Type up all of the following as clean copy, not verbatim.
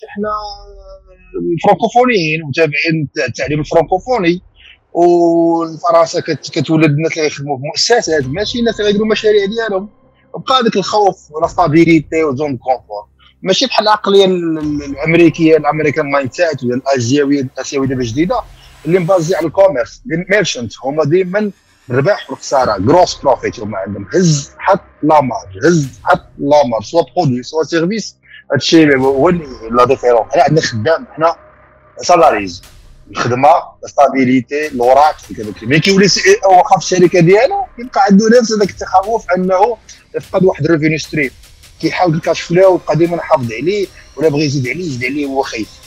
احنا فرانكوفونيين متابعين التعليم الفرانكوفوني، والفرنسا كتولد الناس اللي يخدموا في مؤسسات ماشي الناس اللي يديروا المشاريع ديالهم. وبقى داك الخوف ولا ستابيليتي وزون كونفور، ماشي بحال العقليه الامريكيه، الامريكان مايند سيت ولا الاسيويه دابا جديده اللي مبازي على الكوميرس. الميرشنت هما ديما الربح والخساره، جروس بروفيت هما عندهم، هز حط لامارج، هز حط لامارج، سوا برودوي سوا سيرفيس. هادشي هو لا ديفيرون. حنا عندنا خدام، حنا سالاريز، الخدمه، ستابيليتي، الوراق كذا. ملي كيولي سي او واخا في الشركه ديالو كيبقى عنده نفس هذاك التخوف انه يفقد واحد الريفينيو ستريم، كيحاول الكاش فلو ويبقى ديما حافظ عليه، ولا بغى يزيد عليه هو خايف.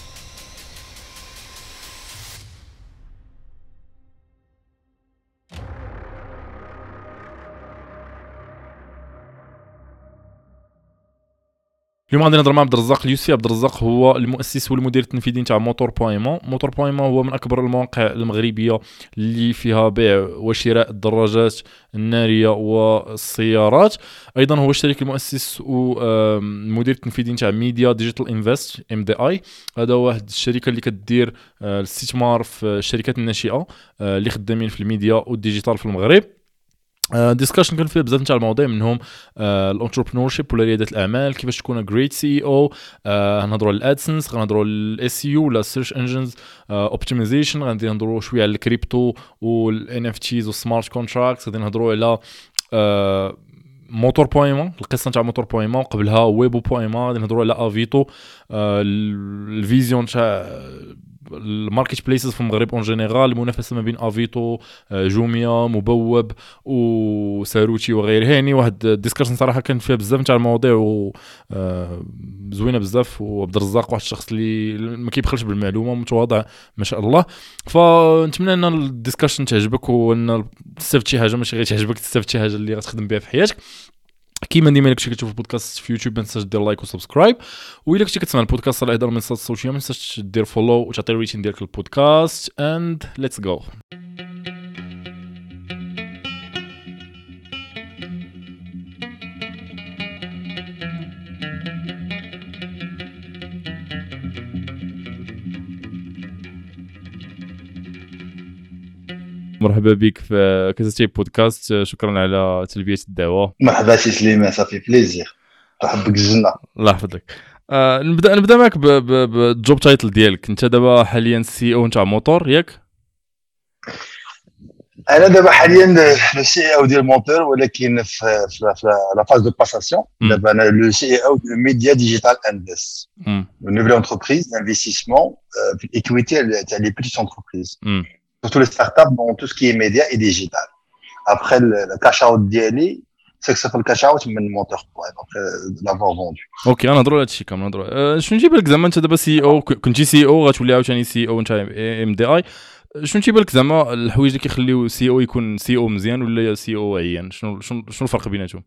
اليوم غادي نهضر مع عبد الرزاق اليوسفي. عبد الرزاق هو المؤسس والمدير التنفيذي نتاع موتور بويمون. موتور بويمون هو من اكبر المواقع المغربيه اللي فيها بيع وشراء الدراجات الناريه والسيارات. ايضا هو الشريك المؤسس والمدير التنفيذي نتاع ميديا ديجيتال انفست MDI. هذا واحد الشركه اللي كدير الاستثمار في الشركات الناشئه اللي خدامين في الميديا والديجيتال في المغرب. ديسكشن كان فيها بزاف نتاع المواضيع، منهم الانتربرونورشيب ولا رياده الاعمال، كيفاش تكون جريت سي او. غنهضروا على الادسنس، غنهضروا على الاس يو ولا سيرش انجنز اوبتيمايزيشن، غادي نهضروا شويه على الكريبتو والان اف تيز والسمارت كونتراكتس، غادي نهضروا على موتور بويمون، القصه نتاع موتور بويمون، قبلها ويبو بويمون، غادي نهضروا على افيتو، الفيزيون تاع الماركت بليسز في المغرب اون جينيرال، المنافسه ما بين افيتو، جوميا، مبوب وساروتي وغيرها. يعني واحد الديسكشن صراحه كان فيها بزاف نتاع المواضيع زوينه بزاف. وعبد الرزاق واحد الشخص اللي ما كيبخلش بالمعلومه، متواضع ما شاء الله. فنتمنى ان الديسكشن تعجبك، وان تستفد شي حاجه، ماشي غير تعجبك، تستفد شي حاجه اللي غتخدم بها في حياتك. كيما ديما الا كنتي كتشوف البودكاست في يوتيوب ما تنساش دير لايك وسبسكرايب، والا كنتي كتسمع البودكاست على احدى المنصات الصوتيه ما تنساش دير فولو وتعطي الريتين ديالك للبودكاست. اند ليتس جو. مرحبا بك في كازاتي بودكاست. شكرا على تلبيه الدعوه. مرحبا سي سليمان، صافي بليزير، تحبك الجنه. الله يحفظك. نبدا معك بالجوب تايتل ديالك. انت دابا حاليا سي او نتاع موتور ياك؟ انا دابا حاليا لو سي او ديال موتور، ولكن في لا فاز دو باساسيون. دابا انا لو سي او دو ميديا ديجيتال انفست، اون نوفيل انتربريز d'investissement في الايكويتي تاع لي بيتيت انتربريز، surtout les startups dans tout ce qui est média et digital. Après le cash out ديالي c'est que ça fait le cash out من موتور بوين après l'avoir vendu. اوكي غنهضروا على هادشي كامل. نهضروا شنو نجيب لك زعما انت دابا سي او، كنتي سي او غتولي عاوتاني سي او نتاع MDI. شنو تيبان لك زعما الحوايج اللي كيخليو سي او يكون سي او مزيان ولا سي او عيان؟ شنو الفرق بيناتهم؟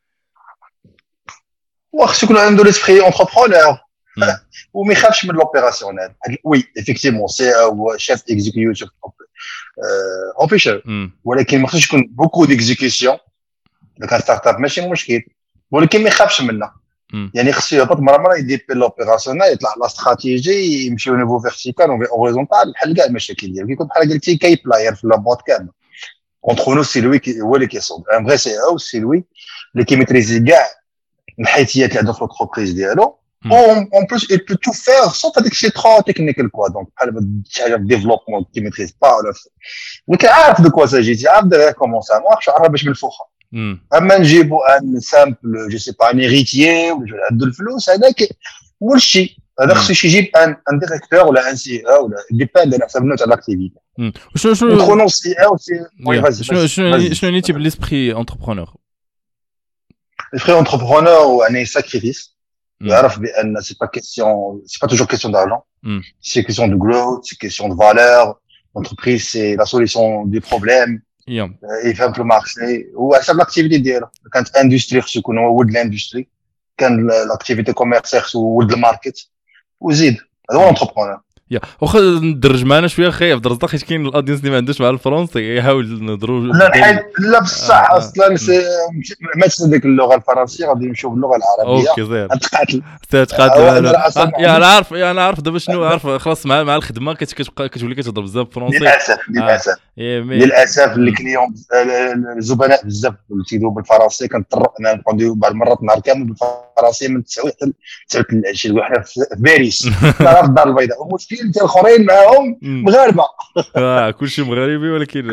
واخا يكون عنده ليسبري انتربرونور وما يخافش من لوبيراسيونيل. وي ايفيكتيفمون سي او شيف اكزيكيوتيف اوفيشال، ولكن ما خصوش يكون بوكو ديكزيكيسيون. اذا كان ستارت اب ماشي مشكل، ولكن ما يخافش منها. يعني خصو يهبط مره يدير لوبيراسيونيل، يطلع لا استراتيجي، يمشيو نيفو فيرتيكال اوريزونتال، بحال كاع المشاكل ديالو. كيكون بحال قلتي كاي بلاير في لابوت كامل. اونتر نو سي لوي هو اللي كيصوب. ان فري سي او سي لوي اللي كيميتريزي كاع الحيتيات اللي عنده في لونتربريز ديالو. اون بلوس il peut tout faire sauf هذاك الشيء ترو تكنيكال كوا. دونك بحال شي حاجه في ديفلوبمون كيميتريز با ولا ولكن عارف دو كوا ساجي، عارف داير كومون سا مارش، عارف باش بالفوخه. اما نجيبوا ان سامبل جو سي با ان هيريتيي ولا عنده الفلوس، هذاك هو الشيء. هذا خصو يجيب ان ديريكتور ولا ان سي او ولا ديباند على حسب النوع تاع لاكتيفيتي. شنو كونون سي او سي شنو يعني تيب ليسبري انتربرونور؟ ليسبري انتربرونور يعني ساكريفيس. يعرف بان سي با كيسيون، سي با توجور كيسيون دارجون، سي كيسيون دو جروث، سي كيسيون دو فالور. لونتربريز سي لا سوليسيون دي بروبليم، يفهم في المارشي وحسب لاكتيفيتي ديالو. كانت اندستري خصو يكون هو ولد الاندستري، كان لاكتيفيتي كوميرسيال خصو ولد الماركت، وزيد. هذا هو انتربرونور. يا واخا ندرج معنا شويه خايف عبد الرزاق حيت كاين الاودينس اللي ما عندوش مع الفرنسي يحاول نهضروا لا بصح اصلا ما تسدك اللغه الفرنسيه غادي نمشيو باللغه العربيه. اوكي زين تقاتل انا عارف دابا شنو عارف خلاص مع الخدمه كتولي كتهضر بزاف فرونسي. للاسف الكليون الزبناء بزاف اللي تيدوي بالفرنسي كنضطر انا نقعدوا بعض المرات نهار كامل بالفرنسي من 9 حتى العشيه. وحنا في باريس في الدار البيضاء والمشكل ديال الاخرين معاهم مغاربه كلشي مغربي ولكن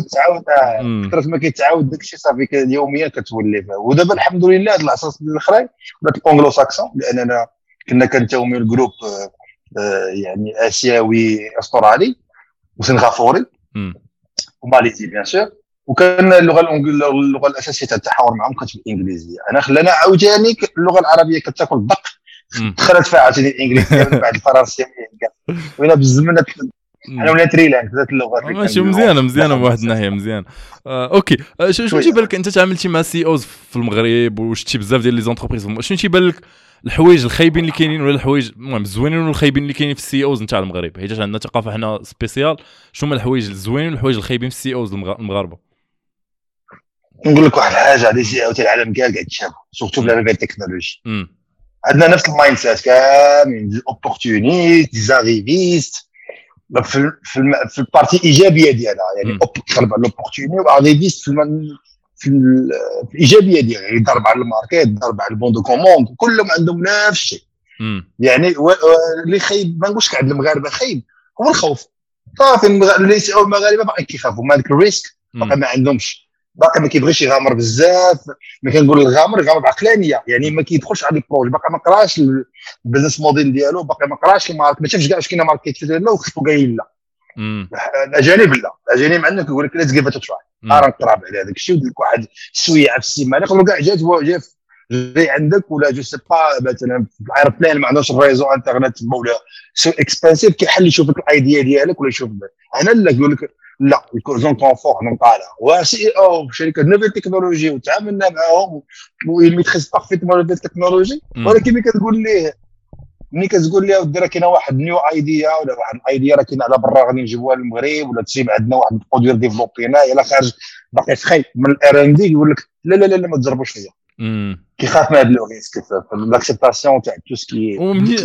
كثرت ما كيتعاود داكشي صافي يوميا كتولي فيه. ودابا الحمد لله هاد العصر الاخرين ولات الانجلو ساكسون لاننا كنا كنتوميو الجروب يعني اسيوي استرالي وسنغافوري وماليزي بيان سور. وكان اللغه الاساسيه تاع التحاور معهم كانت بالانجليزيه. انا خلانا عاوتاني اللغه العربيه كتاكل الدق دخلت فيها عاوتاني الانجليزيه من بعد الفرنسيه وين بالزمن انا ولا تريلاند ذات اللغات ماشي مزيانه من واحد الناحيه مزيان. اوكي شنو تيبان لك انت تعاملتي مع سي اوز في المغرب وشتي بزاف ديال لي زونتربريز شنو تيبان لك الحوايج الخايبين اللي كاينين ولا الحوايج المهم الزوينين ولا الخايبين اللي كاينين في السي اوز نتاع المغرب حيت عندنا ثقافه حنا سبيسيال شنو هما الحوايج الزوينين والحوايج الخايبين في السي اوز المغاربه؟ نقول لك واحد الحاجه هذه سي او تاع العالم كاع قاعد تشابه سورتو بلا نوفيل تكنولوجي. عندنا نفس المايند سيت كاملين دي اوبورتونيست دي زاريفيست في البارتي ايجابيه ديالها يعني تقلب على لوبورتوني واريفيست في الايجابيه ديالها يضرب على الماركت يضرب على البون دو كوموند كلهم عندهم نفس الشيء. يعني اللي خايب ما نقولش عند المغاربه خايب هو الخوف صافي. المغاربه باقي كيخافوا من هذاك الريسك باقي ما عندهمش باقي ما كيبغيش يغامر بزاف. ما كنقول يغامر بعقلانيه يعني ما كيدخلش على البروج باقي ما قراش البيزنس موديل ديالو باقي ما قراش الماركت ما شافش كاع واش كاينه ماركت لا وخصو قايل لا. الاجانب عندنا كيقول لك ليتس جيف ات تراي نقرا على هذاك الشيء ودير لك واحد السويعه في السيمانه يقدروا كاع جاي عندك ولا جو سي با مثلا في الايربلان ما عندوش الريزو انترنت ولا سو اكسبانسيف كيحل يشوف لك الايديا ديالك ولا يشوف هنا لا يقول لك لا زون كونفور نقالها وسي او شركه نوفيل تكنولوجي وتعاملنا معاهم ويميتريز بارفيتمون نوفيل تكنولوجي. ولكن ملي كتقول ليه ودير كاينه واحد نيو ايديا ولا واحد الايديا راه كاينه على برا غادي نجيبوها للمغرب ولا تجيب عندنا واحد البرودوير ديفلوبينا يلا خارج باقي سخي من الار ان دي يقول لك لا ما تجربوش فيا كيخاف من هذا لو ريسك في لاكسبتاسيون تاع تو سكي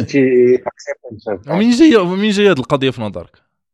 ومن جايه هذه القضيه في نظرك؟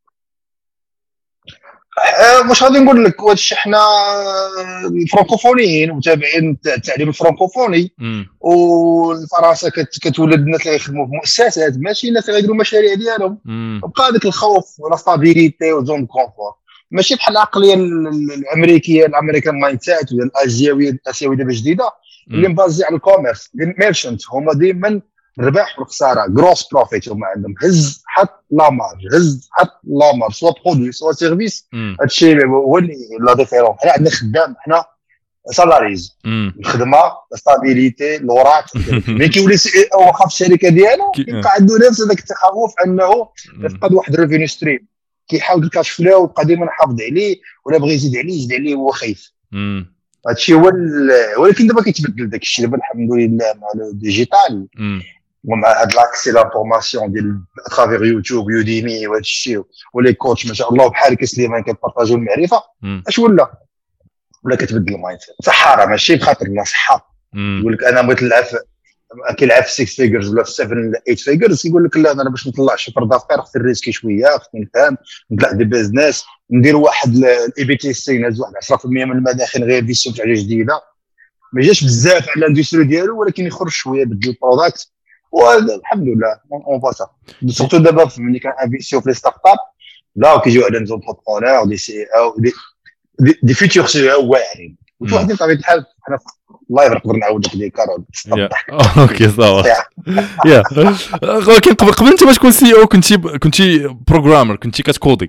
واش غادي نقول لك واش حنا الفرنكوفونيين متابعين التعليم الفرنكوفوني والفرنسا كتولد الناس اللي يخدموا في مؤسسات ماشي الناس اللي يديروا مشاريع ديالهم. بقى داك الخوف ولا ستابيليتي وزون كونفور ماشي بحال العقليه الامريكيه الامريكان مايند سيت ولا الاسيويه دابا جديده اللي مبازي على الكوميرس الميرشنت هما ديما الربح والخساره غروس بروفيت هما عندهم هز حط لا مارج سوا برودوي سوا سيرفيس. هادشي هو اللي لا ديفيرون. حنا عندنا خدام حنا سالاريز الخدمه ستابيليتي لوراك ملي كيولي واخا في الشركه ديالو كيبقى عنده نفس هذاك التخوف انه يفقد واحد الريفينيو ستريم كيحاول الكاش فلو ويبقى ديما حافظ عليه ولا بغى يزيد عليه هو خايف. هادشي هو ولكن دابا كيتبدل داك الشيء دابا الحمد لله مع الديجيتال ومع هاد لاكسي لافورماسيون ديال اترافير يوتيوب يوديمي وهذا الشيء ولي كوتش ما شاء الله بحال كسليمان كيبارطاجيو المعرفه اش ولا كتبدل المايند سيت. صحه راه ماشي بخاطر لا صحه يقول لك انا بغيت نلعب كيلعب في 6 فيجرز ولا في 7 ولا 8 فيجرز يقول لك لا انا باش نطلع شي فرد افكار خصني الريسكي شويه خصني نفهم نطلع دي بيزنس ندير واحد الاي بي تي سي نهز واحد 10% من المداخل غير فيسيون تاع جديده ما جاش بزاف على الاندستري ديالو ولكن يخرج شويه بدل البروداكت والحمد لله اون باسا سورتو دابا ملي كان انفيستيو في لي ستارت اب لا كيجيو على زونتربرونور دي سي او دي فيتور سي او واعرين وواحد بطبيعه الحال حنا الله نقدر نعاود لك دي كارول اوكي صافي يا ولكن قبل انت ما تكون سي او كنتي بروغرامر كنتي كتكودي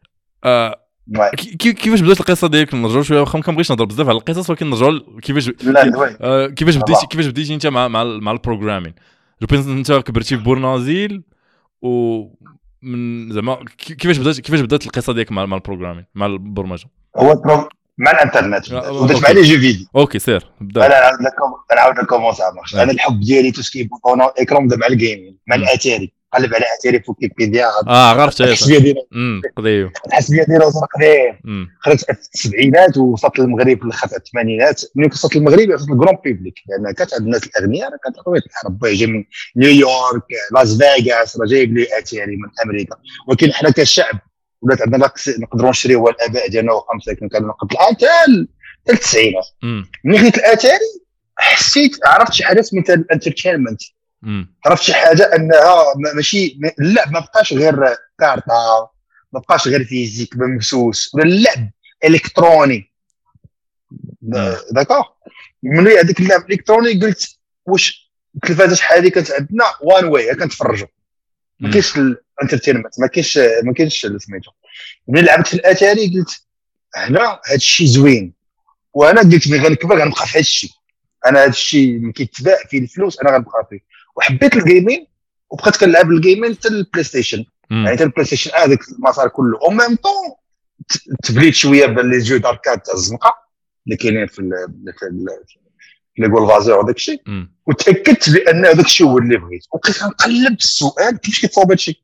كيفاش بدات القصه ديالك نرجعوا شويه واخا ما كنبغيش نهضر بزاف على القصص ولكن نرجعوا كيفاش بديتي انت مع البروغرامين جو بينس انت كبرتي في بورنازيل ومن زعما كيفاش بدات القصه ديالك مع البروغرامين مع البرمجه؟ هو مع الانترنت ودرت مع لي جو فيديو. اوكي سير بدا. انا نعاود لكم كومون سا مارش. انا الحب ديالي تو سكي بوطون ايكرون بدا مع الجيمين مع الاتاري قلب على اتاري في ويكيبيديا عرفت الحسبيه ديالو قضيه الحسبيه ديالو قديم خرجت في السبعينات ووصلت للمغرب في الاخر الثمانينات. ملي وصلت للمغرب وصلت للكرون بيبليك لان كانت عند الناس الاغنياء كانت طبيعه الحال ربي جاي من نيويورك لاس فيغاس راه جايب لي اتاري من امريكا. ولكن حنا كشعب ولات عندنا نقدروا نشريوها الاباء ديالنا وخمسه كانوا قبل الان حتى التسعينات. ملي خديت الاتاري حسيت عرفت شي حاجه سميتها الانترتينمنت. عرفت شي حاجه انها ماشي اللعب ما بقاش غير كارطه ما بقاش غير فيزيك ممسوس ولا اللعب الكتروني. داكوغ ملي هذاك اللعب الالكتروني قلت واش التلفازه شحال هذه كانت عندنا وان واي كنتفرجوا ما كاينش الانترتينمنت ما كاينش سميتو. ملي لعبت في الاتاري قلت هنا هذا الشيء زوين وانا قلت ملي غنكبر غنبقى في هذا الشيء. انا هذا الشيء اللي كيتباع فيه الفلوس انا غنبقى فيه. وحبيت الجيمين وبقيت كنلعب الجيمين حتى البلاي ستيشن يعني حتى البلاي ستيشن هذاك المسار كله او ميم طون تبليت شويه باللي جو داركاد تاع الزنقه اللي كاينين في لي جول فازي وداك الشيء وتاكدت بان هذاك الشيء هو اللي بغيت. وبقيت كنقلب السؤال كيفاش كيتصاوب هذا الشيء.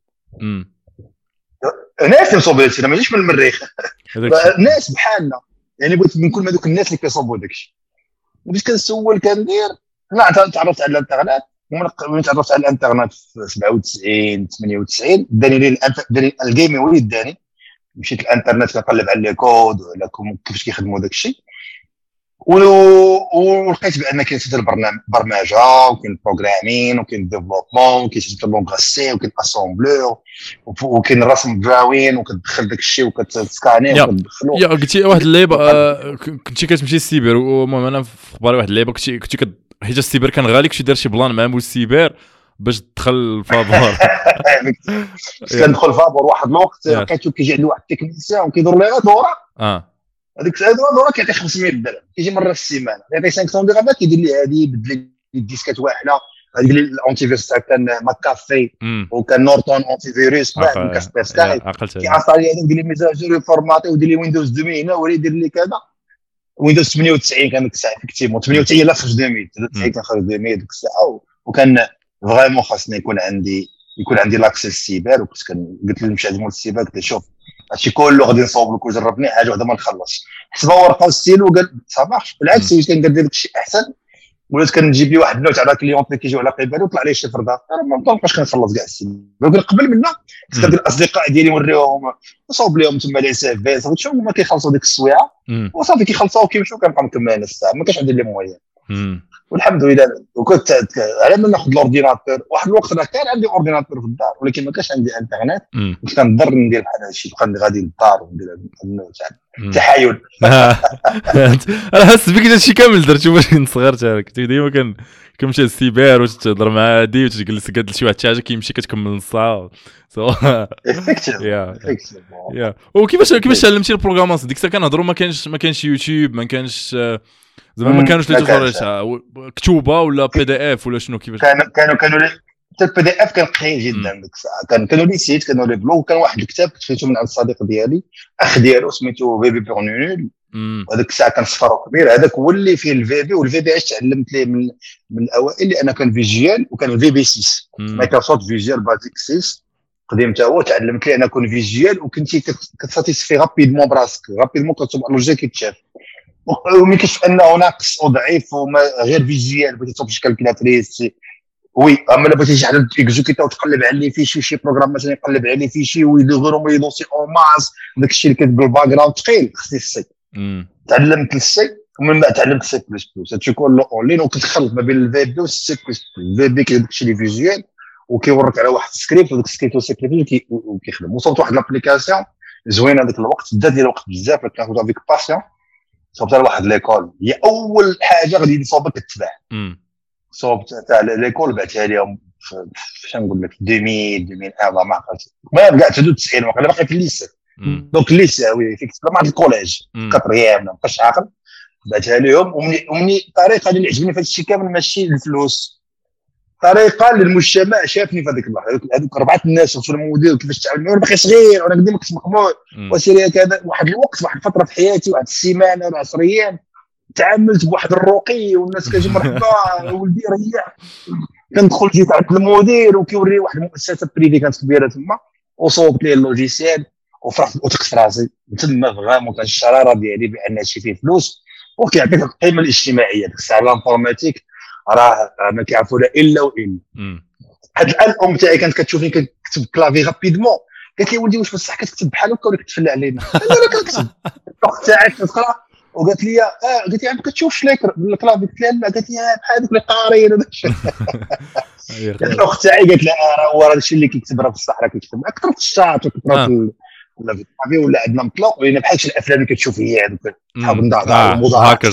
ناس كيصاوبوا هذا الشيء ما جايش من المريخ ناس بحالنا يعني بغيت نكون هذوك الناس اللي كيصاوبوا داك الشيء. بديت كنسول كندير لا تعرفت على الانترنت. ومن تعرفت على الانترنت في 97 98 داني الجيمين وليد داني. مشيت الانترنت كنقلب على لي كود وعلى كيفاش كيخدموا داك الشيء ولقيت بان كاين حتى البرمجه وكاين البروغرامين وكاين الديفلوبمون وكاين حتى اللونغ سي وكاين الاسامبلور وكاين الرسم دراوين وكتدخل داك الشيء وكتسكاني وكتدخلو. يا قلتي واحد اللعيبه كنتي كتمشي للسيبر المهم انا في بالي واحد اللعيبه كنتي حيت السيبر كان غالي كنتي دار شي بلان مع مول السيبر باش تدخل الفابور. كندخل الفابور واحد الوقت لقيتو كيجي عند واحد التكنيسيان وكيدور لي دوره هذيك الدوره كيعطي 500 درهم كيجي مره في السيمانه يعطي 500 درهم كيدير لي هذه يبدل لي الديسكات واحده هذيك الانتي فيروس كان ماكافي وكان نورتون انتي فيروس مع كاسبيرسكاي كيعطي لي هذيك دير لي ميزاجور فورماتي ودير لي ويندوز 2000 هنا ولا يدير لي كذا. ويندوز 98 كان ديك الساعه افكتيفمون 98 لا خرج 2000 كان خرج 2000 ديك الساعه وكان فريمون خاصني يكون عندي لاكسيس السيبر. وكنت قلت له نمشي عند مول السيبر قلت له شوف هادشي كله غادي نصاوب لك وجربني حاجه وحده ما نخلص حسبها ورقه وستيلو وقال صافاش بالعكس واش كندير داك الشيء احسن ولات كنجيب لي واحد النوع تاع كليونط اللي كيجيو على قبالو وطلع لي شي فردا ما بقاش كنخلص كاع السيبر. ولكن قبل منا كنت كندير الاصدقاء ديالي نوريهم نصاوب لهم تما لي سي في صافي هما كيخلصوا ديك السويعه وصافي كيخلصوا وكيمشيو كنبقى مكملين الساعه ما كاش عندي لي مويان. والحمد لله. وكنت على ما ناخذ الاورديناتور واحد الوقت راه كان عندي اورديناتور في الدار ولكن ما كانش عندي انترنت كنت كنضر ندير بحال هادشي كنت غادي للدار وندير النوع تاع التحايل. انا حاسس بك هادشي كامل درتو باش صغرت كنت ديما كنمشي للسيبر واش تهضر مع هادي وتجلس قاد شي واحد شي حاجه كيمشي كتكمل نص ساعه يا وكيفاش تعلمتي البروغراماسيون ديك الساعه كنهضروا ما كانش يوتيوب ما كانش زعما ما كانوش لي توصل كتوبه ولا بي دي اف ولا شنو كيفاش كانوا حتى البي دي اف كان قليل جدا ديك الساعه. كانوا لي سيت كانوا لي بلوغ كان واحد الكتاب كنت خديته من عند الصديق ديالي اخ ديالو سميتو فيبي بورنول وهذاك الساعه كان صفر كبير هذاك هو اللي فيه الفيبي والفي بي اش تعلمت ليه من الاوائل لان كان فيجوال وكان الفي بي 6 مايكروسوفت فيجوال بازيك 6 قديم تا هو تعلمت ليه انا كون فيجوال وكنتي كتساتيسفي رابيدمون براسك رابيدمون كتشوف لوجيك كيتشاف وملي كتشوف انه ناقص او ضعيف وما غير فيجوال بغيتي تصوب شي كالكولاتريس وي اما لا بغيتي شي حاجه اكزيكوتا وتقلب على لي فيشي شي بروغرام مثلا يقلب على لي فيشي ويديروا يدوسي او ماس داك الشيء اللي كتقول باك جراوند ثقيل خصني السي تعلمت السي ومن بعد تعلمت السي بلس بلس هادشي كله اونلاين وكتخلط ما بين الفي بي والسي بلس بلس الفي بي كيدير داكشي اللي فيجوال وكيوريك على واحد السكريبت وداك السكريبت والسكريبت وكيخدم. وصلت واحد لابليكاسيون زوينه هذاك الوقت دات ديال الوقت بزاف كناخذ افيك باسيون صوبت على واحد ليكول هي اول حاجه غادي نصوبك تتباع صوبت تاع ليكول بعتها لهم فاش نقول لك 2001 ما عقلتش ما كاع حدود 90 وقيلا باقي في الليسي دونك الليسي وي فيك مع الكوليج كطريام ما بقاش عاقل بعتها لهم ومني الطريقه اللي عجبني في هذا الشيء كامل ماشي الفلوس طريقه للمجتمع شافني في هذيك اللحظه هذوك اربعه الناس وصلوا المدير كيفاش تعامل انا باقي صغير وانا قدامك كنت مقبول وسيري كذا واحد الوقت واحد الفتره في حياتي واحد السيمانه ولا 10 ايام تعاملت بواحد الرقي والناس كتجي مرحبا ولدي ريح. كندخل جيت عند المدير وكيوري واحد المؤسسه بريفي كانت كبيره تما وصوبت ليه اللوجيسيال وفرحت وثقت راسي تما فريمون كان الشراره ديالي بان هادشي فيه فلوس وكيعطيك القيمه الاجتماعيه. ديك الساعه الانفورماتيك راه ما كيعرفوا لا الا والا. هاد الان الام تاعي كانت كتشوفني كنكتب كلافي رابيدمون قالت لي ولدي واش بصح كتكتب بحال هكا ولا كتفلى علينا؟ انا كنكتب الاخت تاعي كتقرا وقالت لي قلت لي ما كتشوفش الكلافي؟ قلت لها لا. قالت لي بحال هذوك اللي قاريين وداك الشيء. الاخت تاعي قالت لها راه هو الشيء اللي كيكتب راه في الصحراء كيكتب اكثر في الشاط وكثر ولا في الطبيعي ولا عندنا مطلق ولينا بحال شي الافلام اللي كتشوف هي هذوك صحاب النضاره والمضاعفات.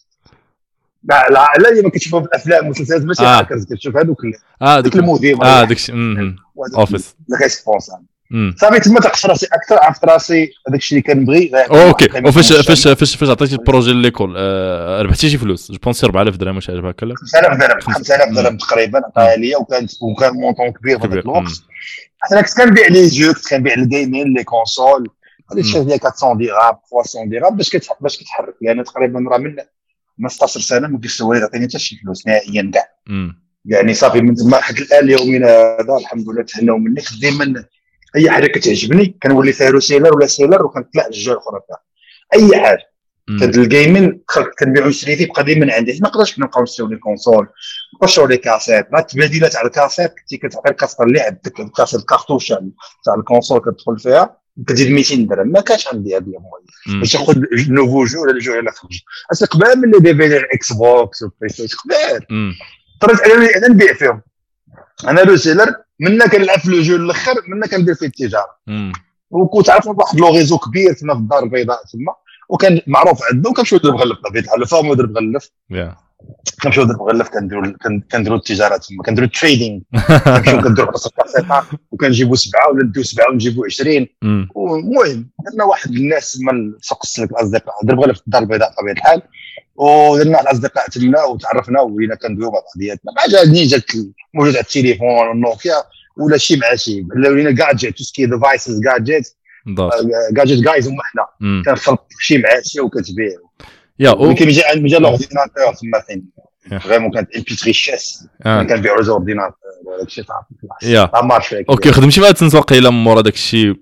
لا لا ما كتشوفوا في الافلام والمسلسلات ماشي هاكرز كتشوف هذوك ديك المدير داكشي اوفيس ريسبونسابل. صافي تما تقص راسي اكثر عرفت راسي هذاك الشيء اللي كنبغي. اوكي وفاش عطيتي البروجي ليكول ربحتي شي فلوس؟ جو بونسي 4000 درهم واش عجبك هكا؟ 5000 درهم تقريبا عطاها ليا وكان مونطون كبير في هذاك الوقت. انا كنت كنبيع لي جو كنت كنبيع الجيمين لي كونسول هذيك الشيء ديال 400 درهم 300 درهم باش كتحرك لان تقريبا راه من 16 سنه ما كيسوى لي عطيني حتى شي فلوس نهائيا كاع. يعني صافي من تما حتى الان يومنا هذا الحمد لله تهناو مني. دائما اي حاجه كتعجبني كنولي فيها روسيلر ولا سيلر وكنطلع الجهه الاخرى فيها اي حاجه. هاد الجيمين كنبيعو نشري فيه بقى ديما عندي. ما نقدرش نبقاو نشريو لي كونسول نقشرو لي كاسيت. راه التباديلات على الكاسيت كنتي كتعطي الكاسيت اللي عندك الكاسيت الكارطوش تاع الكونسول كتدخل فيها كتزيد 200 درهم. ما كانش عندي هاد الموضوع باش ناخذ نوفو جو ولا الجو اللي خرج اصلا قبل من اللي ديفيدي الاكس بوكس والبلاي ستيشن قبل طريت انا نبيع فيهم. انا روسيلر منا كنلعب في لو جو الاخر منا كندير فيه التجاره. وكنت عارف واحد لو ريزو كبير تما في الدار البيضاء تما وكان معروف عندنا وكنمشيو نضرب غلف طبيعه الحال فاهم نضرب غلف كنمشيو نضرب غلف كنديروا التجاره تما كنديروا التريدينغ كنمشيو كنديروا راسك كاسيطه وكنجيبوا 7 ولا نديو 7 ونجيبوا 20. المهم درنا واحد الناس من سوق السلك الاصدقاء ضرب غلف في الدار البيضاء طبيعه الحال ودرنا الاصدقاء تما وتعرفنا ولينا كندويو مع بعضياتنا. ما جاتني جات موجود على التليفون والنوكيا ولا شي مع شي ولينا جادجيت توسكي ديفايسز جادجيت جايز هما حنا كنخلط شي مع شي وكتبيع ولكن جا لورديناتور تما فين فريمون كانت ام بي 3 شاس كنبيعوا زو اورديناتور داك الشيء صافي مارشي. اوكي خدمتي مع ادسنس الا من مورا داك الشيء؟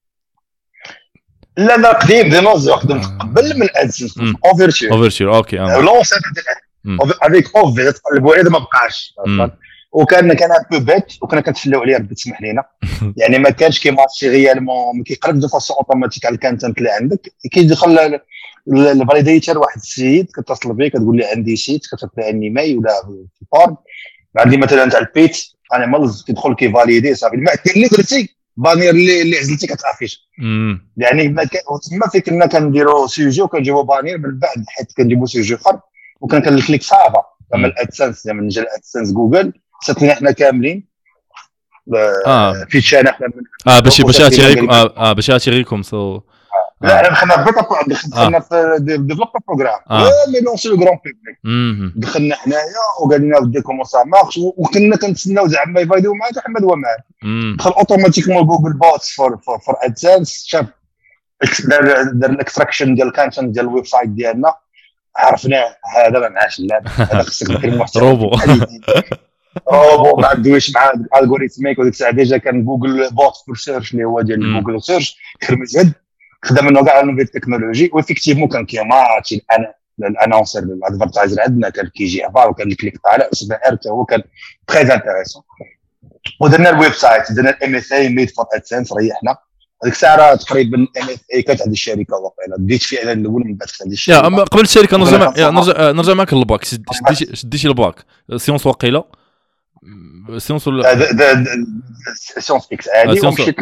لا قديم دينوزور خدمت قبل من ادسنس اوفرتشر اوكي لونسان افيك اوفر تقلبوا عليه ما بقاش. وكان ان بو بيت وكنا كنتفلاو عليه ربي تسمح لينا. يعني ما كانش كيمارشي ريالمون ما كيقرب دو فاسون اوتوماتيك على الكانتنت اللي عندك. كيدخل الفاليديتور واحد السيد كتصل بيه كتقول لي عندي سيت كتعطي عني ماي ولا في فورم عندي مثلا تاع البيت انا مالز كيدخل كيفاليدي صافي المعدل اللي درتي بانير اللي عزلتي كتافيش. يعني تما فين كنا كنديروا سوجي وكنجيبوا بانير من بعد حيت كنجيبوا سوجي اخر وكان كنكليك صافا كما الادسنس من جا الادسنس جوجل ساتلنا حنا كاملين في تشانا حنا باش ياتيغيكم سو لا انا دخلنا دخلنا في ديفلوبر بروغرام مي لونسي لو غران بوبليك دخلنا حنايا وقال لنا ودي كومون سا مارش وكنا كنتسناو زعما يفايدوا معنا احمد ومعنا دخل اوتوماتيكمون جوجل بوتس فور ادسنس شاف دار الاكستراكشن ديال الكونتنت ديال الويب سايت ديالنا عرفناه هذا ما معاش اللعب هذا خصك دير محتوى روبو ما عندوش مع الالغوريثميك وديك الساعه ديجا كان جوجل بوت فور سيرش اللي هو ديال جوجل سيرش خرج خدم انه كاع نوفيل تكنولوجي وافيكتيفمون كان كيماتشي الانونسر الادفرتايزر عندنا كان كيجي افار وكان الكليك طالع اسمه ارتا هو كان تري انتريسون. ودرنا الويب سايت درنا الام اس اي ميد فور ادسنس ريحنا هذيك الساعه تقريبا ام اس اي كانت عند الشركه واقيلا بديت فعلا الاول من بعد عند الشركه. اما قبل الشركه نرجع معك للباك شديتي الباك سيونس واقيلا سيونس سيونس اكس عادي ومشيت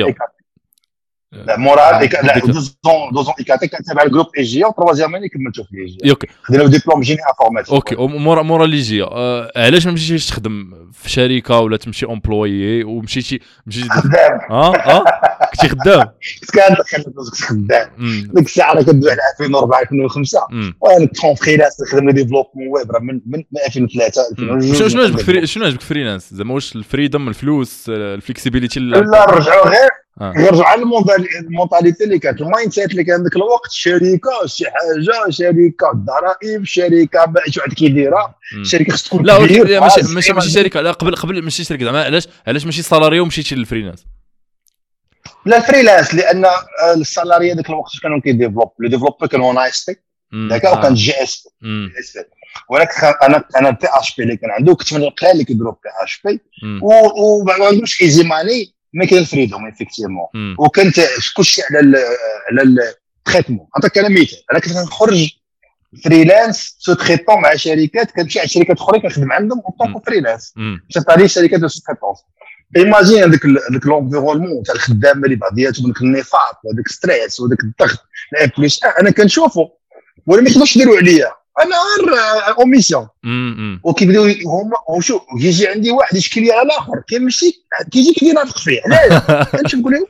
لا مورا لا دوزون ايكاتي كان تابع الجروب اي جي وتروازيام اني كملتو في اي جي. اوكي خدينا ديبلوم جيني انفورماتيك. اوكي مورا لي جي علاش ما مشيتيش تخدم في شركه ولا تمشي امبلويي ومشيتي خدام كنتي خدام كنت خدام ديك الساعه راه كندوي على 2004 2005 وانا كنت فريلانس نخدم ديفلوبمون ويب راه من 2003 شنو عجبك فريلانس زعما واش الفريدم الفلوس الفليكسيبيليتي لا رجعوا غير نرجعوا على المونتاليتي اللي كانت المايند سيت اللي كان ذاك الوقت شركه شي حاجه شركه ضرائب شركه شي واحد كيديرها شركه خص تكون لا ماشي شركه لا قبل ماشي شركه زعما علاش ماشي سالاري ومشيتي للفريلانس لا الفريلانس لان السالاري ذاك الوقت كانوا كيديفلوب لو ديفلوبر كانوا نايس داك وكان جي اس بي ولكن انا بي اش بي اللي كان عنده كنت من القلال اللي كيديروا بي اش بي وما عندوش ايزي ماني مي كاين فريدوم ايفيكتيفمون وكنت كلشي على التريتمون عطاك انا مثال انا كنت نخرج فريلانس سو تريتون مع شركات كنمشي على شركات اخرى كنخدم عندهم اون طونك فريلانس شفت عليه شركات سو تريتونس ايماجين هذاك لونفيرونمون تاع الخدامه اللي بعضياتهم داك النفاق وهذاك ستريس وهذاك الضغط لا بليس انا كنشوفه ولا ما يقدروش يديروا عليا انا غير او ميسيون وكيبداو هما وشوف يجي عندي واحد يشكي لي على الاخر كيمشي كيجي كيدير نافق فيه علاش كنشوف نقول له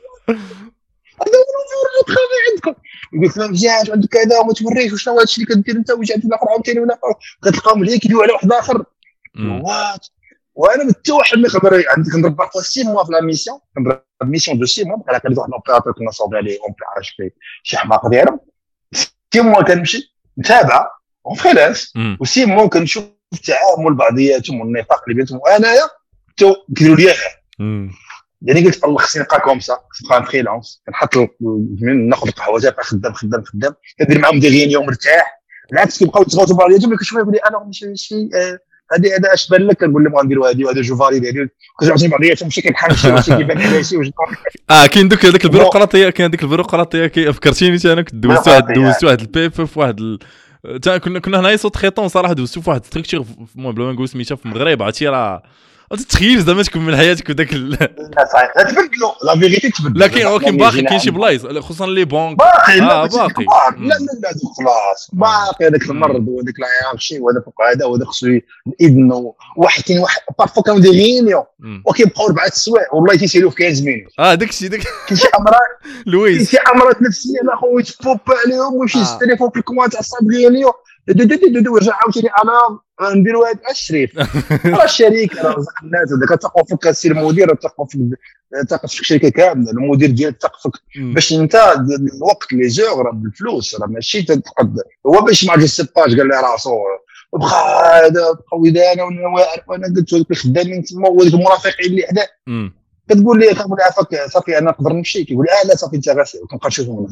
هذا هو الخدمه عندكم يقول لك مزيان عندك كذا وما توريش وشنو هذا الشيء اللي كدير انت وجا عند الاخر عاوتاني ولا كتلقاهم ليا كيديروا على واحد اخر وات وانا حتى واحد ما يقدر عندك نربح 6 موا في لا ميسيون كنضرب ميسيون دو 6 موا بحال هكا واحد لوبيراتور كنا صوب عليه اون بي اش بي شي حماق دايره 6 موا كنمشي متابعه اون فريلانس و6 موا كنشوف التعامل بعضياتهم والنفاق اللي بيناتهم وانايا حتى كيديروا ليا يعني قلت الله خصني نبقى كومسا نبقى فريلانس كنحط ناخذ القهوه تاعي خدام كندير معاهم دي غينيون مرتاح بالعكس كيبقاو يتغوتوا بعضياتهم كنشوف يقول لي انا ماشي هذا اش بان لك كنقول لهم غنديروا هذه وهذا جو فاليد هذه كنعطي بعضياتهم ماشي كنحال شي كيبان على شي كاين داك البيروقراطيه كاين ديك البيروقراطيه فكرتيني انا كنت دوزت واحد البيبر في واحد كنا هنايا صوت خيطون صراحه دوزتو في واحد ستركتور المهم بلا ما نقول سميتها في المغرب عرفتي راه تتخيل زعما تكمل حياتك وداك لا صحيح تبدلوا لا فيغيتي تبدل لكن باقي كاين شي بلايص خصوصا لي بونك باقي لا خلاص باقي هذاك المرض وهذاك العيارشي وهذا فوق هذا وهذا خصو الاذن واحد كاين واحد بارفو كانوا دي غينيون وكيبقاو 4 سوايع والله تيسالوا في 15 مينوت داكشي كاين شي امراض لويس كاين شي امراض نفسيه اخويا تفوب عليهم ويمشي التليفون في الكوان تاع الصاد غينيو ورجع عاوتاني انا نديروا هذا الشريف راه الشركه راه رزق الناس هذاك تقوا فيك السير المدير تقوا فيك الشركه كامله المدير ديالك تقفك باش انت الوقت لي زور راه بالفلوس راه ماشي تقدر هو باش ما عرفش السباج قال له راسو بقى هذا قويدانه وانا قلت لك الخدامين تما وهذوك المرافقين اللي حدا كتقول لي عافاك صافي انا نقدر نمشي كيقول لا صافي انت غاسي كنبقى نشوفهم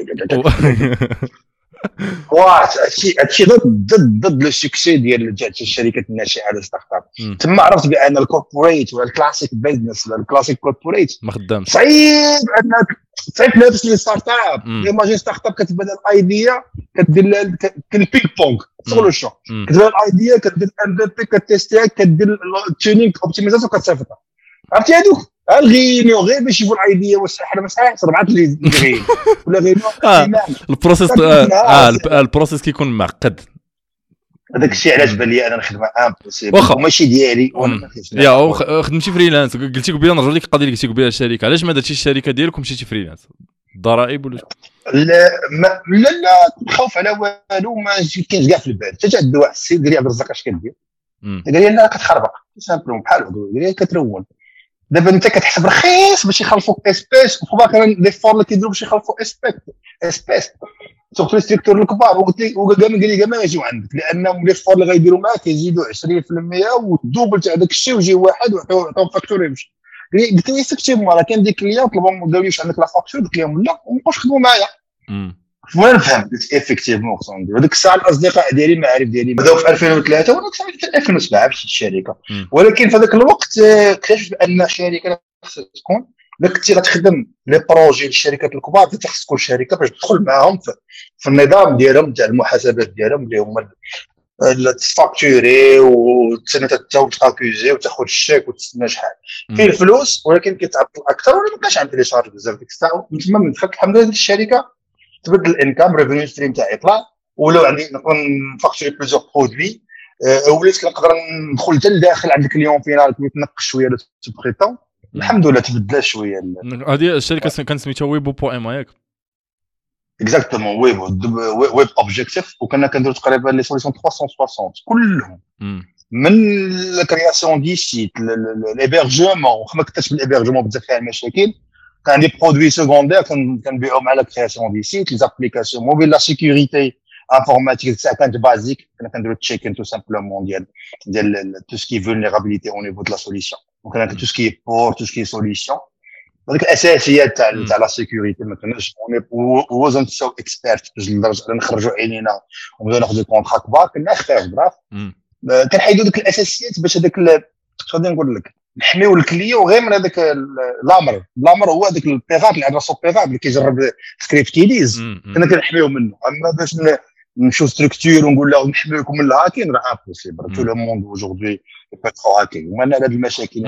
هادشي ضد لو سوكسي ديال الشركات الناشئه على ستارت اب تما عرفت بان الكوربوريت ولا الكلاسيك بيزنس ولا الكلاسيك كوربوريت ما خدامش صعيب انك تنافس لي ستارت اب ايماجين ستارت اب كتبدا الايديا كدير البينغ بونغ سولوشن كتبدا الايديا كدير ام في بي كتيستيها كدير التيونينغ اوبتيمايزاسيون كتصيفطها عرفتي هذوك الغينيو غير باش يجيبوا الايديا والسحر مساح 4 اللي غير ولا غير البروسيس البروسيس كيكون معقد هذاك الشيء علاش بان لي انا نخدم امبوسيبل وماشي ديالي يا خدمتي فريلانس قلتي قبيله نرجع لك القضيه اللي قلتي قبيله الشركه علاش ما درتيش الشركه ديالك ومشيتي فريلانس الضرائب ولا لا خوف على والو ما كاينش كاع في البال حتى عند واحد السيد قال لي عبد الرزاق اش كدير قال لي لا كتخربق سامبلوم بحال قال لي كترون دابا انت كتحسب رخيص باش يخلفوك اسبيس وفوق كان لي فور اللي كيديروا باش يخلفوا اسبيس سورتو السيكتور الكبار وقال لي ما يجيو عندك لانهم لي فور اللي غيديروا معاك يزيدوا 20% والدوبل تاع داك الشيء ويجي واحد ويعطيهم فاكتور يمشي قلت له ايفيكتيفمون راه كان ديك كليون طلبوا ما داوش عندك لا فاكتور قلت لهم لا ومابقاوش يخدموا معايا وانا فهمت ايفيكتيفمون خصنا ندير هذيك الساعه الاصدقاء ديالي المعارف ديالي بداو في 2003 وانا كنت في 2007 مشيت الشركه ولكن في ذاك الوقت اكتشفت بان الشركه خصها تكون كنتي غتخدم لي بروجي للشركات الكبار خصك تكون شركه باش تدخل معاهم في النظام ديالهم تاع المحاسبات ديالهم اللي هما تفاكتوري وتسنى تاكوزي وتاخذ الشيك وتستنى شحال فيه الفلوس ولكن كيتعطل اكثر ولا ما كانش عندي لي شارج بزاف ديك الساعه من تما من دخلت الحمد لله الشركه تبدل الانكام ريفينيو ستريم تاعي يطلع ولو عندي نكون فاكتوري بليزيور برودوي وليت كنقدر ندخل حتى لداخل عند الكليون فينال كيتنقص شويه لو سوبريتون الحمد لله تبدل شويه. هذه الشركه كانت سميتها ويبو بو ام ياك اكزاكتومون ويب اوبجيكتيف وكنا كنديروا تقريبا لي سوليسيون 360 كلهم من الكرياسيون دي سيت ليبرجمون ما كنتش بالابيرجمون بزاف فيها المشاكل كان دي برودوي سكوندير كنبيعهم على كرياسيون دي سيت لي زابليكاسيون موبيل لا سيكوريتي انفورماتيك تاع كانت بازيك كنا كنديرو تشيكين تو سامبلومون ديال تو سكي فولنيرابيليتي او نيفو دو لا سوليسيون وكان تو سكي بور تو سكي سوليسيون هذيك الاساسيات تاع لا سيكوريتي ما كناش وزن سو اكسبيرت لدرجه نخرجوا عينينا ونبداو ناخذوا كونطرا كبار كنا خفاف براف كنحيدوا ديك الاساسيات باش هذاك شنو غادي نقول لك نحميو الكليو غير من هذاك الامر هو هذاك البيغاب الادرس بيغاب اللي كيجرب سكريبتيليز كنا كنحميو منه اما باش نمشيو ستركتور ونقول له نحميوكم من الهاكين راه امبوسيبل تو لو موند اوجوردي بيترو هاكين ومن هاد المشاكل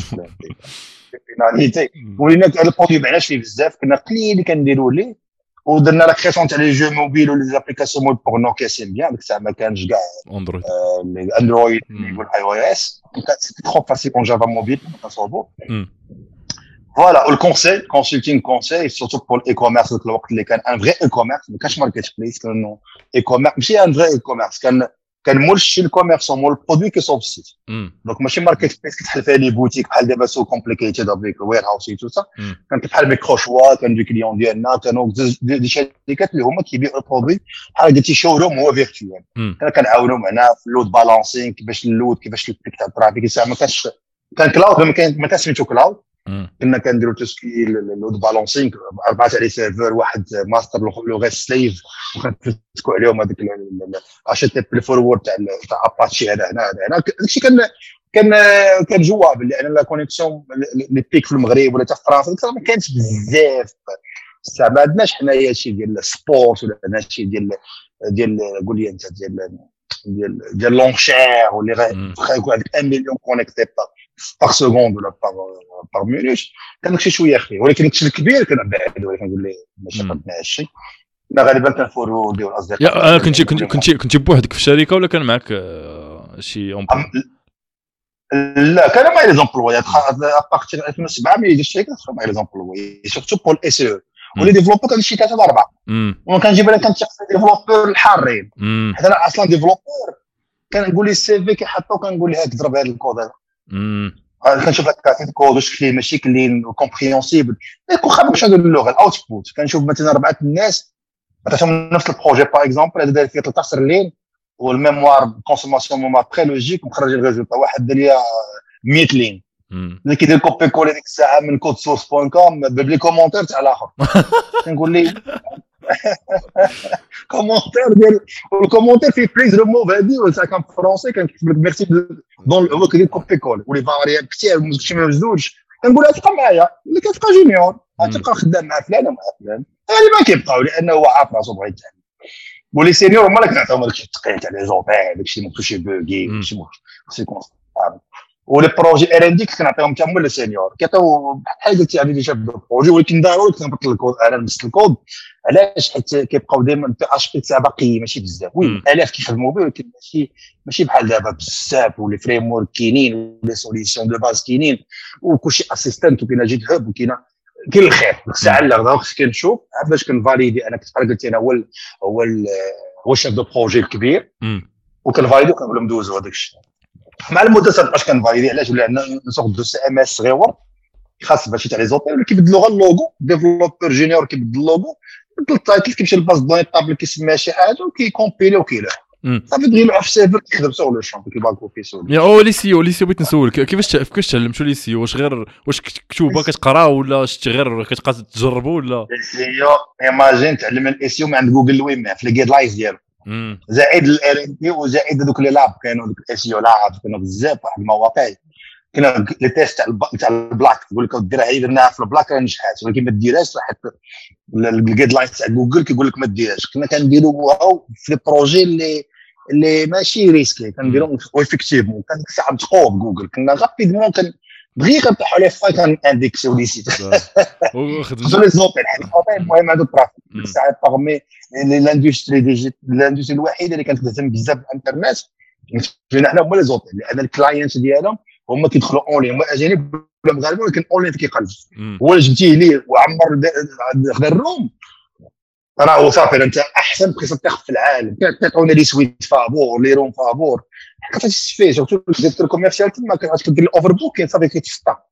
فيناليتي ولينا هذا البرودوي معناش فيه بزاف كنا قليل اللي كنديروا ليه ودرنا لا كرياسيون تاع لي جو موبيل ولي زابليكاسيون موبيل بور نو كاسين بيان ديك الساعه ما كانش كاع اندرويد يقول اي او اس كانت ترو فاسيل اون جافا موبيل كنصوبوا فوالا والكونساي كونسلتينغ كونساي سورتو بور الاي كوميرس في الوقت اللي كان ان فري اي كوميرس ما كانش ماركت بليس كانوا اي كوميرس ماشي ان فري اي كوميرس كان مول شي الكوميرس مول البرودوي كيصوب السيت دونك ماشي ماركت بليس كتحل فيها لي بوتيك بحال دابا سو كومبليكيتد افيك وير هاوس تو سا كانت بحال ميكرو شوا كان دي كليون ديالنا كانوا دي شركات اللي هما كيبيعوا البرودوي بحال دي شوروم هو فيرتوال كنعاونوا معنا في اللود بالانسينغ كيفاش اللود كيفاش البيك تاع الترافيك ما كانش كان كلاود ما كان سميتو كلاود كنا كنديروا تسكي اللود بالانسينغ 4 تاع لي سيرفر واحد ماستر لو غير سليف وكنتسكو عليهم هذيك اتش تي بي فورورد تاع اباتشي هنا داكشي كان جواب لان لا كونيكسيون لي بيك في المغرب ولا حتى في فرنسا ما كانش بزاف ما عندناش حنايا شي ديال السبورت ولا عندنا شي ديال قول لي انت ديال لونشير واللي غيكون عندك 1 مليون كونيكتي باغ سكوند ولا باغ مينوت كان داكشي شويه خفيف ولكن داكشي الكبير كنبعد ولكن كنقول ليه ماشي قدنا هادشي لا غالبا كنفورو ديال الاصدقاء كنتي بوحدك في الشركه ولا كان معك شي لا كانوا معايا لي زومبلوي ابارتير 2007 ملي جيت الشركه كانوا معايا لي زومبلوي سورتو بور الاس او ولي ديفلوبور كان شي 3 4 وكنجيب انا كنتشق ديفلوبور الحارين حيت انا اصلا ديفلوبور كنقول لي السي في كيحطو كنقول ليه ضرب هذا الكود هذا كنشوف لك كاتب كود واش كلين ماشي كلين كومبريهنسيبل يكون خاطر باش ندير اللغه الاوتبوت كنشوف مثلا 4 الناس عطاتهم نفس البروجي باغ اكزومبل هذا داير فيه 13 لين والميموار كونسوماسيون ميموار بري لوجيك ومخرج الريزولتا واحد دار ليا 100 لين اللي كيدير كوبي كولي ديك الساعه من كود سورس بوين كوم باب لي كومونتير تاع الاخر كنقول لي كومونتير ديال الكومونتير فيه بليز لو موف هادي ولا كان فرونسي كنكتب لك ميرسي دون هو كيدير كوبي كول ولي فارياب كثير مشي ما مزوج كنقول لها تبقى معايا اللي كتبقى جونيور غتبقى خدام مع فلان ومع فلان اللي ما كيبقاو لانه هو عارف راسو بغا يتعلم ولي سينيور هما اللي كنعطيهم داكشي الثقيل تاع لي زوبيل داكشي اللي مكتوشي بوغي ماشي سيكونس ولي بروجي ار ان دي كنعطيهم حتى هما لي سينيور كيعطيو بحال قلتي يعني ديجا بالبروجي ولكن ضروري كنبطل الكود انا نبسط الكود علاش حيت كيبقاو دائما بي اش بي تاع باقي ماشي بزاف وي الاف كيخدموا به ولكن ماشي بحال دابا بزاف ولي فريم ورك كاينين ولي سوليسيون دو باز كاينين وكلشي اسيستنت وكاين جيت هاب وكاين الخير الساعه اللي غدا خصك نشوف باش كنفاليدي انا كنت قلت انا هو شاف دو بروجي الكبير وكنفاليدي وكنقول لهم دوزوا هذاك الشيء مع المده باش كنفاليدي علاش لان نسوق دو سي ام اس صغيور خاص باش تاع لي زوبيل اللي كيبدلوا غير اللوغو ديفلوبور جونيور كيبدل اللوغو بدل التايتل كيمشي للباز دوني طابل كيسميها شي حاجه وكيكومبيلي وكيلوح صافي دغيا يلوح في السيرفر كيخدم سور لو شامب كيباكو في سول يا لي سي بغيت نسولك كيفاش تعلمتوا لي سي واش كتكتبوا كتقرا ولا شتي غير كتبقى تجربوا ولا سيو ايماجين تعلم الاس يو من عند جوجل ويم في الجايد لاينز ديالو زائد الار ان بي وزائد دوك لي لاب كانوا دوك الاس يو لاب كانوا بزاف واحد المواقع كنا لي تيست تاع البلاك تقول لك ديرها هي درناها في البلاك راه نجحات ولكن ما ديرهاش حيت الجايد لاينز تاع جوجل كيقول لك ما ديرهاش كنا كنديروها في لي بروجي اللي ماشي ريسكي كنديرهم ويفيكتيفمون كان ديك الساعه متقوب جوجل كنا غابيدمون بغي كنطيحوا لي فاي كان انديكسيو لي سيت خصو لي زوبيل حيت المهم هادو الترافيك ديك الساعه باغمي لاندستري الوحيده اللي كانت تهتم بزاف بالانترنت فينا حنا هما لي زوبيل لان الكلاينت ديالهم هما كيدخلوا اونلاين هما اجانب ولا مغاربه ولكن اونلاين كيقلب هو اللي جبتيه ليه وعمر خدا الروم راه صافي انت احسن بريسبتير في العالم كتعطيونا لي سويت فابور لي روم فابور كتستفيد سورتو ديال الكوميرسيال تما كتدير الاوفر بوك صافي كيتفطر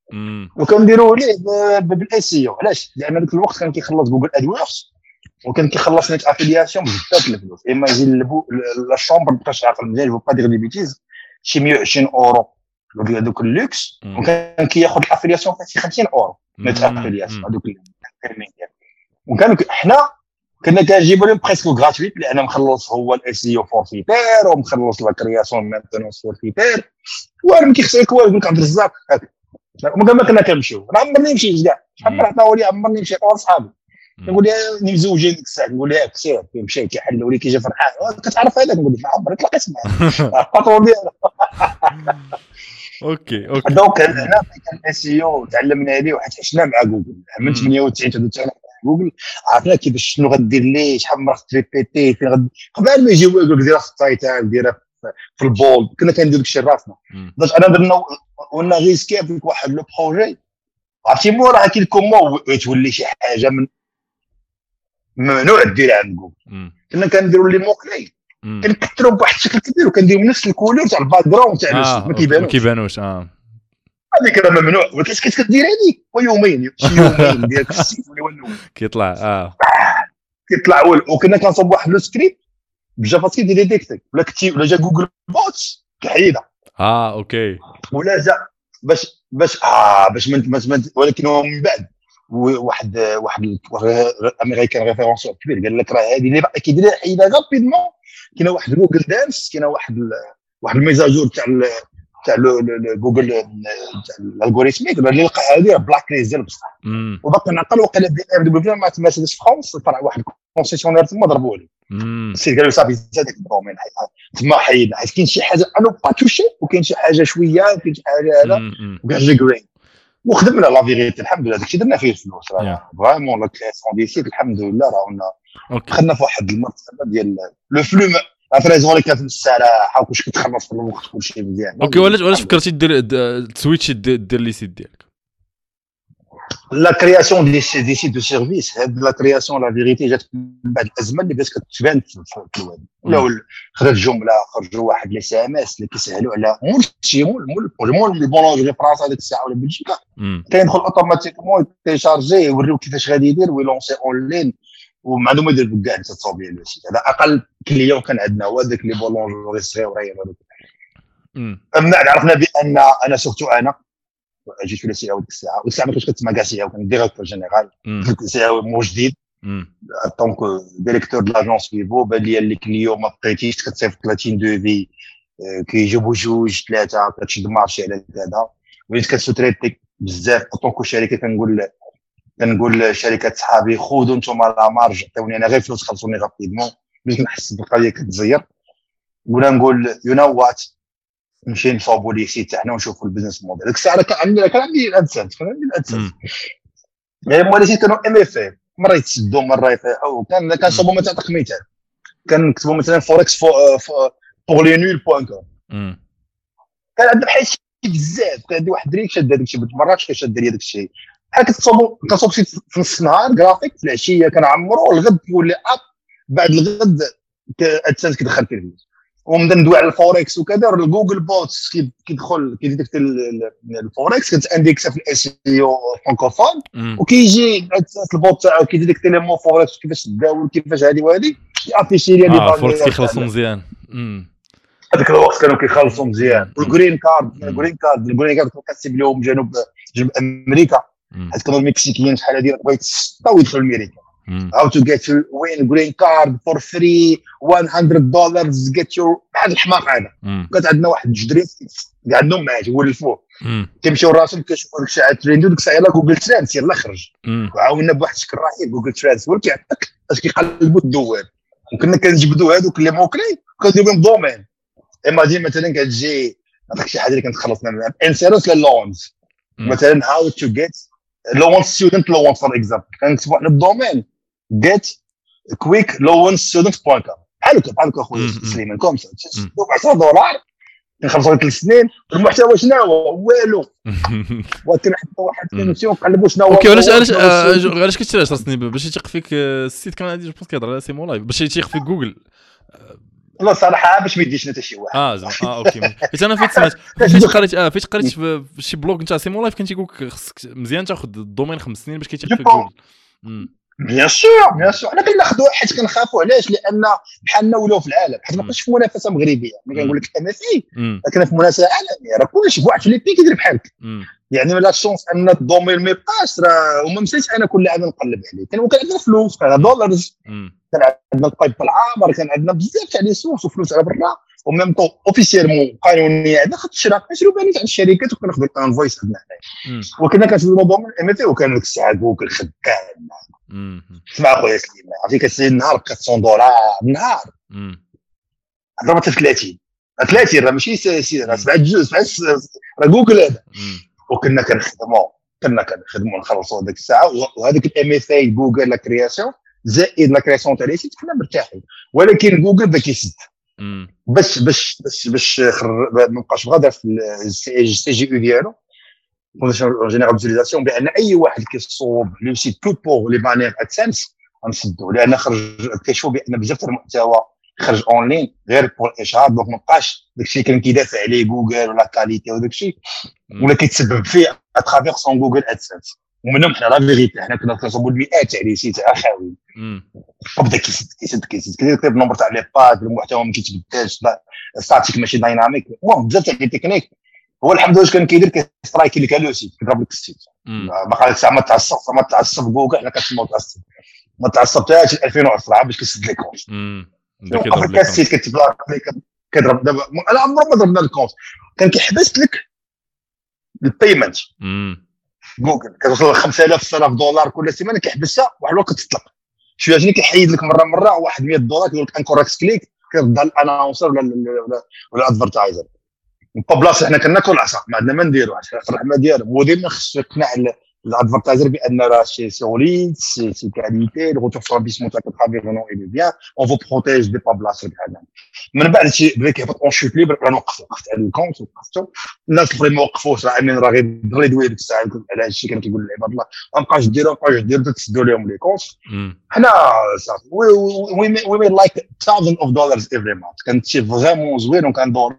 وكنديروا ليه بالاس او. علاش؟ لان ذاك الوقت كان كيخلص جوجل ادورس وكان كيخلص نيت افيلياسيون بزاف الفلوس. اما يجي لا شومبر باش عاقل مزيان جو با دير دي بيتيز شي 120 اورو هذوك اللوكس، وكان كياخذ الافيلياسيون فيه 50 اورو نيت افيلياسيون هذوك الانترميديير. وكان حنا كنا كنجيبوا لهم بريسكو غراتويت لان مخلص هو الاس اي او فورفيتير ومخلص لا كرياسيون مانتونس فورفيتير وانا ما كيخسرك والو. يقول لك عبد الرزاق ما كنا كنمشيو. انا عمرني مشيت كاع شحال من عطاو لي عمرني مشيت مع صحابي نقول لها مزوجين ديك الساعه نقول لها كسير مشى كيحلوا لي كيجي فرحان كتعرف هذاك نقول لك عمرك تلاقيت معاه الباترون ديالو. اوكي دونك هنا كان الاس اي او تعلمنا عليه وحيت عشنا مع جوجل من 98 حتى جوجل عرفنا كيفاش شنو غدير ليه شحال من مره تريبيتي فين قبل ما يجيو يقول لك ديرها في التايتان ديرها في البول كنا كندير داكشي راسنا. دونك انا درنا قلنا ريسكي فيك واحد لو بروجي عرفتي مورا كي كومون تولي شي حاجه من ممنوع ديرها عند جوجل. كنا كنديروا لي موكلي كنكثروا بواحد الشكل كبير وكنديروا نفس الكولور تاع الباك جراوند تاع الوسط ما كيبانوش هذيك راه ممنوع. ولكن كدير هذيك ويومين شي يومين ديالك في السيت ولا كيطلع وكنا كنصوب واحد لو سكريبت بجافا سكريبت ديتيكتي ولا جا جوجل بوتس كحيده اوكي ولا جا باش ولكن هو من بعد واحد امريكان ريفيرونس كبير قال لك راه هذه اللي كيدير حيده غابيدمون. كاين واحد جوجل دانس كاين واحد الميزاجور تاع جوجل تاع الالغوريثميك اللي لقى هذه بلاك ليست ديال بصح وبقى نعقل وقال بي ام دبليو مع مرسيدس فرانس فرع واحد كونسيسيونير تما ضربوا لي السيد قالوا صافي زادك الدومين تما حيدنا حيت كاين شي حاجه انا با توشي وكاين شي حاجه شويه وكاين شي حاجه هذا وكاع جرين وخدمنا لا فيغيتي الحمد لله داكشي درنا فيه الفلوس راه فريمون لا كرياسيون دي سيت الحمد لله راه خدنا في واحد المرتبه ديال لو فلو افريزون كانت الصراحه وكلشي كتخلص في الوقت كلشي مزيان. اوكي وعلاش فكرتي دير سويتش دير لي سيت ديالك؟ لا كرياسيون دي سيت دو سيرفيس هاد لا كرياسيون لا فيغيتي جات من بعد الازمه اللي بدات كتبان في الويب ولا خرجت جمله خرجوا واحد لي سي ام اس اللي كيسهلوا على مول البولونجري فرنسا هذيك الساعه ولا بلجيكا كيدخل اوتوماتيكمون تيشارجي يوريو كيفاش غادي يدير ويلونسي اون لين وما عندهم يدير كاع التصاوير لو سيت. هذا اقل كليون كان عندنا هو داك لي بولونجري صغيورين هذوك. من بعد عرفنا بان انا سورتو انا جيت في السي او ديك الساعه والساعه ما كنتش كتسمع كاع سي او كان ديريكتور جينيرال سي او مو جديد دونك ديريكتور د لاجونس فيفو بان لي اللي كليون ما بقيتيش كتصيفط 30 دوفي كيجيبوا جوج ثلاثه كتشد مارشي على هذا وليت كتسوتريتي بزاف طونكو شركه كنقول شركات صحابي خذوا نتوما لا مارج عطيوني انا غير فلوس خلصوني غابيدمون باش نحس بالقضيه كتزير ولا نقول يو نو وات نمشي نصاوبوا لي سيت تاعنا ونشوفوا البيزنس موديل. ديك الساعه كان عندي الادسنس يعني مولي سيت كانوا ام اف مره يتسدوا مره يطيحوا كان صوبوا مثلا تعطيك مثال كنكتبوا مثلا فوركس بور لي نول بوان كوم كان عندنا بحال شي بزاف كان عندي واحد دريك شاد هذاك الشيء مرات كيشد لي هذاك الشيء بحال كتصوب شي في نص النهار جرافيك في العشيه كنعمروا الغد كيولي اب بعد الغد ادسنس كيدخل فيه الفلوس ومبدا ندوي على الفوركس وكذا جوجل بوتس كيدخل كيديتكت الفوركس كتانديكس في الاس اي او فرانكوفون وكيجي البوت تاعو كيديتكت لي مو فوركس كيفاش تداول كيفاش هذه وهذه يعطي لي لي فوركس كيخلصوا مزيان. هذاك الوقت كانوا كيخلصوا مزيان. والجرين كارد كتسيب لهم جنوب امريكا حيت كانوا المكسيكيين شحال هذه بغيت يسطاو يدخلوا لامريكا how to get your win green card for free $100 get your بحال الحماق هذا. كانت عندنا واحد الجدريس كاع عندهم معاه يولفوه كيمشيو راسهم كيشوفوا داك الشيء على التريندو ديك الساعه يلاه جوجل ترانس يلاه خرج وعاوننا بواحد الشكل رهيب جوجل ترانس هو كيعطيك اش كيقلبوا الدوال وكنا كنجبدوا هذوك لي موكلي كنديروا بهم دومين اما دي مثلا كتجي هذاك شي حاجه اللي كنتخلص منها انسيروس للونز مثلا how to get loan student loan for example كنكتب واحد الدومين get quick loan student.com بحال هكا اخويا سليمان كومسا $10 كنخلصوا 3 سنين المحتوى شنو هو والو وكنحطوا واحد كونسيون نقلبوا شنو هو. اوكي علاش كتشري 10 سنين باش يثق فيك السيت كان عندي جو بونس كيهضر على سيمو لايف باش يثق فيك جوجل لا صراحه باش ما يديش حتى شي واحد زعما اوكي حيت انا فايت سمعت فايت قريت في شي بلوغ نتاع سيمو لايف كان تيقول لك خصك مزيان تاخذ الدومين 5 سنين باش كيتيح فيك جوجل. بيان سور انا كناخذوا حيت كنخافوا علاش لان بحالنا ولاو في العالم حيت ما بقاش في منافسه مغربيه ملي كنقول لك ام اف اي لكن في منافسه عالميه راه كلشي واحد في لي بي كيدير بحالك يعني لا شونس ان الدومين ما يبقاش راه وما مسيتش انا كل عام نقلب عليه كان عندنا فلوس كان دولارز كان عندنا القيد بالعامر كان عندنا بزاف تاع لي سورس وفلوس على برا وميم طو اوفيسيالمون قانونيا هذا خد الشراكه نشرو باني تاع الشركات وكناخذوا الانفويس عندنا حنايا وكنا كنشوفوا الموضوع من ام اف اي وكان ديك الساعه جوجل خدام اسمع خويا سليمان عرفتي كتسير النهار $400 النهار ضربت في 30 راه ماشي راه 7 جوج راه جوجل هذا وكنا كنخدموا نخلصوا هذيك الساعه وهذيك الام اف اي جوجل لا كرياسيون زائد لا كرياسيون تاع لي سيت كنا مرتاحين ولكن جوجل بدا كيسد باش ما نبقاش غادا في السي جي او ديالو فونداسيون جينيرال ديزيليزاسيون بان اي واحد كيصوب لو سيت تو بور لي بانير ادسنس غنسدو لان خرج كيشوف بان بزاف تاع المحتوى خرج اونلاين غير بور الاشهار دونك ما بقاش داكشي كان كيدافع عليه جوجل ولا كاليتي وداكشي ولا كيتسبب فيه اترافير سون جوجل ادسنس ومنهم حنا لا فيغيتي حنا كنا كنصوبوا المئات تاع لي سيت خاويين وبدا كيسد كيدير النمبر تاع لي باج المحتوى ما كيتبدلش ستاتيك ماشي دايناميك المهم بزاف تاع لي تكنيك هو الحمد لله كان كيدير كيسترايكي لك لو سيت كيضرب لك السيت باقا لك ساعه ما تعصب جوجل حنا كنسمعوا ما تعصبتهاش 2010 باش كيسد لك كونت كيضرب لك السيت كتبلاك كيضرب دابا انا عمرو ما ضربنا الكونت كان كيحبس لك البيمنت جوجل كتوصل ل $5000 كل سيمانه كيحبسها واحد الوقت تطلق شويه جاني كيحيد لك مره واحد $100 كيقول لك انكوريكت كليك كيرد الانونسر ولا ادفرتايزر بلاصه حنا كناكل العصا ما عندنا ما نديرو عشان الرحمه ديالهم وديما خصو يقنع الادفرتايزر بان راه شي سوليد سي كاليتي الغوتور سو انفيسمون تاعك ترافيرونو اي بيان اون فو بروتيج دي بلاصه بحال هكا من بعد شي بدا كيهبط اون شوت ليبر راه وقفت على الكونت وقفتو الناس الاخرين ما وقفوش راه امين راه غير يدوي ديك الساعه على هذا الشيء كان كيقول العباد الله ما بقاش ديروا تسدوا لهم لي كونت حنا صافي وي مي لايك $1000 every month كانت شي فريمون زوين وكان دولار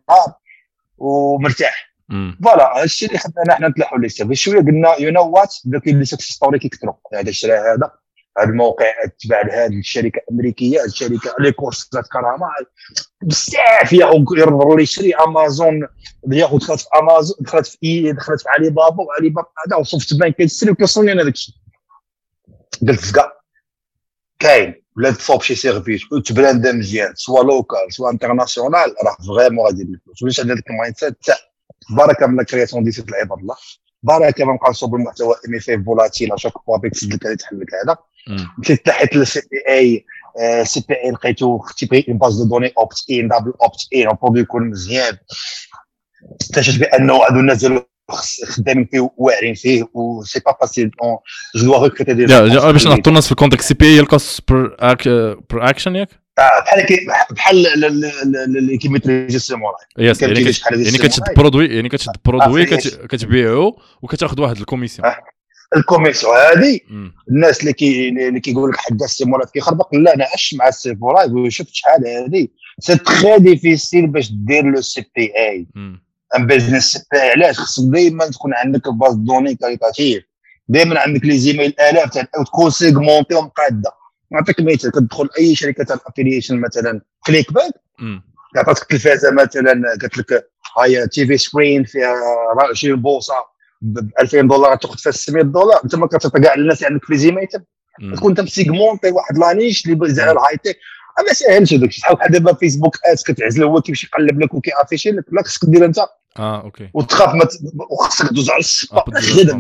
ومرتاح فوالا هادشي اللي خدنا حنا نتلاحوا ليه سيرفي شويه قلنا يو نو وات دوك لي سكس ستوري كيكثروا هذا الشراء هذا الموقع تبع لهذه الشركه الامريكيه الشركه لي كورسات كرامه بزاف يقدر يشري امازون ياخذ دخلت في امازون دخلت في علي بابا وعلي بابا هذا وصفت بان كيتسري وكيوصلني انا داك الشيء قلت زكا كاين ولا تصوب شي سيرفيس وتبراند مزيان سوا لوكال سوا انترناسيونال راه فريمون غادي يدير الفلوس واش عندك ديك المايند سيت تاع بركه من الكرياسيون دي سيت العباد الله بركه ما نبقاو نصوب المحتوى ام اف اف فولاتيل اشاك فوا بيك تسد لك تحل لك هذا مشيت تحت للسي بي اي لقيتو تيبغي اون باز دو دوني اوبت ان دبل اوبت ان وبرودوي يكون مزيان اكتشفت بانه هادو الناس ديالو خدامين فيه واعرين فيه و سي با فاسيل جو دوا ريكروتي دي باش نحطوا الناس في الكونتكست سي بي اي الكوست بر اكشن ياك بحال اللي كيميتريجي السيموراي يعني كتشد برودوي كتبيعو وكتاخذ واحد الكوميسيون الكوميسيون هذه الناس اللي كيقول لك حدا السيموراي كيخربق لا انا عشت مع السيموراي وشفت شحال هذه سي تري ديفيسيل باش دير لو سي بي اي ان بيزنس سي بي اي علاش خصك دائما تكون عندك باز دوني كاليتاتيف دائما عندك لي زيميل الاف تاع تكون سيغمونتي ومقاده نعطيك مثال كتدخل اي شركه تاع الافيليشن مثلا كليك باك عطاتك التلفازه مثلا قالت لك هاي تي في سكرين فيها 20 بوصه ب $2000 تاخذ فيها $600 انت ما كتعطي كاع الناس عندك في زيميل تكون انت مسيغمونتي واحد لانيش اللي زعما الهاي تك ما ساهلش هذاك الشيء بحال دابا فيسبوك ادز كتعزل هو كيمشي يقلب لك وكيافيشي لك لا خصك دير انت اوكي وتخاف وخصك دوز على الصفا خدم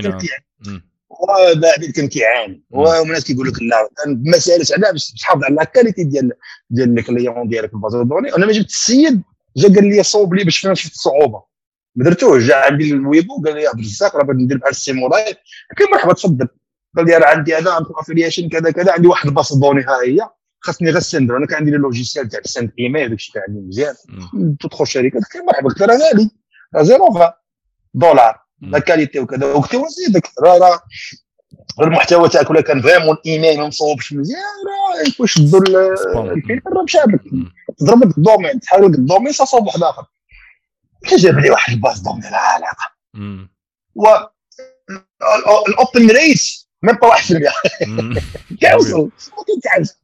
وبعد كان كيعاني والناس كيقول لك لا ما سالش على باش تحافظ على الكاليتي ديال الكليون ديالك في البازار دوني انا ما جبت السيد جا قال لي صوب لي باش فين شفت الصعوبه ما درتوش جا عندي الويبو قال لي عبد الرزاق راه بغيت ندير بحال السيمولاي قلت مرحبا تفضل قال لي راه عندي انا عندي افيليشن كذا كذا عندي واحد الباصه دوني ها هي خاصني غير السندر انا كان عندي لي لوجيسيال تاع السند ايميل داكشي كان عندي مزيان تدخل شركه قلت له مرحبا قلت له راه غالي $0.20 لا كاليتي وكذا وقلت له زيدك راه المحتوى تاعك ولا كان فريمون الايميل ما مصوبش مزيان راه واش شدوا الفيلم راه مشابك ضربت الدومين تحاول الدومين صوب واحد اخر جاب لي واحد الباز دومين لا علاقه و الاوبن ريس ميم با 1% كيوصل ما كيتعرفش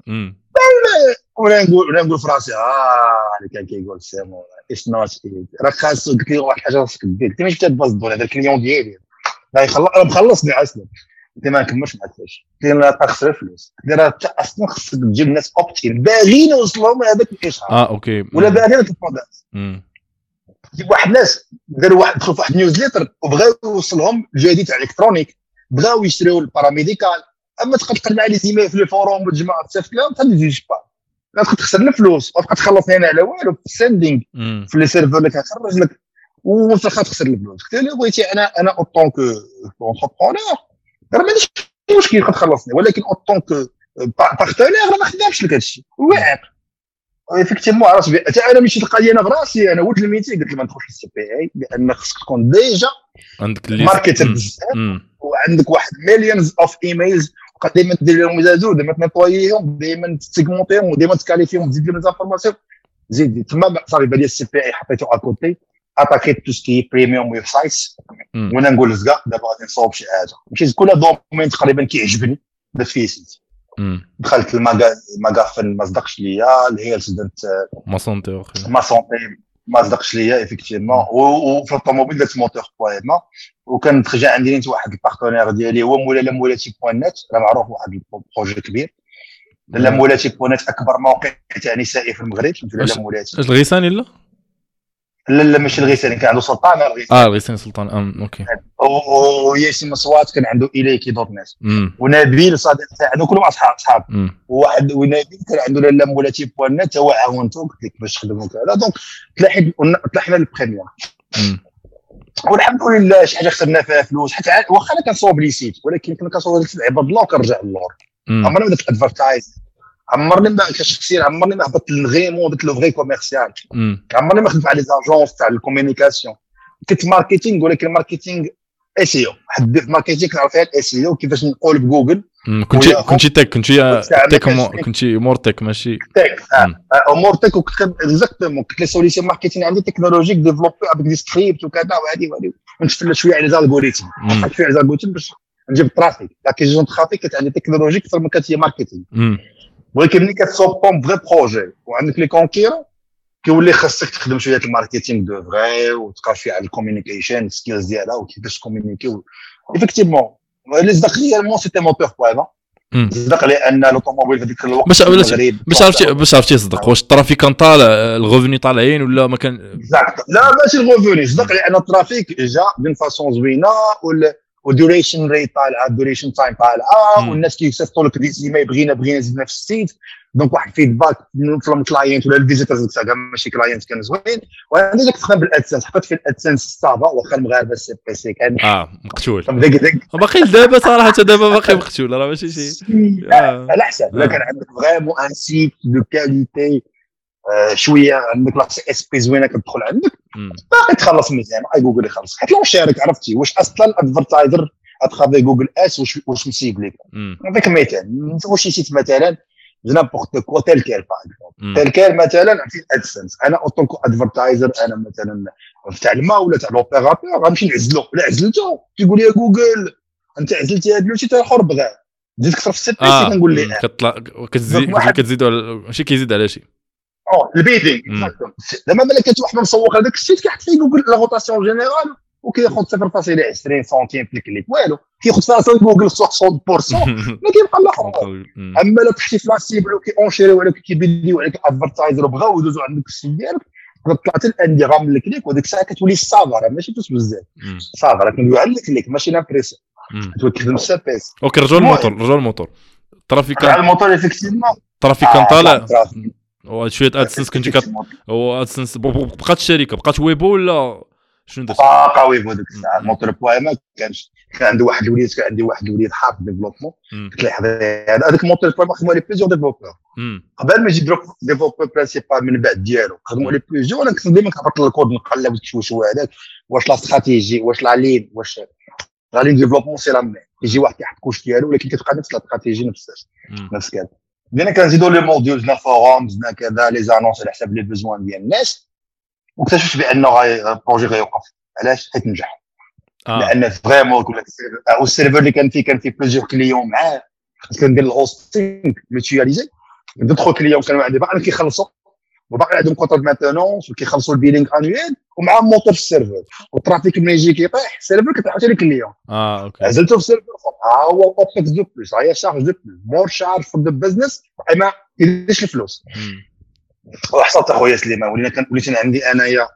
ولا نقول فراسي اللي كان كيقول سيمون ايش ناس راه خاص قلت لي واحد الحاجه خاصك دير انت ماشي تباز دون هذا الكليون ديالي راه انا مخلصني اصلا انت ما نكملش معك فاش كاين تخسر فلوس راه اصلا خاصك تجيب الناس اوبتين باغيين يوصلوا لهذاك الاشهار اوكي ولا باغيين البرودكت جيب واحد الناس داروا واحد دخلوا في واحد نيوزليتر وبغاو يوصلهم الجديد تاع الالكترونيك بغاو يشريو الباراميديكال اما تبقى تقلب على لي زيميل في الفوروم والجماعه تسافلهم غادي تجي با غتبقى تخسر الفلوس وتبقى تخلصني انا على والو في السيندينغ في لي سيرفر اللي كتخرج لك وانت تخسر الفلوس قلت له بغيتي انا اوطون كو اونتربرونور راه ما عنديش مشكل تخلصني ولكن اوطون كو بارتنير راه ما خدامش لك هادشي واعر ايفيكتيفمون عرفت حتى انا مشيت القضيه انا براسي انا ولد الميتي قلت لي ما ندخلش للسي بي اي لان خصك تكون ديجا عندك ماركتر بزاف وعندك واحد مليونز اوف ايميلز دائما تدير لهم زادو دائما تنطويهم دائما تسيغمونتيهم ودائما تكاليفيهم تزيد لهم زانفورماسيون زيد تما صافي بالي السي بي اي حطيته اكوتي اتاكيت تو سكي بريميوم ويب سايتس وانا نقول لزكا دابا غادي نصاوب شي حاجه ماشي كل دومين تقريبا كيعجبني درت فيه سيت دخلت الماغافن ما صدقش ليا الهيلث درت ما سونتي ما صدقش ليا ايفيكتيفمون وفي الطوموبيل درت موتور بويما وكان ترجع عندي نت واحد البارتنير ديالي هو مولاتي بوان نت راه معروف واحد البروجي كبير مولاتي بوان نت اكبر موقع تاع نسائي في المغرب لا مولاتي الغيساني لا ماشي الغيساني كان عنده سلطان الغيساني سلطان اوكي وياسين مصوات كان عنده اليكي دوت نت ونبيل صادق تاعنا كلهم اصحاب وواحد ونبيل كان عنده لا مولاتي بوان نت هو عاونته قلت لك باش تخدموا كذا دونك طلعنا للبريميوم والحمد لله شي حاجه خسرنا فيها فلوس حتى واخا انا كنصوب لي سيت ولكن كنا كنصوب ديك العباد الله وكنرجع للور عمرنا ما درت ادفرتايز عمرني ما كشخصيا عمرني ما هبطت للغيمون درت لو فري كوميرسيال عمرني ما خدمت على لي زاجونس تاع الكومونيكاسيون كنت ماركتينغ ولكن ماركتينغ اس اي او حد في ماركتينغ كنعرف فيها الاس اي او كيفاش نقول بجوجل كنتي مورتك ماشي تك مورتك وكنت اكزاكتومون كنت لي سوليسيون ماركتينغ عندي تكنولوجيك ديفلوبي افيك دي سكريبت وكذا وهذه ونشتغل شويه على الالغوريثم نحط شويه على الالغوريثم باش نجيب الترافيك لاكيزيون ترافيك كانت عندي تكنولوجيك اكثر من كانت هي ماركتينغ ولكن ملي كتصوبهم فغي بروجي وعندك لي كونكيرون كيولي خاصك تخدم شويه الماركتينغ دو فغي وتقرا شويه على الكومونيكيشن سكيلز ديالها وكيفاش كومونيكي ايفيكتيفمون لي صدق ريالمون سيتي موتور بويما صدق لان لوطوموبيل في ذاك الوقت باش عرفتي صدق واش الترافيك كان طالع الغوفوني طالعين ولا ما كان لا ماشي الغوفوني صدق لان الترافيك جا من فاصون زوينه والدوريشن ريت طالعه الدوريشن تايم طالعه والناس كيصيفطوا لك دي زيميل بغينا زدنا في السيت دونك واحد فيدباك من الكلاينت ولا الفيزيتورز تاع ماشي كلاينت كان زوين وانا داك تخدم بالادسنس حطيت في الادسنس الصافا واخا المغاربه السي بي سي كان مقتول باقي دابا صراحه دابا باقي مقتول راه ماشي شي على حسب لا كان عندك فريمون ان سيت دو كاليتي شويه عندك لا سي اس بي زوينه كتدخل عندك باقي تخلص مزيان اي جوجل يخلص حيت لو شارك عرفتي واش اصلا الادفرتايزر اتخافي جوجل اس واش مسيب لك نعطيك مثال واش سيت مثلا نابورت كو تيل كيل تيل كيل مثلا في الادسنس انا اوتون كو ادفرتايزر انا مثلا تاع الماء ولا تاع لوبيراتور غنمشي نعزلو لا عزلته تيقول لي جوجل انت عزلتي هذا لوتي تاع الاخر بغا زيد كثر في السي بي سي كنقول ليه كتطلع كتزيدوا ماشي كيزيد على شي البيدينغ لما ملكت واحد مسوق هذاك السيت كيحط فيه جوجل لا روتاسيون جينيرال وكياخذ 0.20 سنتيم في الكليك والو كياخذ فيها جوجل 60% ما كيبقى الاخر اما لو كنتي في لا سيبل وكيونشيريو عليك كيبيديو عليك ادفرتايزر وبغاو يدوزوا عندك السيت ديالك طلعت الاندغام من الكليك وديك الساعه كتولي الصافا ماشي فلوس بزاف صافا كندوي على الكليك ماشي لابريسيون تخدم السابيس اوكي رجعوا الموتور الترافيك كان الموتور افيكتيفمون الترافيك كان طالع وشويه ادسنس كنتي هو ادسنس بقات الشركه بقات ويبو ولا شنو درت باقا ويبو ديك الساعه الموتور بويما كان عنده واحد الوليد كان عندي واحد الوليد حاط ديفلوبمون قلت له هذاك الموتور بويما خدموا لي بليزيور ديفلوبور قبل ما يجي ديفلوبور برينسيبال من بعد ديالو خدموا لي بليزيور انا كنت ديما كنهبط الكود نقلب شويه هذاك واش لا استراتيجي واش لا لين واش لا لين ديفلوبمون سي لا مين كيجي واحد كيحط كوش ديالو ولكن كتبقى نفس الاستراتيجي نفس كذا. بدينا كنزيدوا لي موديول زنا فورums زنا كذا لي زانونس على حساب لي بيزوان ديال الناس واكتشفت بانه البروجي غيوقف. علاش؟ حيت نجح. لان فريمون كل او السيرفر اللي كان فيه بلوزيور كليون معاه كندير الهوستينغ ميتياليزي ندخل كليون كانوا عندي باقي كيخلصوا وباقي عندهم كونتر مانتونونس وكيخلصوا البيلينغ انويل ومع موتور في السيرفر والترافيك ملي يجي كيطيح السيرفر كتعطي لي كليون. اوكي عزلته في السيرفر هو اوبكس دو بلس هي شارج دو بلس مور شارج فور ذا بزنس ما كيديرش الفلوس. وحصلت اخويا سليمان وليت عندي انايا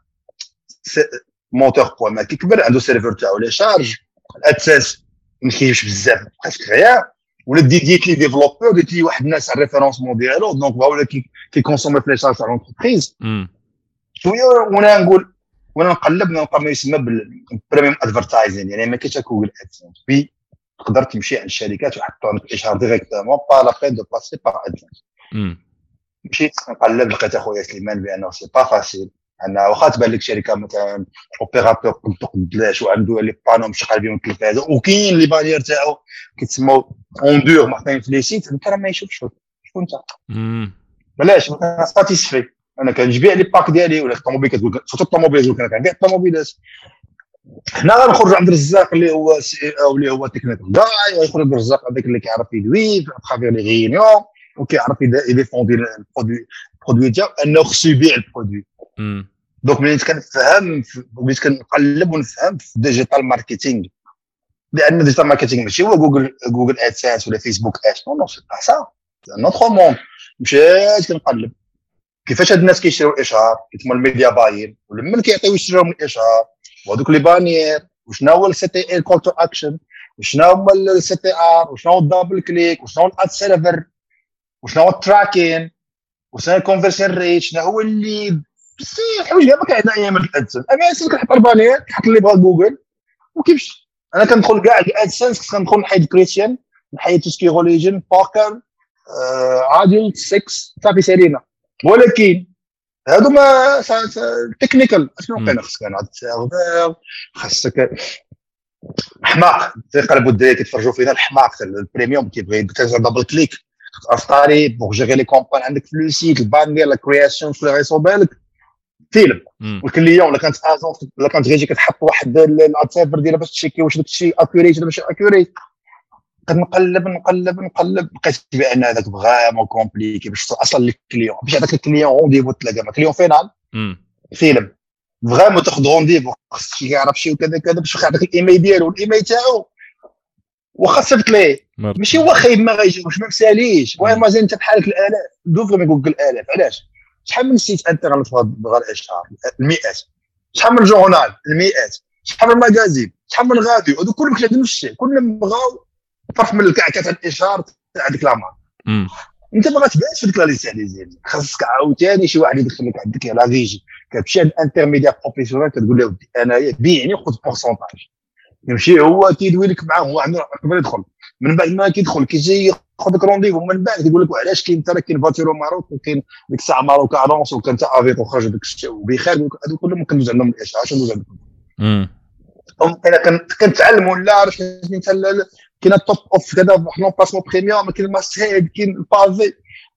موتور بوا ما كيكبر عنده سيرفر تاعو لي شارج الاساس ما كيجيبش بزاف بقيت غير ولا ديت لي ديفلوبور ديت لي واحد الناس على الريفيرونسمون ديالو دونك ولا كيكونسومي في لي شارج تاع لونتربريز شويه وانا نقول وانا نقلب نلقى ما يسمى بالبريميوم ادفرتايزين يعني ما كاينش جوجل ادسنس في تقدر تمشي عند الشركات ويحطوا لك الاشهار ديريكتومون با لا بين دو باسي با ادسنس. مشيت نقلب لقيت اخويا سليمان بانه سي با فاسيل انا واخا تبان لك شركه مثلا اوبيراتور قدلاش وعنده لي بانو مشغل بهم التلفازه وكاين لي بانيير تاعو كيتسموا اوندور محطين في لي سيت انت راه ما يشوفش شكون انت بلاش انا ساتيسفي انا كنجبيع لي باك ديالي ولا الطوموبيل كتقول سورتو الطوموبيل كان كنبيع الطوموبيلات. حنا غنخرج عند الرزاق اللي هو سي او اللي هو تكنيكال داي ويخرج الرزاق هذاك اللي كيعرف يدوي ترافير لي ريونيون وكيعرف يديفوندي البرودوي ديالو انه خصو يبيع البرودوي. دونك ملي كنفهم وليت كنقلب ونفهم في ديجيتال ماركتينغ لان ديجيتال ماركتينغ ماشي هو جوجل ادسنس ولا فيسبوك ادس نو سي با سا نوتر موند. مشيت كنقلب كيفاش هاد الناس كيشريو الاشهار كيتسموا الميديا باين ولمن كيعطيو يشريوهم الاشهار وهذوك لي بانيير وشنو هو السي تي ال كول تو اكشن وشنو هو السي تي ار وشنو هو الدبل كليك وشنو هو الاد سيرفر وشنو هو التراكين وشنو هو الكونفرسيون ريت شنو هو اللي بصح حوايج ما كاين عندنا ايام الادسنس اما اساس كنحط البانيير كنحط اللي بغا جوجل وكيفاش انا كندخل كاع الادسنس كندخل نحيد كريستيان نحيد توسكي ريليجن باركر عادل 6 صافي سالينا. ولكن هادو ما تكنيكال اشنو كاين خصك عاد السيرفر خاصك حماق تيقلبوا الدراري كيتفرجوا فينا الحماق البريميوم كيبغي تنزل دبل كليك افطاري بوغ جيري لي كومبان عندك في لو سيت البانير لا كرياسيون كل غيصوب لك فيلم والكليون ولا كانت ازون ولا كانت غيجي كتحط واحد السيرفر ديالها باش تشيكي واش داك الشيء اكوريت ولا ماشي اكوريت. كنقلب لقيت بان هذاك فريمون كومبليكي باش اصلا الكليون باش هذاك الكليون رونديفو تلاقى مع كليون فينال فيلم فريمون تاخذ رونديفو خصك يعرف شي وكذا كذا باش يعطيك الايميل ديالو الايميل تاعو واخا صيفط ليه ماشي هو خايب ما غايجيوش ما مساليش المهم مازال انت بحالك الالاف دوفر ما يقول الالاف علاش شحال من سيت انترنت بغا الاشهار المئات شحال من جورنال المئات شحال من ماغازين شحال من غاديو هذو كلهم كيعدموا الشيء كلهم بغاو فرق من الكعكه تاع الاشهار تاع ديك لامان انت ما غاتبانش في ديك لا ليسياليزي خاصك عاوتاني شي واحد يدخل لك عندك لا ريجي كتمشي عند انترميديا بروفيسيونيل كتقول له انايا بيعني خذ بورسونتاج يمشي هو كيدوي لك معاه هو عنده قبل يدخل من بعد ما كيدخل كيجي ياخذ لك رونديفو من بعد كيقول لك علاش كاين ترى كاين فاتيرو ماروك وكاين ديك الساعه ماروك ارونس وكان تاع افيك وخرج داك الشيء وبخير هادو كلهم كندوز عندهم الاشعاع ندوز عندهم انا كنتعلم ولا عرفت انت كاين التوب اوف كذا حنا باسمون بريميوم كاين الماستهيد كاين البافي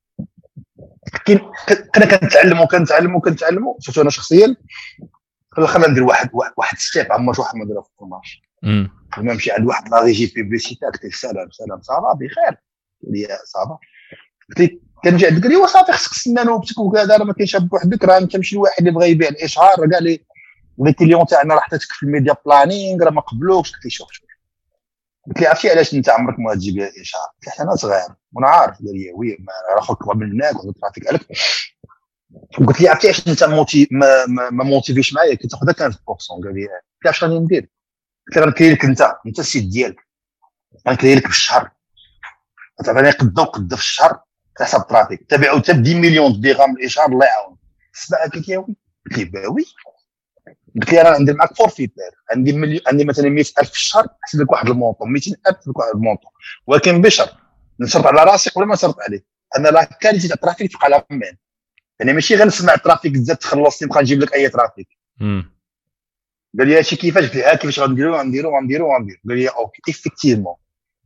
كاين انا كنتعلموا شفت انا شخصيا خلينا ندير واحد ستيب عما واحد ما دار في المارش لما نمشي عند واحد لا ريجي بيبليسيتي قلت سلام صافا بخير لي صافا قلت كنجي عندك قال لي وصافي خصك تسنى نوبتك وكذا راه ما كاينش بوحدك راه انت ماشي الواحد اللي بغى يبيع الاشهار راه كاع لي كليون تاعنا راه حطيتك في الميديا بلانينغ راه ما قبلوكش قلت لي شوف قلت لي عرفتي علاش انت عمرك ما تجيب لي الاشهار قلت انا صغير وانا عارف قال لي وي راه خوك قبل منك وترافيك عليك قلت لي عرفتي علاش انت ما موتيفيش معايا كنت تاخذ 15% قال لي علاش غادي ندير قلت له غنكري لك انت السيت ديالك غنكري لك بالشهر تعطيني قد في الشهر حسب ترافيك تبعوا حتى 10 مليون درهم الاشهار الله يعاون سمع هكاك يا وي قلت لي باوي قلت لي انا ندير معاك فورفيت عندي مثلا 100,000 في الشهر نحسب لك واحد المونطون 200,000 لك واحد المونطون ولكن بشرط نشرط على راسي ولا ما نشرط عليه انا لا كاليتي تاع الترافيك تبقى على مان يعني ماشي غير نسمع الترافيك زاد تخلصني نبقى نجيب لك اي ترافيك قال لي هادشي كيفاش قلت له كيفاش غنديرو قال لي اوكي ايفيكتيفمون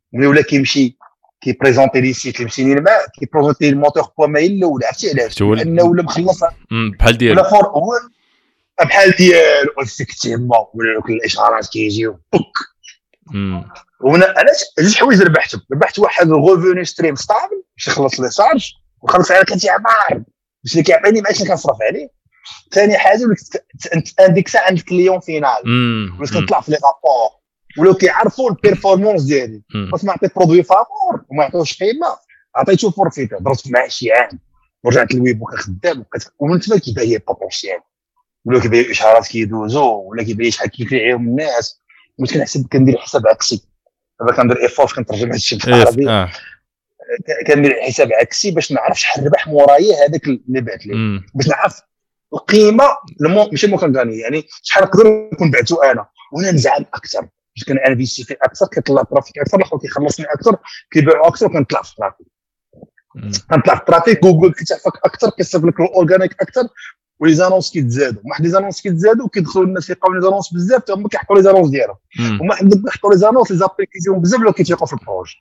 ولا كيمشي كيبريزونتي لي سيت اللي مشيني معاه كيبريزونتي الموتور بوا ما الا ولا عرفتي علاش لانه ولا مخلص بحال ديالو ولا فور بحال ديالو افكتيفمون ولا كل الاشعارات كيجيو بوك وانا علاش حوايج ربحت واحد الغوفوني ستريم ستابل باش يخلص لي شارج وخلص على كنتي عمار باش اللي كيعطيني ما عادش كنصرف عليه. ثاني حاجه انت عندك ساعه عند الكليون فينال باش كنطلع في لي رابور ولو كيعرفوا البيرفورمانس ديالي بس ما عطيت برودوي فابور وما عطيوش قيمه عطيتو فورفيت درت معاه شي عام ورجعت للويب وكنخدم ومن تما كيبان لي بوتونسيال ولا كيبان اشعارات كيدوزو ولا كيبان شحال كيفيعيهم الناس مش كنحسب كندير حساب عكسي دابا كندير ايفور كنترجم هذا الشيء بالعربي كندير حساب عكسي باش نعرف شحال ربح مورايا هذاك اللي بعت لي باش نعرف القيمه ماشي مو كنغني يعني شحال نقدر نكون بعتو انا وانا نزعل اكثر باش كنانفيستي فيه اكثر كيطلع ترافيك اكثر الاخر كيخلصني اكثر كيبيعوا اكثر كنطلع في الترافيك كنطلع في الترافيك جوجل كيتعرفك اكثر كيصيفط لك الاورغانيك اكثر ولي زانونس كيتزادوا واحد لي زانونس كيتزادوا كيدخلوا الناس يلقاو لي زانونس بزاف حتى هما كيحطوا لي زانونس ديالهم وما عندك كيحطوا لي زانونس لي زابليكيزيون بزاف ولا كيتيقوا في البروج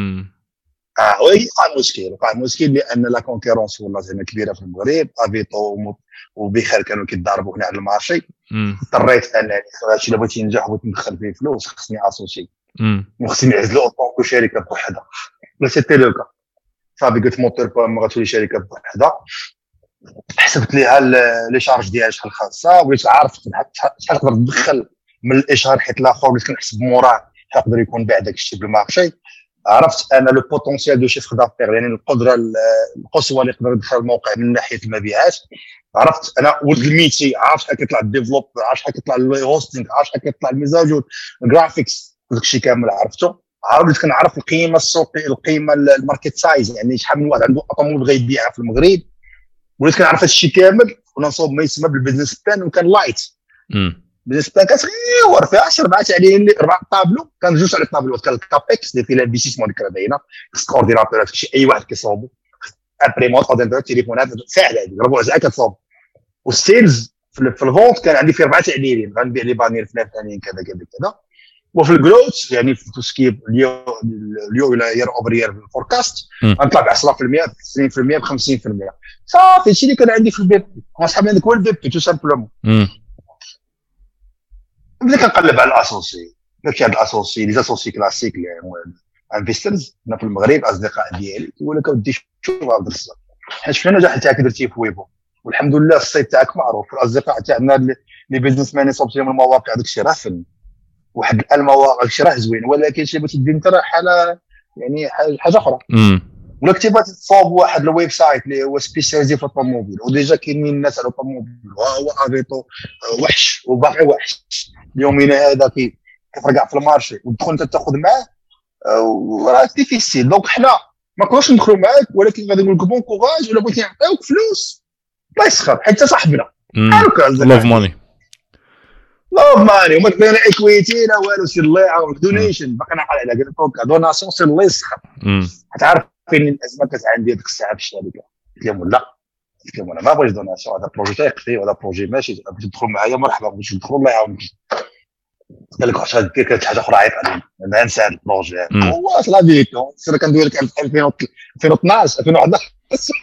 وقع مشكل لان لا كونكورونس والله زعما كبيره في المغرب افيتو وبخير كانوا كيتضاربوا هنا على المارشي اضطريت انني هادشي الا بغيتي ننجح وبغيت ندخل فيه فلوس خصني اسوسي وخصني نعزلوا اونطون شركه بوحدها لا سيتي لو كا صافي قلت موتور با غتولي شركه بوحدها حسبت ليها لي شارج ديالها شحال خاصه وليت عارف شحال تقدر تدخل من الاشهار حيت الاخر اللي كنحسب موراه يقدر يكون باع داك الشيء بالمارشي عرفت انا لو بوتونسيال دو شيفر دافير يعني القدره القصوى اللي يقدر يدخل الموقع من ناحيه المبيعات عرفت انا ولد الميتي عارف شحال كيطلع الديفلوب عارف شحال كيطلع الهوستينغ عارف شحال كيطلع الميزاجور الجرافيكس داك الشيء كامل عرفته عرفت كنعرف القيمه السوقيه القيمه الماركت سايز يعني شحال من واحد عنده اطوموبيل بغى يبيعها في المغرب وليت كنعرف هذا الشيء كامل ونصوب ما يسمى بالبيزنس بلان وكان لايت بيزنس بلان كصغير فيها 10 4 عليه اللي 4 طابلو كان جوج على الطابلو كان الكابكس اللي فيه الانفستيسمون اللي كان باينه اكستراورديناتور شي اي واحد كيصوبو امبريمونط اورديناتور تليفونات ساهل هذه ربع ساعه كتصوب والسيلز في الفونت كان عندي فيه 4 تعديلين غنبيع لي بانير فلانيين كذا كذا كذا وفي الجروث يعني في توسكيب اليو الى يير اوفر يير الفوركاست غنطلع ب 10% ب 20% ب 50% صافي هادشي اللي كان عندي في البيب وصاحبي عندك هو البيب تو سامبلومون بديت كنقلب على الاسوسي ماشي هاد الاسوسي لي اسوسي كلاسيك اللي انفسترز هنا في المغرب اصدقاء ديالي يقول لك ودي شوف هذا الصح حيت شفنا النجاح تاعك درتيه في ويبو والحمد لله الصيت تاعك معروف والاصدقاء تاعنا اللي بيزنس مان يصوب لهم المواقع داك الشيء راه فن واحد المواقع داك الشيء راه زوين ولكن شي بغيتي دير انت راه حاله يعني حاجه اخرى ولا كنتي بغيتي تصاوب واحد الويب سايت اللي هو سبيسياليزي في الطوموبيل وديجا كاينين الناس على الطوموبيل وهو افيتو وحش وباقي وحش اليومين هذا كيفرقع في المارشي وتدخل انت تاخذ معاه وراه ديفيسيل دونك حنا ما نقدروش ندخلوا معاك ولكن غادي نقول لك بون كوراج ولا بغيتي نعطيوك فلوس الله يسخر حتى صاحبنا لوف ماني وما كاين ايكويتي لا والو سير الله يعاونك دونيشن باقي نعقل على قلت دوناسيون سير الله يسخر تعرف فين الازمه كانت عندي ديك الساعه في الشركه قلت لهم لا قلت لهم انا ما بغيتش دوناسيون هذا بروجي تايقتي وهذا بروجي ماشي بغيتي تدخل معايا مرحبا بغيتي تدخل الله يعاونك قال لك واش غادير كانت حاجه اخرى عيط علينا انا نسى هذا البروجي هو لا فيكو سير كندوي لك 2012 2011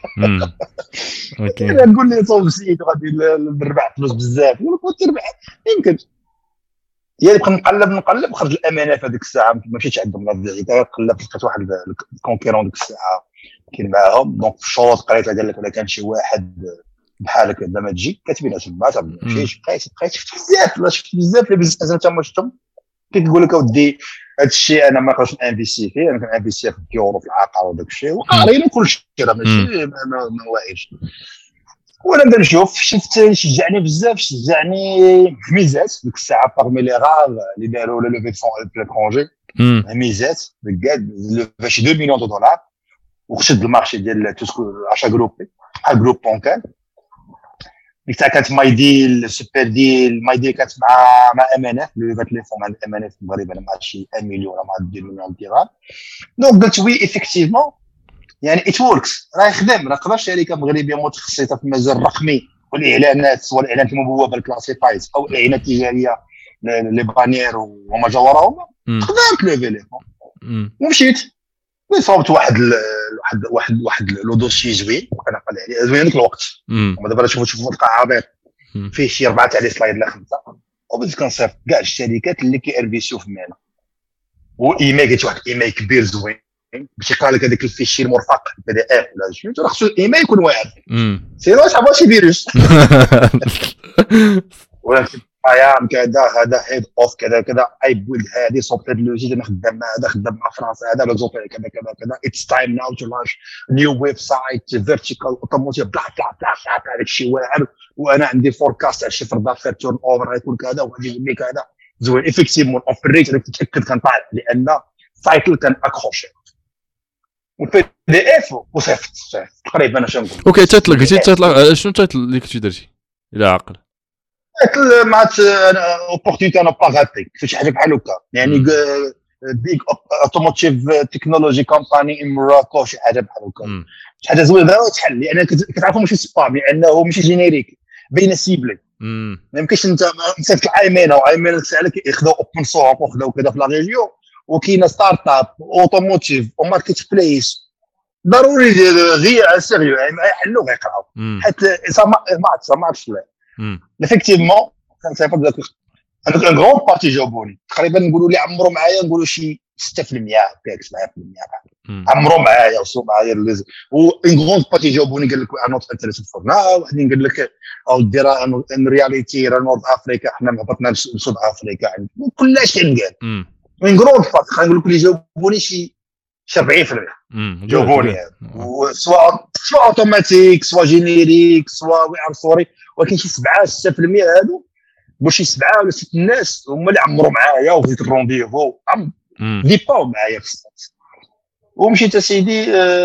اوكي نقول لي صوب سيت غادي نربح فلوس بزاف نقول لك تربح يمكن يعني بقى نقلب خرج الامانه في هذيك الساعه ما مشيتش عندهم لا ديال قلبت لقيت واحد الكونكيرون ديك الساعه كاين معاهم دونك في الشروط قريت قال لك ولا كان شي واحد بحالك هذا ما تجي كاتبين تما ما مشيتش بقيت شفت بزاف اللي بزاف انت ما شفتهم كيقول لك اودي هذا الشيء انا ما نقدرش انفيستي فيه انا كنانفيستي في اليورو في العقار وداك الشيء وقاريين كل شيء راه ماشي ما واعيش وانا نبدا نشوف شفت شجعني بزاف ميزات ديك الساعه باغمي لي غار اللي داروا لو ليفي فون في ليترونجي ميزات بكاد فاش 2 مليون دولار وخشد المارشي ديال توسكو عشا جروبي بحال جروب بونكان ديك كانت ماي ديل سوبر ديل ماي ديل كانت مع امانه اللي بات لي فون مع الامانه في المغرب انا مع شي 1 مليون ولا مع 2 مليون درهم دونك قلت وي افيكتيفمون يعني ات وركس راه يخدم راه قدر شركه مغربيه متخصصه في المجال الرقمي والاعلانات سواء الاعلانات المبوبه الكلاسيفايز او الاعلانات التجاريه لي بانير وما جاوراهما تقدر تلوفي لي ومشيت صوبت واحد لو دوسي زوين انا قال عليه زوين ديك الوقت وما دابا شوفوا القاع عابر فيه شي 4 تاع لي سلايد لا 5 وبديت كنصيفط كاع الشركات اللي كيرفيسيو في مينا وايميل قلت واحد ايميل كبير زوين باش يقال لك هذاك الفيشي المرفق بي دي اف ولا شي راه خصو الايميل يكون واعر سينو صعب شي فيروس ولا ايام كذا هذا هيد اوف كذا كذا اي بويلد هذه صوبت هذا اللوجي انا خدام مع هذا خدام مع فرنسا هذا لوزوبير كذا كذا كذا اتس تايم ناو تو لانش نيو ويب سايت فيرتيكال اوتوموتيف بلا بلا بلا هذاك الشيء واعر وانا عندي فوركاست على الشفر دافير تورن اوفر غيكون كذا وغادي يولي كذا زوين افيكتيفمون اوبريت راك تتاكد كنطالع لان سايكل كان اكروشي وفي دي اف وصيفط تقريبا انا شنو اوكي تطلق شنو تطلق اللي كنتي درتي الى عقل مع اوبورتونيتي انا باغاتي في شي حاجه بحال هكا يعني بيج اوتوموتيف تكنولوجي كومباني ان موراكو شي حاجه بحال هكا شي حاجه زوينه تحل لان كتعرفوا ماشي سبام لانه ماشي جينيريك بين سيبلي ما يمكنش انت مسافه الايمينا وايمينا سالك ياخذوا اوبن سورس وخذوا كذا في لا ريجيون وكاينه ستارت اب اوتوموتيف وماركت بليس ضروري غير على سيريو يعني يحلوا غيقراو حتى ما عرفتش لا effectivement كنصيفط داك ان غون بارتي جاوبوني تقريبا نقولوا لي عمرو معايا نقولوا شي 6% هكاك 7% عمرو معايا وصو معايا و ان غون بارتي جاوبوني قال لك انا انتريسد فور ناو واحد قال لك او دير ان رياليتي راه نورث افريكا حنا هبطنا لسود افريكا كلشي كنقال ان غون بارتي خلينا نقول لك اللي جاوبوني شي 70% جاوبوني سواء اوتوماتيك سواء جينيريك سواء وي ار سوري ولكن شي 7-6% هادو واش شي 7 ولا 6 الناس هما اللي عمروا معايا وفيت الرونديفو ديباو معايا في السطات ومشيت اسيدي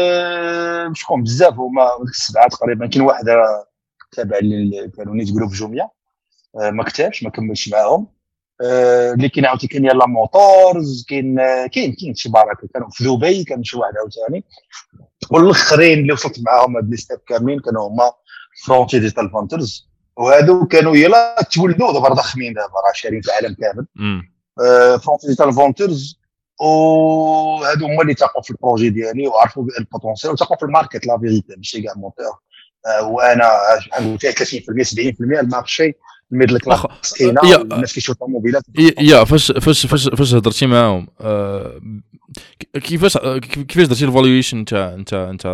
شكون بزاف هما ديك السبعه تقريبا كاين واحد تابع اللي كانوا نيت يقولوا في جوميا ما كتبش ما كملش معاهم اللي كاين عاوتاني كاين يلا موتورز كاين شي بركه كانوا في دبي كان شي واحد عاوتاني والاخرين اللي وصلت معاهم هاد ليستاب كاملين كانوا هما فرونتي ديجيتال فونترز وهادو كانوا يلا تولدوا دابا ضخمين دابا راه شارين في العالم كامل فرونتي ديجيتال فونترز وهادو هما اللي تاقوا في البروجي ديالي وعرفوا البوتونسيال وتاقوا في الماركت لا فيريتي ماشي كاع موتور وانا عندي 30% 70% المارشي الميدل كلاس كاينه الناس كيشوفوا موبيلات يا فاش هضرتي معاهم كيفاش درتي الفالويشن انت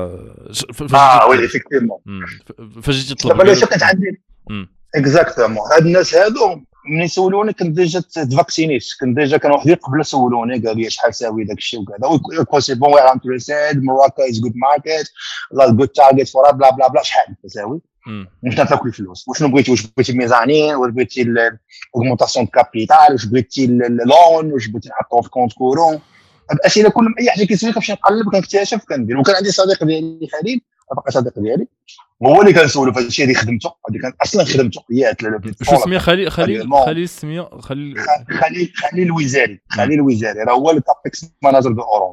وي افيكتيفمون فاش جيتي تطلب دابا اللي كانت عندي اكزاكتومون هاد الناس هادو ملي سولوني كنت ديجا تفاكسينيت كنت ديجا كانوا وحدين قبل سولوني قال لي شحال ساوي داك الشيء وكذا وكو سي بون وي ار انتريستد موراكو از جود ماركت لا جود تارجت فور بلا بلا بلا شحال تساوي مش نفاك الفلوس واش بغيتي ميزانين واش بغيتي الاوغمونطاسيون دو كابيتال واش بغيتي اللون واش بغيتي نحطو في كونت كورون الاسئله كل اي حاجه كيسولني كنمشي نقلب كنكتشف كندير وكان عندي صديق ديالي خليل باقي صديق ديالي هو اللي كنسولو في هادشي اللي خدمته هذه كان اصلا خدمته هي شو اسميه خليل السميه خليل الوزاري راه هو الكابكس ماناجر دو اورانج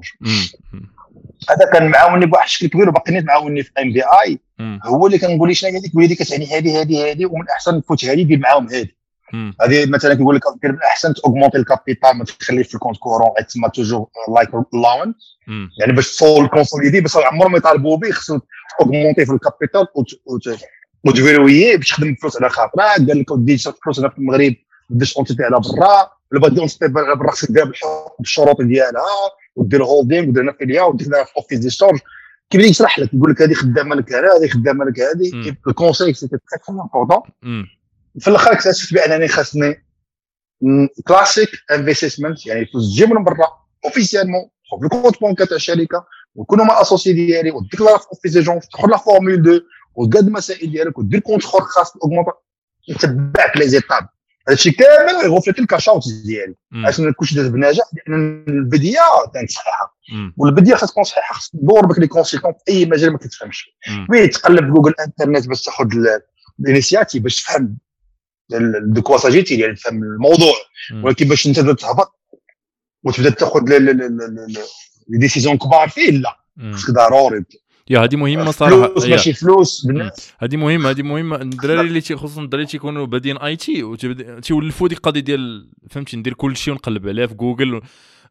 هذا كان معاوني بواحد الشكل كبير وباقي نيت معاوني في ام بي اي هو اللي كنقول لي شنو هذيك وليدي كتعني هذه ومن احسن تفوت هذه دير معاهم هذه مثلا كيقول لك دير من احسن اوغمونتي الكابيتال ما تخليش في الكونت كورون تما توجور لايك لاون يعني باش تصول كونسوليدي بس عمرهم ما يطالبوا به خصو اوغمونتي في الكابيتال وتفيرويه باش تخدم فلوس على خاطرك قال لك ودي فلوس هنا في المغرب بديش اونتيتي على برا ولا بغيتي اونتيتي برا خصك دير بالشروط ديالها ودير هولدينغ ودير فيليا ودير في اوفيس دي ستورج كيبدا يشرح لك يقول لك هذه خدامه لك هذه خدامه لك هذه الكونساي سيتي تري امبورطون في الاخر اكتشفت بانني خاصني كلاسيك انفستمنت يعني فلوس تجي من برا اوفيسيالمون تحط الكونت بونكا تاع الشركه ويكونوا مع اسوسي ديالي وديكلار في اوفيس دي جون تدخل لا فورمول 2 وتقاد المسائل ديالك ودير كونت خور خاص اوغمونط يتبعك لي زيتاب هادشي كامل يغوفليتي الكاشاوت ديالي عشان كلشي داز بنجاح لان البديه كانت صحيحه والبديه خاص تكون صحيحه خاص تدور بك لي كونسلتون في اي مجال ما كتفهمش وي تقلب جوجل انترنت باش تاخذ الانيسياتيف باش تفهم دو كوا ساجيتي يعني تفهم الموضوع ولكن باش انت تهبط وتبدا تاخذ لي ديسيزيون كبار فيه لا خاصك ضروري يا هذه مهمه صراحه فلوس ماشي فلوس بالناس هذه مهمه الدراري اللي خصوصا الدراري تيكونوا بادين اي تي تيولفوا ديك القضيه ديال فهمتي ندير كل شيء ونقلب عليه في جوجل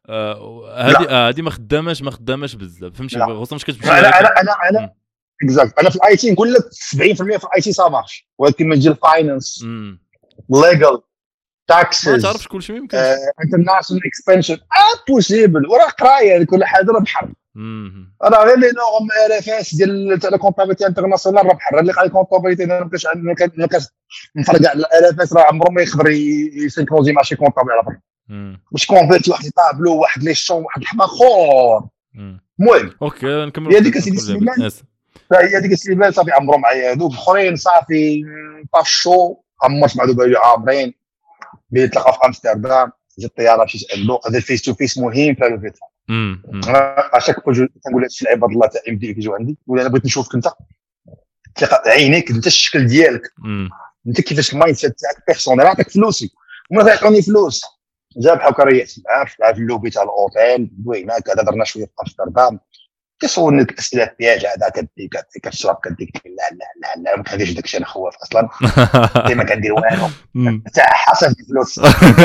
هذه ما خداماش بزاف فهمتي خصوصا مش كتمشي انا اكزاكت انا في الاي تي نقول لك 70% في الاي تي صا مارش ولكن من جهه الفاينانس ليغال تاكسز ما تعرفش كلشي ما يمكنش انترناشونال اكسبانشن بوسيبل وراه قرايه كل حاجه راه بحر راه غير لي نورم ار اف اس ديال تاع كونطابيلتي انترناسيونال راه بحر اللي قال كونطابيلتي انا ما كاش نفرق على الار اف اس راه عمره ما يقدر يسينكروزي مع شي كونطابيل على برا باش كونفيرتي واحد طابلو واحد لي شون واحد الحماخور المهم اوكي نكملوا هي ديك السليمان هي ديك السليمان صافي عمرهم معايا هذوك الاخرين صافي طاشو عمرت مع دوك عامرين بيتلاقى في امستردام جات الطياره مشيت عنده هذا الفيس تو فيس مهم في الفيت انا اشاك فوا كنقول هذا الشيء عباد الله تاع ام دي كيجيو عندي ولا انا بغيت نشوفك انت تلقى عينيك انت الشكل ديالك انت كيفاش المايند سيت تاعك بيرسونيل عطاك فلوسي وما تعطوني فلوس جاب بحال كريات معاه في اللوبي تاع الاوتيل دوينا كذا درنا شويه في امستردام كيسولني الاسئله ديالك هذا كديك كتشرب كديك لا ما كنديرش داكشي انا خواف اصلا ما كندير والو تاع حسب الفلوس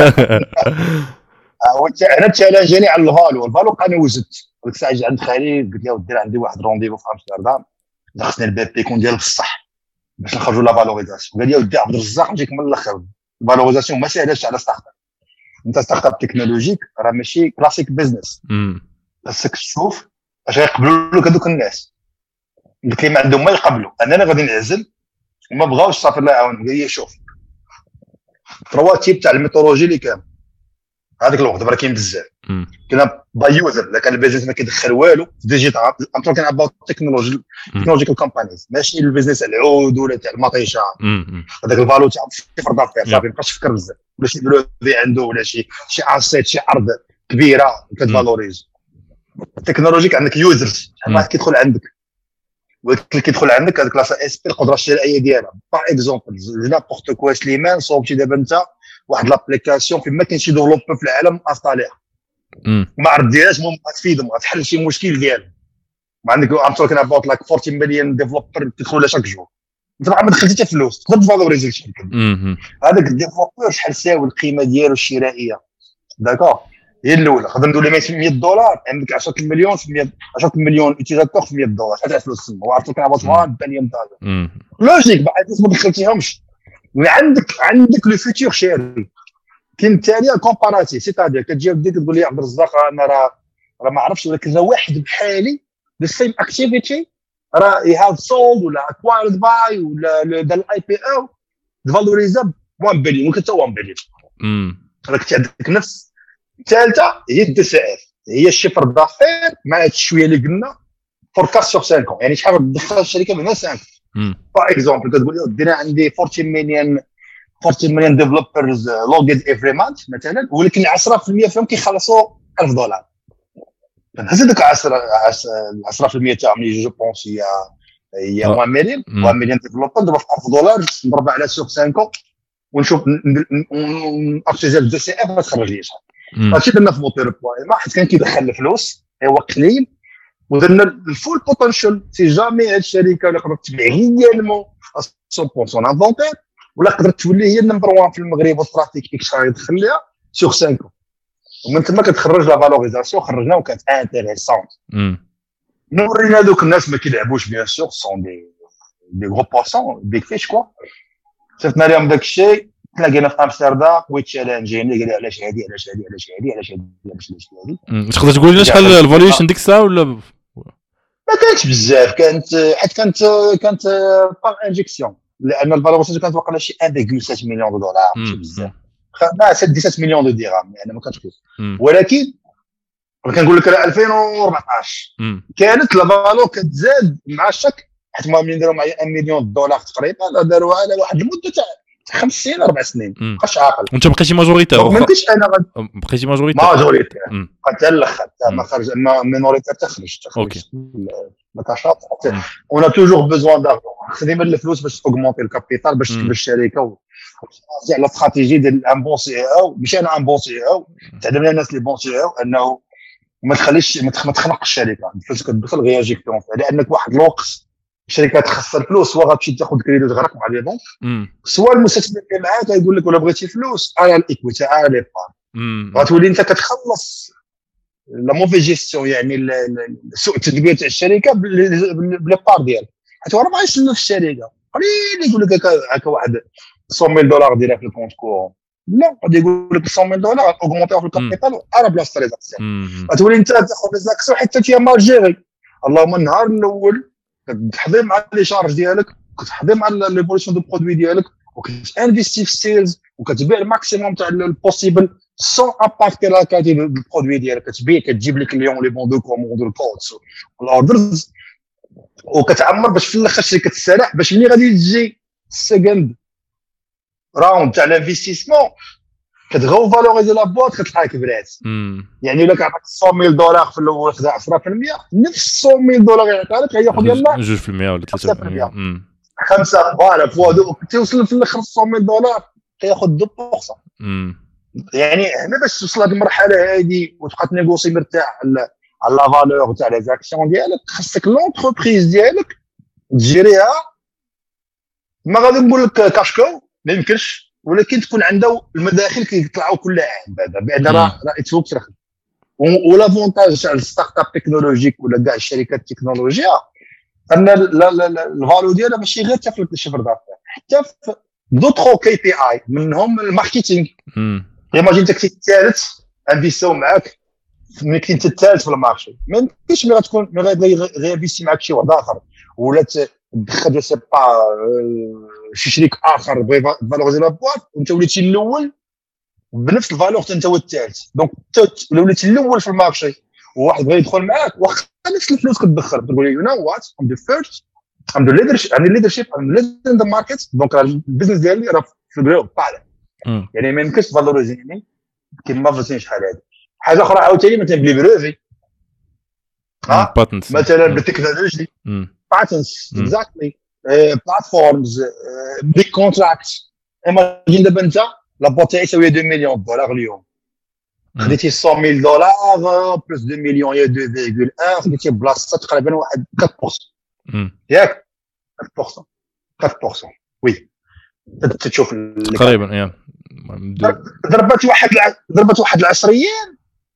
انا تشالنجاني على الفالو انا وزدت قلت ساعه عند خالي قلت له ودير عندي واحد رونديفو في امستردام خصني الباب يكون ديال بصح باش نخرجوا لا فالوريزاسيون قال لي ودي عبد الرزاق نجيك من الاخر الفالوريزاسيون ما ساهلاش على ستارت اب انت ستارت اب تكنولوجيك راه ماشي كلاسيك بزنس خاصك تشوف اش غيقبلوا لك هذوك الناس قلت لي ما عندهم ما يقبلوا اننا غادي نعزل وما بغاوش صافي الله يعاون قال لي شوف تروا تيب تاع الميثولوجي اللي كان هذاك الوقت دابا كاين بزاف كنا بايوزر لا كان البيزنس ما كيدخل والو ديجيتال انتو كان اباوت تكنولوجيكال كومبانيز ماشي البيزنس العود ولا تاع المطيشه هذاك الفالو تاع صفر دافير صافي ما بقاش يفكر بزاف ولا شي بلوفي عنده ولا شي اسيت شي ارض كبيره كتفالوريز التكنولوجيك عندك يوزرز واحد كيدخل عندك واللي كيدخل عندك هذيك لاصا اس بي القدره الشرائيه ديالها باغ اكزومبل نابورت كوا سليمان صوبتي دابا انت واحد لابليكاسيون فين ما كاين شي ديفلوبر في العالم اصطاليها ما عرف ديالها المهم غتفيدهم غتحل شي مشكل ديالهم ما عندك ام توكين اباوت لايك 40 مليون ديفلوبر كيدخلوا شاك جور انت ما دخلتي حتى فلوس تقدر تفالوريزي الشركه هذاك الديفلوبر شحال ساوي القيمه ديالو الشرائيه داكور هي الاولى نقدر نقول لها $100 عندك 10 مليون في 10 مليون يوتيزاتور في $100 شحال فلوس وعرفتو كان اباوت 1 بليون دولار لوجيك بعد ما دخلتيهمش عندك لو فيتور شيري كاين الثانيه كومباراتيف سيتادير كتجي وديك تقول لي عبد الرزاق انا راه ما عرفتش ولكن راه واحد بحالي ذا سيم اكتيفيتي راه يو هاف سولد ولا اكوايرد باي ولا دار الاي بي او فالوريزا 1 بليون ممكن حتى 1 بليون راك عندك نفس الثالثه هي الدي سي اف هي الشفر دافير مع هاد الشويه اللي قلنا فوركاست سور 5 يعني شحال تدخل الشركه من 5 باغ اكزومبل كتقول لي دينا عندي 14 مليون ديفلوبرز لوغين افري مانث مثلا ولكن 10% فيهم كيخلصوا $1000 فهز داك 10% تاعهم اللي جو بونس هي 1 مليون ديفلوبر دابا في $1000 نضرب على سوق 5 ونشوف ارتيزال دو سي اف تخرج لي شحال هادشي درنا في موتور بوين ما حد كان كيدخل الفلوس هو قليل ودرنا الفول بوتنشال سي جامي هاد الشركه اللي قدرت تبيع ريالمون 100% انفونتير ولا قدرت تولي هي النمبر 1 في المغرب والترافيك اكس غيدخل ليها سوغ 5 ومن ثم كتخرج لا فالوريزاسيون خرجنا وكانت انتريسونت نورينا دوك الناس ما كيلعبوش بيان سور سون دي غرو بوسون بيك فيش كوا شفتنا لهم داك الشيء تلاقينا في امستردام ويتشالنجيني قال لي علاش هادي تقدر تقول لنا شحال الفاليوشن ديك الساعه ولا ما كانتش بزاف كانت باغ انجكسيون لان الفالوريزاسيون كانت واقع شي 1.7 مليون دولار ماشي بزاف خدنا 17 مليون دو درهم يعني ما كانتش ولكن كنقول لك 2014 كانت لا فالو كتزاد مع الشك حيت ما ملي داروا معايا $1 مليون تقريبا داروها على واحد المده تاع 5 سنين 4 سنين مابقاش عاقل وانت بقيتي ماجوريتير ما كنتش انا بقيتي ماجوريتير حتى الاخر ما خرج ما مينوريتير تخرج ما كاشاط اون توجور بيزوان دارجون خدينا الفلوس باش اوغمونتي الكابيتال باش تكبر الشركه على استراتيجي ديال ان بون سي او مش انا ان بون سي او تعلمنا الناس لي بون سي او انه ما تخليش ما تخنقش الشركه الفلوس كتدخل غير يجيكتون لانك واحد الوقت الشركه تخسر فلوس سواء غتمشي تاخذ كريدي وتغرق مع لي بنك سواء المستثمر اللي معاك يقول لك ولا بغيتي فلوس انا الايكويتي انا لي بار غتولي انت كتخلص لا موفي جيستيون، يعني سوء التدبير تاع الشركه بلي بار ديالك. حيت هو راه ما يسلم في الشركه، قليل يقول لك هكا واحد 100,000 دولار ديالها في الكونت كورون، لا غادي يقول لك 100,000 دولار اوغمونتيو في الكابيتال وارا بلاصه لي زاكسيون. غتولي انت تاخذ لي زاكسيون حتى هي مال جيري. اللهم النهار الاول كتحضر مع لي شارج ديالك، كتحضر مع ليفولوشن دو برودوي ديالك، وكتانفيستي في السيلز، وكتبيع الماكسيموم تاع البوسيبل سون امباكتي لا كاليتي دو برودوي ديالك. كتبيع، كتجيب لي كليون لي بون دو كوموند الكودز الاوردرز، وكتعمر باش في الاخر الشركه تستريح، باش ملي غادي تجي السكند راوند تاع الانفستيسمون كتغو فالوريزي لا بوات كتلقاها كبرات. يعني الا كيعطيك 100,000 دولار في الاول خدا 10%، نفس 100,000 دولار يعطيها لك هياخذ يلاه 2% ولا 3%. 5 فوالا فوا دو توصل في الاخر 100,000 دولار كياخذ 2%. يعني هنا باش توصل لهاد المرحله هادي وتبقى تنيغوسي مرتاح على لا فالور تاع لي زاكسيون ديالك، خاصك لونتربريز ديالك تجريها. ما غادي نقول لك كاشكو ما يمكنش، ولكن تكون عنده المداخل كيطلعوا كل عام بعدا بعد راه يتفوق ترخص. ولافونتاج تاع الستارت اب تكنولوجيك ولا كاع الشركات التكنولوجيا ان الفالو ديالها ماشي غير حتى في الشفر دافير، حتى في دوطرو كي بي اي منهم الماركتينغ. ايماجين انت كنتي الثالث انفيستيو معاك، ملي كنتي الثالث في المارشي ما يمكنش ملي غتكون غير انفيستي معاك شي واحد اخر، ولا تدخل جو سي با شي شريك اخر بغى فالوريزي لا بواط وانت وليتي الاول بنفس الفالور انت هو الثالث. دونك وليتي الاول في المارشي وواحد بغى يدخل معاك واخا نفس الفلوس كتدخل، تقول لي يو نو وات ام ذا فيرست ام ذا ليدرشيب ام ليدر ان ذا ماركت. دونك البيزنس ديالي راه في الجروب طالع. يعني ما يمكنش فالوريزيني كيما فهمتي شحال هذه. حاجه اخرى عاوتاني مثلا بلي بروفي مثلا بالتكنولوجي باتنس اكزاكتلي بلاتفورمز بيج كونتراكت. ايماجين دابا انت لابوط تاعي تساوي 2 مليون دولار اليوم، خديتي 100,000 دولار بلس 2 مليون هي 2.1، خديتي بلاصه تقريبا واحد 4% ياك 4% وي تشوف تقريبا يا ضربت واحد العشريين،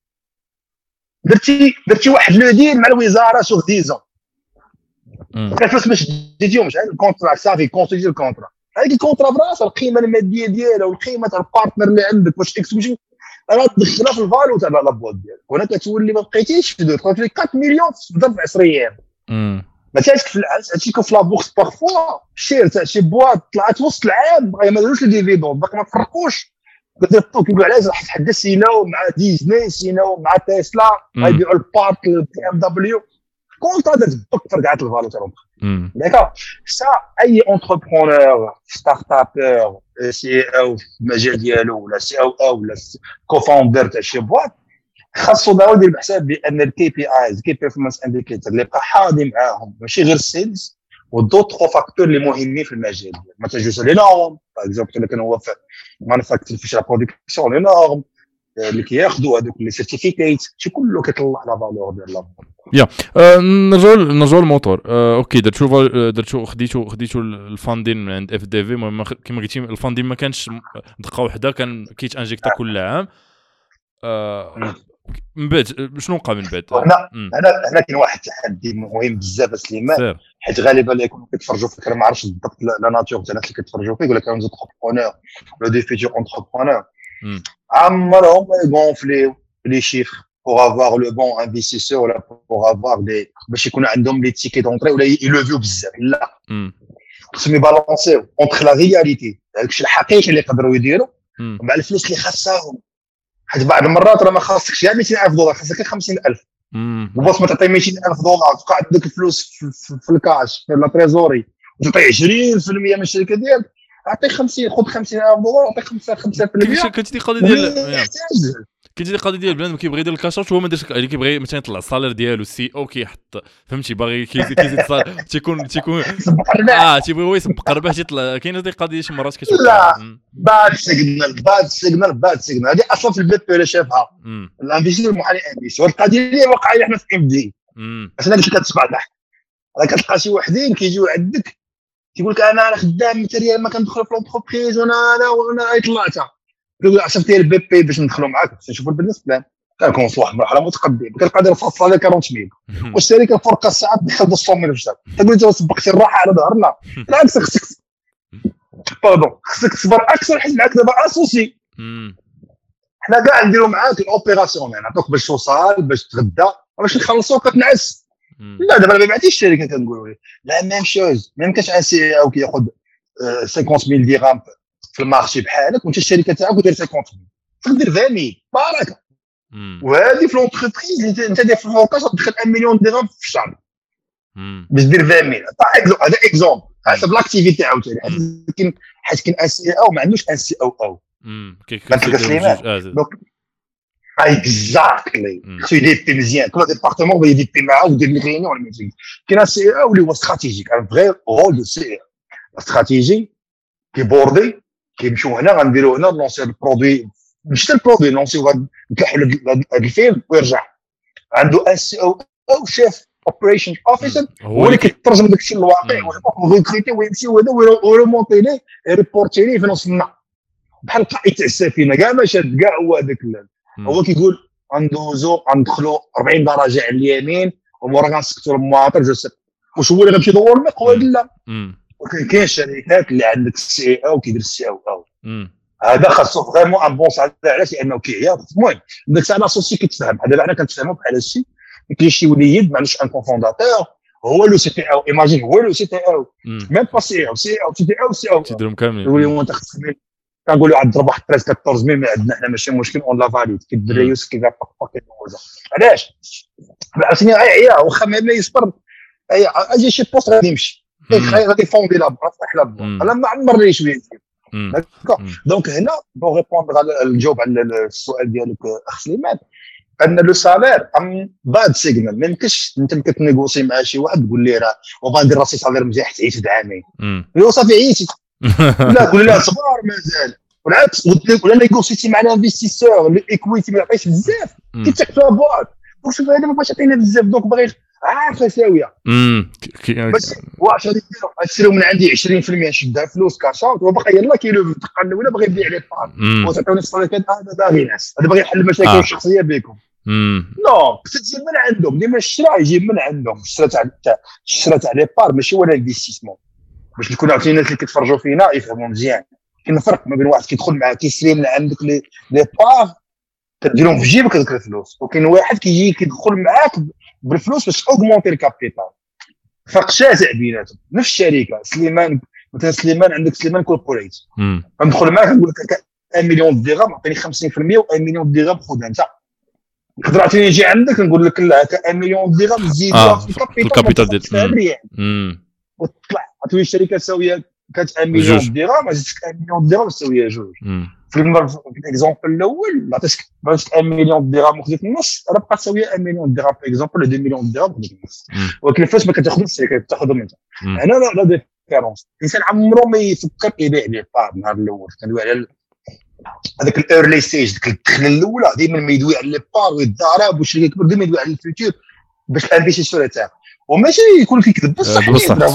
درتي واحد لو ديل مع الوزاره سوغ 10 كيفاش باش تديهم مش الكونترا صافي كونسيدي الكونترا هذيك الكونترا براسها القيمه الماديه ديالها والقيمه تاع البارتنر اللي عندك واش اكسكلوزيف راه تدخلها في الفالو تاع لابوات ديالك. هنا كتولي ما بقيتيش في 4 مليون ضرب 10 ايام ما تاعش في هادشي في لابورس بارفوا شير تاع شي بواط طلعت وسط العام ما داروش لي ديفيدون باقي ما فرقوش كيقولوا علاش راح تحدى سيناو مع ديزني سيناو مع تسلا غيبيعوا البارت البي ام دبليو كونت هذا تفكر كاع الفالو تاعهم. داكا سا اي اونتربرونور ستارت ابور سي او في المجال ديالو ولا سي او ولا كوفاوندر تاع شي بواط خاصو داو يدير بحساب بان الكي بي ايز كي بيرفورمانس انديكيتور اللي بقى حاضي معاهم ماشي غير السيلز ودوطرو فاكتور اللي مهمين في المجال ديالو. مثلا جوج لي نورم باغ اكزومبل الا كان هو في مانيفاكتشر في لا برودكسيون لي نورم اللي كياخذوا هذوك لي سيرتيفيكيت شي كله كيطلع لا فالور ديال لا يا نرجعوا للموتور. اوكي درتو خديتو الفاندين من عند اف دي في. المهم كما قلتي الفاندين ما كانش دقه واحده، كان كيت انجيكتا كل عام. من بعد شنو وقع من بعد؟ انا كاين واحد التحدي مهم بزاف سليمان، حيت غالبا اللي يكونوا كيتفرجوا فيك ما عرفتش بالضبط لا ناتور تاع الناس اللي كيتفرجوا فيك ولا كانوا زونتربرونور ولا دي فيتور اونتربرونور عمرهم ما يغونفليو لي شيفر pour avoir le bon investisseur ولا pour avoir des باش يكون عندهم لي تيكي دونطري ولا يلوفيو بزاف. لا خصهم يبالونسيو اونتر لا رياليتي داكشي الحقيقي اللي يقدروا يديروا مع الفلوس اللي خاصهم. حيت بعض المرات راه ما خاصكش يا 200,000 دولار خاصك 50,000 وباش ما تعطي 200,000 دولار تبقى عندك الفلوس في الكاش في لا تريزوري وتعطي 20% من الشركه ديالك. اعطي 50 خذ 50,000 دولار اعطي 5%. كنتي قضيه ديال كيجي القضيه ديال بنادم كيبغي يدير الكاشات وهو ما دارش اللي كيبغي مثلا يطلع الصالير ديالو السي او كيحط فهمتي باغي كيزيد تيكون تيبغي هو يسبق ربح تيطلع. كاينه دي قضيه شي مرات كتوقع لا باد سيجنال هذه اصلا في البي بي اللي شافها الانفيستور المحلي انفيستي والقضيه اللي واقعه حنا في ام دي عشان هذيك كتسمع تحت راه كتلقى شي وحدين كيجيو عندك تيقول لك انا خدام ماتيريال ما كندخل في لونتربريز وانا طلعتها يقول 10 ديال البي بي باش ندخلوا معاك باش نشوفوا البيزنس بلان كنكون في واحد المرحله متقدمه كنلقى داير فاصله على 40000 والشركه فرق الساعات دخل 200000 في الشهر تقول انت سبقتي الراحه على ظهرنا بالعكس خصك تصبر اكثر حيت معاك دابا اسوسي حنا كاع نديرو معاك الاوبيراسيون نعطوك باش توصل باش تغدا باش نخلصوك كتنعس لا دابا ما بعتيش الشركه كنقولوا لي لا ميم شوز ما يمكنش ان سي او كياخذ 50000 درهم في المارشي بحالك وانت الشركه تاعك داير 50000 تقدر 20000 بارك وهذه في لونتربريز انت داير في الفوكاج تدخل 1 مليون درهم في الشهر باش دير 20000 هذا اكزومبل حسب لاكتيفيتي عاوتاني حيت كاين ان سي او ما عندوش ان سي او دونك اكزاكتلي خصو يدير مزيان كل ديبارتمون يدير معاه ودير لي ريونيون ولا ميتينغ كاين ان سي او اللي هو استراتيجيك ان فغي رول دو سي استراتيجي كيبوردي كيمشيو هنا غنديروا هنا لونسي البرودوي مش البرودوي لونسي نكحوا هذا الفيلم ويرجع عنده ان سي او شيف اوبريشن اوفيسر هو اللي كيترجم داك الشيء للواقع ويكريتي ويمشي هذا ويريمونتي ليه ريبورتي ليه في نص النهار بحال قائد تاع السفينه كاع ما شاد كاع هو هذاك هو كيقول غندوزو غندخلوا 40 درجه على اليمين ومورا غنسكتوا المواطن جو سي واش هو اللي غيمشي يدور المقود لا ولكن كاين شركات اللي عندك السي او كيدير السي او هذا خاصو فريمون ان بون سالير علاش لانه كيعيا المهم داك الساعه لاسوسي كتفهم دابا حنا كنتفهموا بحال هادشي كاين شي وليد ما عندوش ان كونفونداتور هو لو سي تي او ايماجين هو لو سي تي او ميم با سي او سي او تي او سي او تديرهم كاملين يقول لهم انت خصك كنقولوا عاد ضرب واحد 13 14000 من عندنا حنا ماشي مشكل اون لا فاليد كيدري يوسف كيفا باكي دوزا علاش عرفتني عيا واخا ما يصبر اجي شي بوست غادي يمشي غادي فوندي لا برا صح لا انا ما عمرني شويه دونك هنا بون ريبوندر على الجواب على السؤال ديالك اخ سليمان ان لو سالير ام باد سيغنال ما يمكنش انت كتنيغوسي مع شي واحد تقول ليه راه وبغا ندير راسي سالير مزيان حتى عييت عامين يو صافي عييت لا قول لا صبر مازال والعكس ولا نيغوسيتي مع الانفستيسور الايكويتي ما يعطيش بزاف كيتكتب بواط واش هذا ما بغاش يعطينا بزاف دونك باغي عارفه ساويه بس واش غادي يشريو من عندي 20% شدها فلوس كاشاوت وباقي يلاه كيلو الدقه الاولى باغي يبيع لي بار وتعطيوني الصريفات هذا باغي ناس هذا باغي يحل المشاكل الشخصيه بكم نو تجي من عندهم ديما الشراء يجي من عندهم الشراء تاع لي بار ماشي ولا انفستيسمون باش نكون عرفتي الناس اللي كيتفرجوا فينا يفهموا مزيان كاين فرق ما بين واحد كيدخل معاك كيشري من عندك لي بار كديرهم في جيبك هذوك الفلوس وكاين واحد كيجي كيدخل معاك بالفلوس باش اوغمونتي الكابيتال فرق شاسع بيناتهم نفس الشركه سليمان مثلا سليمان عندك سليمان كوربوريت غندخل معاك نقول لك 1 مليون درهم عطيني 50% و1 مليون درهم خذها انت يقدر عطيني يجي عندك نقول لك لا 1 مليون درهم زيدها في الكابيتال ديال وتطلع عطيني الشركه ساويه كانت 1 مليون درهم زدتك 1 مليون درهم ساويه جوج في الاكزومبل الاول عطيتك 1 مليون درهم وخديت النص راه بقات ساويه 1 مليون درهم في اكزومبل 2 مليون درهم خديت النص ولكن الفلوس ما كتاخذش الشركه كتاخذهم انت هنا لا ديفيرونس الانسان عمره ما يفكر يبيع لي بار النهار الاول كندوي على هذاك الايرلي ستيج ديك الدخله الاولى ديما ما يدوي على لي بار ويتضارب والشركه كبر ديما يدوي على الفيوتشر باش الانفستيسور تاعك وماشي يكون كيكذب بصح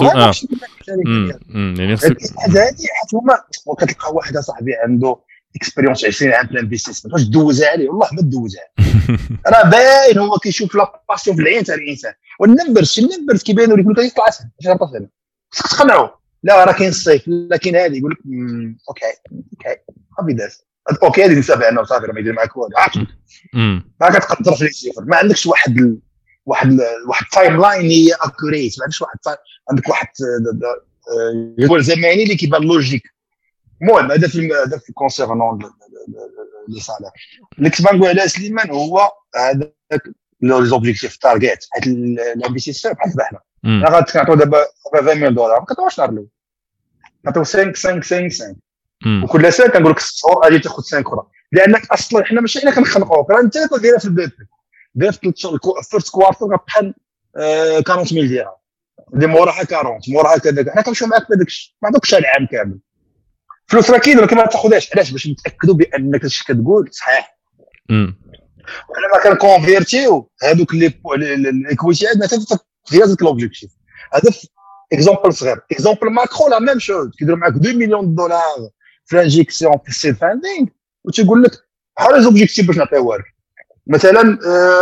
يعني هذه حيت هما وكتلقى واحد صاحبي عنده اكسبيريونس 20 عام في الانفستيسمنت واش دوزها عليه والله ما دوزها راه باين هو كيشوف لا باسيون في العين تاع الانسان والنمبرز كيبانوا لك يقول لك يطلع سنه اش غلطه انا خصك تقنعوا لا راه كاين الصيف لكن هذه يقول لك اوكي صافي داز اوكي هذه نسابع انا وصافي ما يدير معاك والو ما كتقدر في الصفر ما عندكش واحد تايم لاين هي اكوريت ما عندكش عندك واحد يقول زماني اللي كيبان لوجيك المهم هذا في كونسيرنون لي سالير اللي كنت نقول على سليمان هو هذاك لي زوبجيكتيف تارغيت حيت الانفستيسور بحال بحنا انا غنعطيو دابا 20000 دولار ما كتعرفش نهار الاول نعطيو 5 وكل سنه كنقول لك 6 شهور غادي تاخذ 5 اخرى لانك اصلا حنا ماشي حنا كنخلقوك راه انت كديرها في البيت دير في الفيرست كوارتر غتبحال 40000 درهم دي موراها 40 موراها كذا حنا كنمشيو معاك بهذاك الشيء ما عندكش العام كامل فلوس راه كاين ولكن ما تاخذهاش علاش باش نتاكدوا بانك الشيء كتقول صحيح وحنا ما كنكونفيرتيو هذوك الايكويتي عندنا حتى في هذاك لوبجيكتيف هذا اكزومبل صغير اكزومبل ماكرو لا ميم شوز كيديروا معاك 2 مليون دولار في انجيكسيون في السيد فاندينغ وتيقول لك بحال لي زوبجيكتيف باش نعطيوها لك مثلا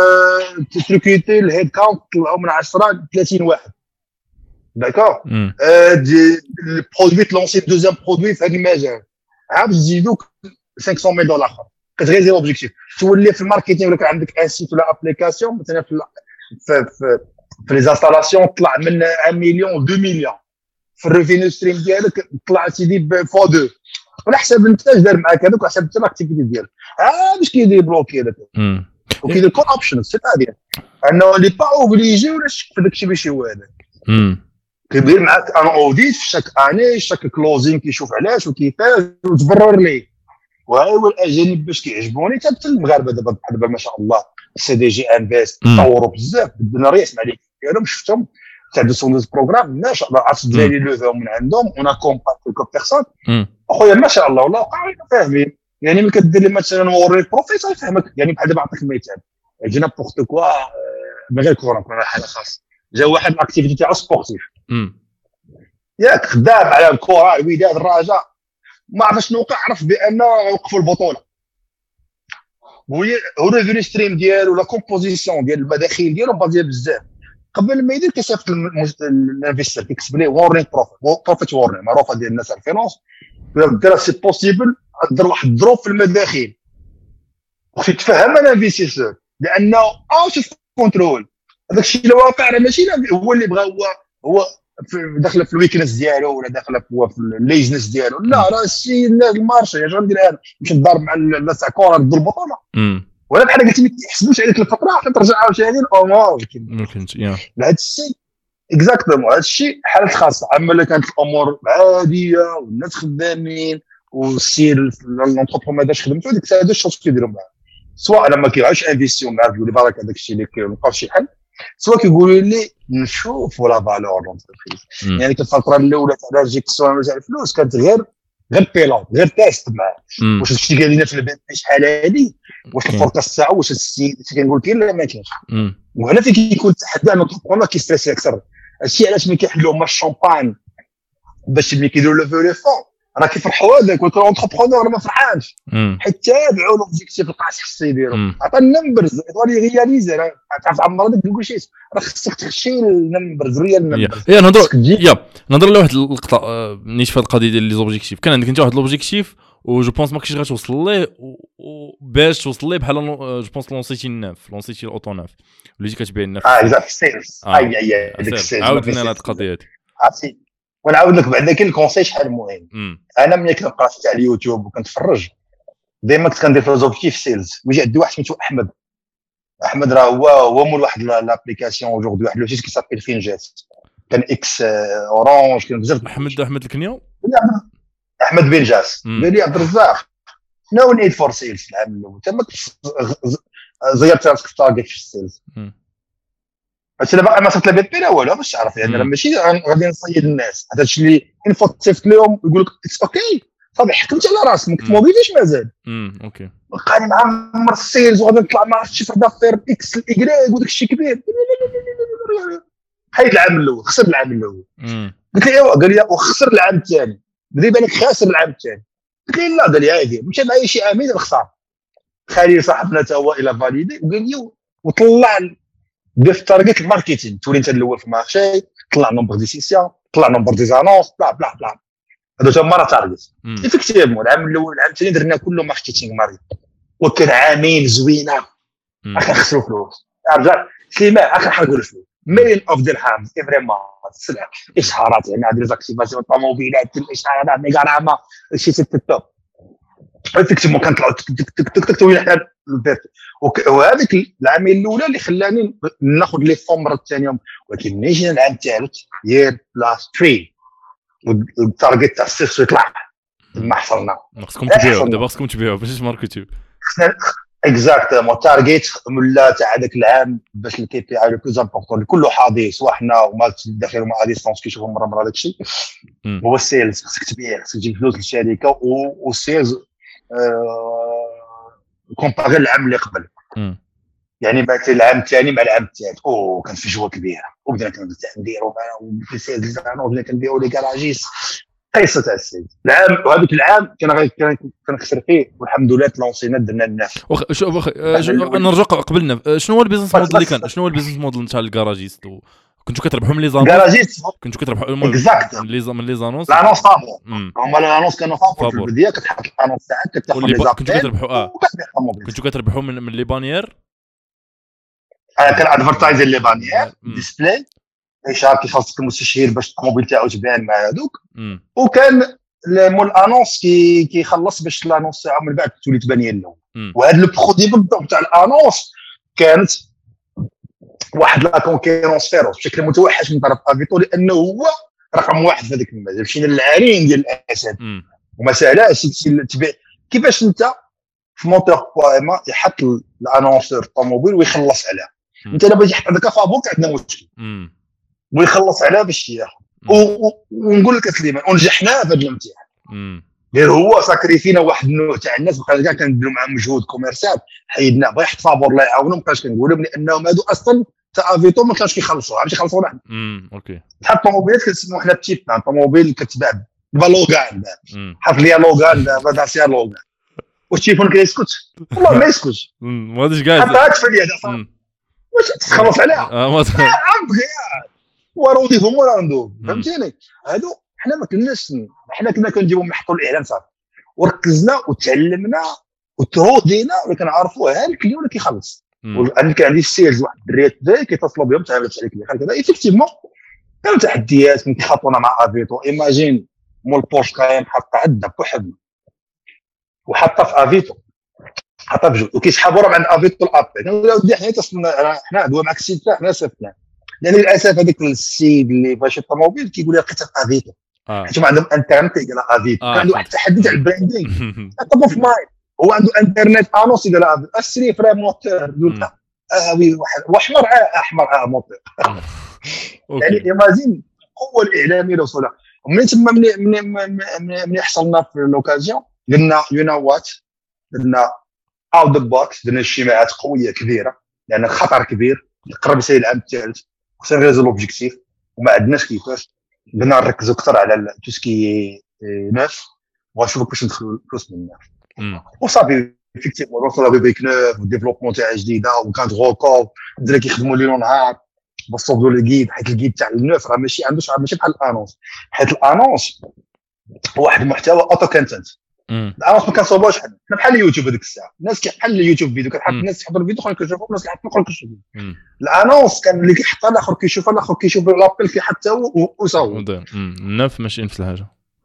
تريكوتي الهيد كاونت طلعوا من 10 ل 30 واحد داكور. البرودوي تلونسي دوزيام برودوي في هذا المجال عاد تزيدوك $500 اخر كتغيزي اوبجيكتيف تولي في الماركتينغ. ولا كان عندك ان سيت ولا ابليكاسيون مثلا في لي انستالاسيون طلع من 1 مليون 2 مليون في الريفينيو ستريم ديالك طلع سيدي ب فوا 2 على حسب الانتاج دار معاك هذوك على حسب حتى الاكتيفيتي ديالك. باش كيدير بلوكي هذاك وكيدير كل اوبشن سيتادير انه لي با اوبليجي ولا شك في داكشي باش هو هذا كيدير معاك ان اوديت في شاك اني شاك كلوزين كيشوف علاش وكيفاش وتبرر ليه. وهاي هو الاجانب باش كيعجبوني حتى المغاربه دابا ما شاء الله سي دي جي انفيست تطوروا بزاف بدنا ريس مع لي ديالهم شفتهم تاع دو سون بروغرام ما شاء الله عرفت الدراري لوفاو من عندهم اون اكومباك كلكو بيرسون اخويا ما شاء الله والله قاعدين فاهمين. يعني ملي كدير لي مثلا وري البروفيسور يفهمك. يعني بحال دابا نعطيك مثال جينا بورت كوا من غير كوره نكون حاله خاصه جا واحد الاكتيفيتي تاعو سبورتيف ياك خدام على الكره الوداد الرجاء ما عرف شنو وقع عرف بان وقفوا البطوله وهي الريفينيو ستريم ديالو ولا كومبوزيسيون ديال المداخيل ديالو بازيه بزاف قبل ما يدير كيصيفط الانفستر كيكتب ليه وورنين بروفيت وورنين معروفه ديال الناس على الفينونس دير سي بوسيبل دير واحد الدروب في المداخيل وخصك تفهم الانفستيسور لانه اوت كنترول هذاك الشيء اللي واقع راه ماشي هو اللي بغى هو داخله في الويكنس ديالو ولا داخله في الليزنس ديالو. لا راه الشيء المارشي اش غندير انا باش نضرب مع الناس تاع كره ضد البطوله ولا بحال قلت ما كيحسبوش عليك الفتره حتى ترجع عاوتاني الامور ممكن هذا الشيء اكزاكتومون. هذا الشيء حالات خاصه. اما الا كانت الامور عاديه والناس خدامين والسير لونتربرون ما داش خدمته ديك الساعه هذا الشوط كيديروا معاه سواء لما كيعيش انفيستيون معاه يقول لي بارك هذاك الشيء اللي كيلقاو شي حل سواء كيقولوا لي نشوفوا لا فالور لونتربريز. يعني الفتره الاولى تاع الجيكسيون تاع الفلوس كانت غير بيلون غير تيست معاه واش هادشي اللي قال لنا في البيت شحال هادي واش الفوركاست تاعو واش السيد كنقول كاين لا ما كاينش. وهنا فين كيكون التحدي انه النوتربرونور كيستريسي اكثر. هادشي علاش ملي كيحلوا هما الشامبان باش ملي كيديروا لو فو لو فون راه كيفرحوا هذاك ولكن الانتربرونور ما فرحانش حيت تابعوا لوبجيكتيف القاس خصو يديروا عطى النمبرز يطولي رياليزي راه تعرف عمر ديك نقول شي راه خصك تخشي النمبرز ريال النمبرز. نهضر لواحد اللقطه نيت في القضيه ديال لي زوبجيكتيف. كان عندك انت واحد لوبجيكتيف و جو بونس ما كنتيش غتوصل ليه باش توصل ليه بحال جو بونس لونسيتي الناف لونسيتي الاوتو ناف وليتي كتبيع الناف اكزاكت سيلز ديك السيلز عاودنا لهاد القضيه هادي عرفتي. ونعاود لك بعدا كاين الكونساي شحال مهم. انا ملي كنقرا تاع اليوتيوب وكنتفرج ديما كنت كندير في لوبجيكتيف سيلز ويجي عندي واحد سميتو احمد راه هو مول واحد لابليكاسيون اوجوردي واحد لو سيت كي سابيل فينجات كان اكس اورانج كان بزاف احمد الكنيو احمد بن جاس قال لي عبد الرزاق نو نيد فور سيلز العام الاول تما زيرت راسك في تارجت في السيلز بس انا باقي ما صرت لا بي لا والو باش تعرف. يعني انا ماشي غادي نصيد الناس هذا الشيء اللي انفو تصيفط لهم يقول لك اتس اوكي صافي حكمت على راسك ما كتموبيليش مازال اوكي بقاني معمر السيلز وغادي نطلع مع شي دافير اكس الاكراك وداك الشيء كبير حيد العام الاول خسر العام الاول قلت له ايوا قال لي وخسر العام الثاني بدي بالك خاسر العام الثاني قلت له لا قال لي عادي مشى معايا شي عامين الخساره خالي صاحبنا تا هو الى فاليدي وقال لي وطلع دير في تارجت الماركتينغ تولي انت الاول في المارشي طلع نومبر دي سيسيون طلع نومبر دي زانونس بلا بلا بلا هذا هما راه تارجت ايفيكتيفمون. العام الاول العام الثاني درنا كله ماركتينغ ماري وكان عامين زوينه اخر خسروا فلوس رجع سليمان اخر حرقوا الفلوس مليون اوف درهم سي فريمون السلعه اشهارات يعني هذه ليزاكتيفاسيون طوموبيلات الاشهارات ميغاراما شي سيت توب ايفيكتيفمون كنطلعوا تك وين حنا البيت وهذيك العامين الاولى اللي خلاني ناخذ لي فون مره الثانيه. ولكن ملي جينا العام الثالث يير بلاس 3 والتارجت تاع السيرس يطلع ما حصلنا خصكم تبيعوا دابا خصكم تبيعوا باش ماركتيو اكزاكتومون تارجت ولا تاع هذاك العام باش الكي بي اي لو بلوز امبورطون كله حاضي سواء حنا وما الداخل وما ديستونس كيشوفوا مره هذاك الشيء هو السيلز. خصك تبيع خصك تجيب فلوس للشركه والسيلز كومباري العام اللي قبل يعني بعد العام الثاني مع العام الثالث كان في جوه كبيره وبدينا كنديروا في سيلز وبدينا كنبيعوا لي كراجيس قصه تاع السيد العام، وهذاك العام كان خسر فيه، والحمد لله تلونسينا درنا الناس. نرجع قبلنا، شنو هو البيزنس موديل اللي كان؟ شنو هو البيزنس موديل نتاع الكراجيست؟ كنتوا كتربحوا من لي زانونس؟ كراجيست كنتوا كتربحوا من لي زانونس. لانونس فابور، هما لانونس كانوا فابور في البدايه، كتحط الانونس تاعك كتاخذ لي زابيل. كنتوا كتربحوا كنتوا كتربحوا من لي بانيير. كان ادفرتايزر لي بانيير ديسبلاي اشار كيخلصك المستشير باش الطوموبيل تاعو تبان مع هذوك، وكان مول انونس كيخلص باش الانونس تاعو من بعد تولي تبان هي الاول. وهذا البرودوي بالضبط تاع الانونس كانت واحد لا كونكيرونس فيروس بشكل متوحش من طرف افيتو، لانه هو رقم واحد في هذاك المجال. مشينا للعرين ديال الاسد وما ساهلاش تبيع. كيفاش انت في موتور بوما يحط الانونسور الطوموبيل ويخلص عليها؟ انت دابا باغي تحط هذاك فابوك عندنا مشكل ويخلص عليها باش ياخذ. ونقول لك سليمان ونجحنا في هذا الامتحان، غير هو ساكريفينا واحد النوع تاع الناس بقى كاع كنديروا معاهم مجهود كوميرسال، حيدنا بغا يحط فابور الله يعاونهم، ما بقاش كنقولوا لانهم هادو اصلا تاع افيتو ما كانش كيخلصوا، عرفتي يخلصوا واحد. اوكي تحط طوموبيلات كنسموه حنا بتيت بلان، طوموبيل كتباع بالوغان، حط لي لوغان دابا داسيا لوغان، والتليفون كيسكت والله ما يسكتش، ما هادش كاع حتى هاك في اليد واش تخلص عليها وروديهم ولا ندوب، فهمتيني؟ هادو حنا ما كناش، حنا كنا كنجيبو نحطوا الاعلان صافي، وركزنا وتعلمنا وتهودينا وكنعرفوا ها الكليون اللي كيخلص. وانا كان عندي السيلز واحد الدريات داي كيتصلوا بهم تعاملت عليك كذا ايفيكتيفمون كانوا تحديات من كيخاطونا مع افيتو. ايماجين مول بورش كاين حط عندنا بوحدنا وحطها في افيتو، حطها بجوج وكيسحبوا راه عند افيتو الابي. كنقول له ودي حنا دوا معك السيد تاعك ناس فتنا، لان للاسف هذاك السيد اللي باش الطوموبيل كيقول لي لقيتها في افيتو حيت ما عندهم انترنت يقرا افيتو. كان عنده واحد التحدي تاع البراندينغ طبو في ماي، هو عنده انترنت انونس يقرا افيتو السري فري موتور دول وي واحد واحمر احمر موتور يعني ايماجين القوه الاعلاميه اللي وصلها. ومن تما من يحصلنا في لوكازيون قلنا يو نو وات، قلنا اوت ذا بوكس، درنا اجتماعات قويه كبيره لان خطر كبير قرب يسير العام الثالث خصنا نريزو لوبجيكتيف وما عندناش كيفاش. بدنا نركزوا اكثر على توسكي ناف ونشوفوا كيفاش ندخلوا الفلوس من الناف وصافي. effectivement وصلنا ببيك نوف وديفلوبمون تاع جديده وكانت غوكو الدراري كيخدموا ليل ونهار بصوبوا الجيد، حيت الجيد تاع النوف راه ماشي ماشي بحال الانونس، حيت الانونس هو واحد المحتوى اوتو كونتنت. الانونس ما كنصوبوش حنا بحال اليوتيوب هذيك الساعه، الناس كيحل اليوتيوب فيديو كتحط الناس تحضر الفيديو اخرين كيشوفوا الناس كيحطوا اخرين كيشوفوا. الانونس كان اللي كيحطها الاخر كيشوفها الاخر كيشوف لابيل كيحط هو وصاوب. النوف ماشي نفس الحاجه.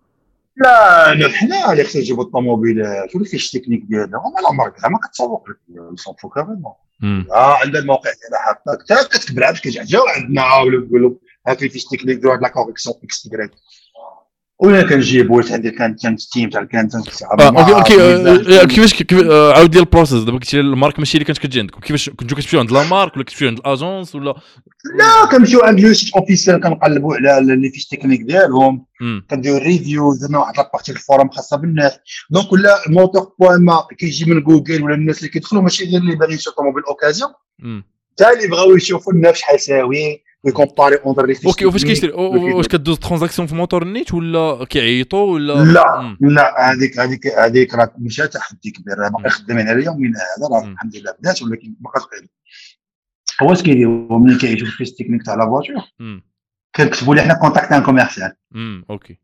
لا حنا اللي خصنا نجيبوا الطوموبيلات ولا فيش تكنيك ديالنا هما لا ماركه ما كتسوق لك يصوفوا كاملين. عندنا الموقع ديالنا حاطك حتى كتكتب لها باش كيجاو عندنا ولا نقولوا هاك اللي فيش تكنيك ديال لا كوريكسيون اكس تيغريك ولا كنجيبوا عندي كان تيم تاع الكانتنت اوكي كيفاش عاود ديال البروسيس دابا كنتي المارك ماشي اللي كانت كتجي عندكم، كيفاش كنتو كتمشيو عند لا مارك ولا كتمشيو عند الاجونس ولا لا كنمشيو عند لو سيت اوفيسيال كنقلبوا على لي فيش تكنيك ديالهم كنديروا ريفيو درنا واحد لابارتي الفورم خاصه بالناس. دونك ولا موتور بوما كيجي من جوجل ولا الناس اللي كيدخلوا ماشي غير اللي باغيين يشوفوا طوموبيل اوكازيون حتى اللي بغاو يشوفوا النفس شحال يساوي ويكومباري اونتر لي فيش. اوكي وفاش كيشري واش كدوز ترانزاكسيون في موتور النيت ولا كيعيطوا ولا لا هذيك راه مشات تحدي كبير راه باقي خدامين على يومنا هذا راه الحمد لله بدات ولكن ما بقاش غير هو اش كيديروا ملي كيعيشوا في التكنيك تاع لا فواتور كنكتبوا لي حنا كونتاكت ان كوميرسيال اوكي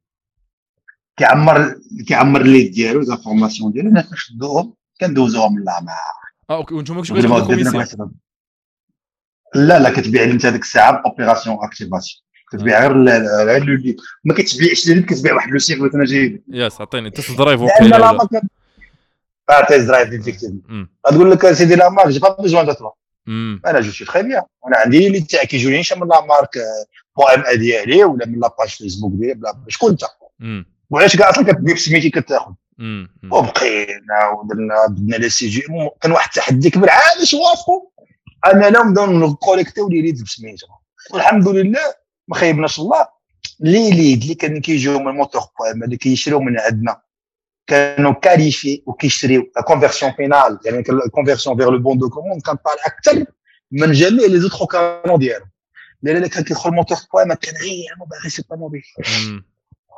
كيعمر لي ديالو زانفورماسيون ديالو حنا كنشدوهم كندوزوهم لا مع اوكي وانتم ماكش كتاخذوا كوميسيون لا كتبيع انت هذيك الساعه اوبيراسيون اكتيفاسيون كتبيع غير اللي ما كتبيعش اللي كتبيع واحد لو سيغ مثلا جاي ياس عطيني تيست درايف وقيله تيست درايف ايفيكتيفمون غتقول لك سيدي لا مارك جي با بيزوان دو توا انا جو سي تري بيان انا عندي لي تاع كيجوني من لا مارك بو ام ا ديالي ولا من لا باج فيسبوك ديالي بلا شكون انت وعلاش كاع اصلا كتبيع بسميتي كتاخذ وبقينا ودرنا بدنا لي سي جي كان واحد التحدي كبير علاش وافقوا انا لهم دون نكوليكتيو لي ليد بسميتهم والحمد لله ما خيبناش الله. لي ليد اللي كانوا كيجيو من الموتور بوام اللي كيشريو من عندنا كانوا كاليفي وكيشريو لا كونفيرسيون فينال يعني الكونفيرسيون فيغ لو بون دو كوموند كان طالع اكثر من جميع لي زوتر كانون ديالهم لان كان كيدخل الموتور بوام كان غير باغي يشري الطوموبيل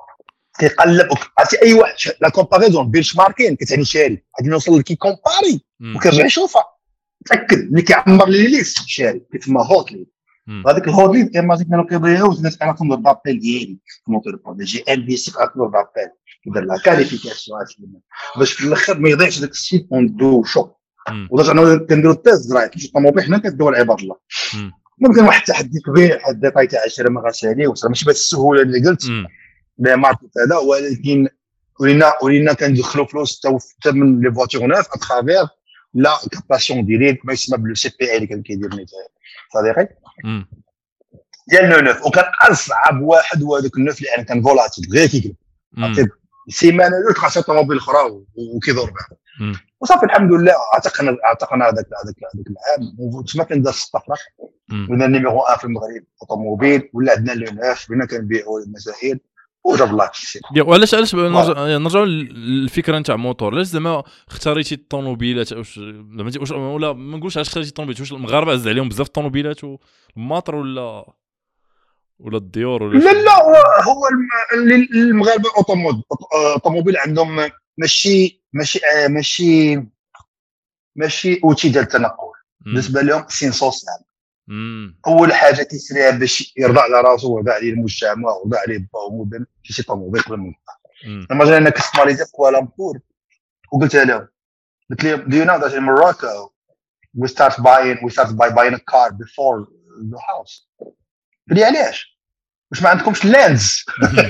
كيقلب عرفتي اي واحد لا كومباريزون بينش ماركين كتعني شاري غادي نوصل لكي كومباري وكنرجع نشوفها تاكد ملي كيعمر لي ليست شاري كيتسمى هوت ليد هذيك الهوت ليد ايماجين كانوا كيضيعوا الناس على كونر دابيل ديالي في موتور بون جي ام بي سي على كونر دابيل ودار لا كاليفيكاسيون باش في الاخر ما يضيعش داك السيت اون دو شو ودرجه انا كنديروا التيست درايف في الطوموبيل حنا كندويو عباد الله ممكن واحد التحدي كبير واحد الديتاي تاع 10 ما غاسالي وصل ماشي بهذه السهوله اللي قلت لي ماركت هذا ولكن ولينا كندخلوا فلوس حتى من لي فواتور نوف اترافير لا كاباسيون ديريكت ما يسمى بلو سي بي اي اللي كان كيدير صديقي ديال نوف وكان اصعب واحد هو هذاك النوف اللي كان فولاتيل غير كيقلب سيمانه لو خاصه طوموبيل اخرى وكيدور بها وصافي الحمد لله اعتقنا هذاك العام وتما كان دار الطفره ولنا نيميرو 1 في المغرب اوتوموبيل ولا عندنا لو نوف ولنا كنبيعوا المسائل وجاب الله كيسير. وعلاش نرجعوا للفكره نتاع موتور علاش زعما اختاريتي الطوموبيلات واش ولا ما نقولش علاش اختاريتي الطوموبيلات واش المغاربه عز عليهم بزاف الطوموبيلات والماطر ولا الديور ولا لا هو المغاربه اوتوموبيل عندهم ماشي اوتي ديال التنقل بالنسبه لهم سين سوسيال اول حاجه كيسريها باش يرضى على راسو ويرضى عليه المجتمع ويرضى عليه با ومدن شي طوموبيل قبل ما نطلع لما جينا كستماريزي في كوالالمبور وقلت لهم do you know that in Morocco we start by buying a car before the house قال لي علاش واش ما عندكمش لاندز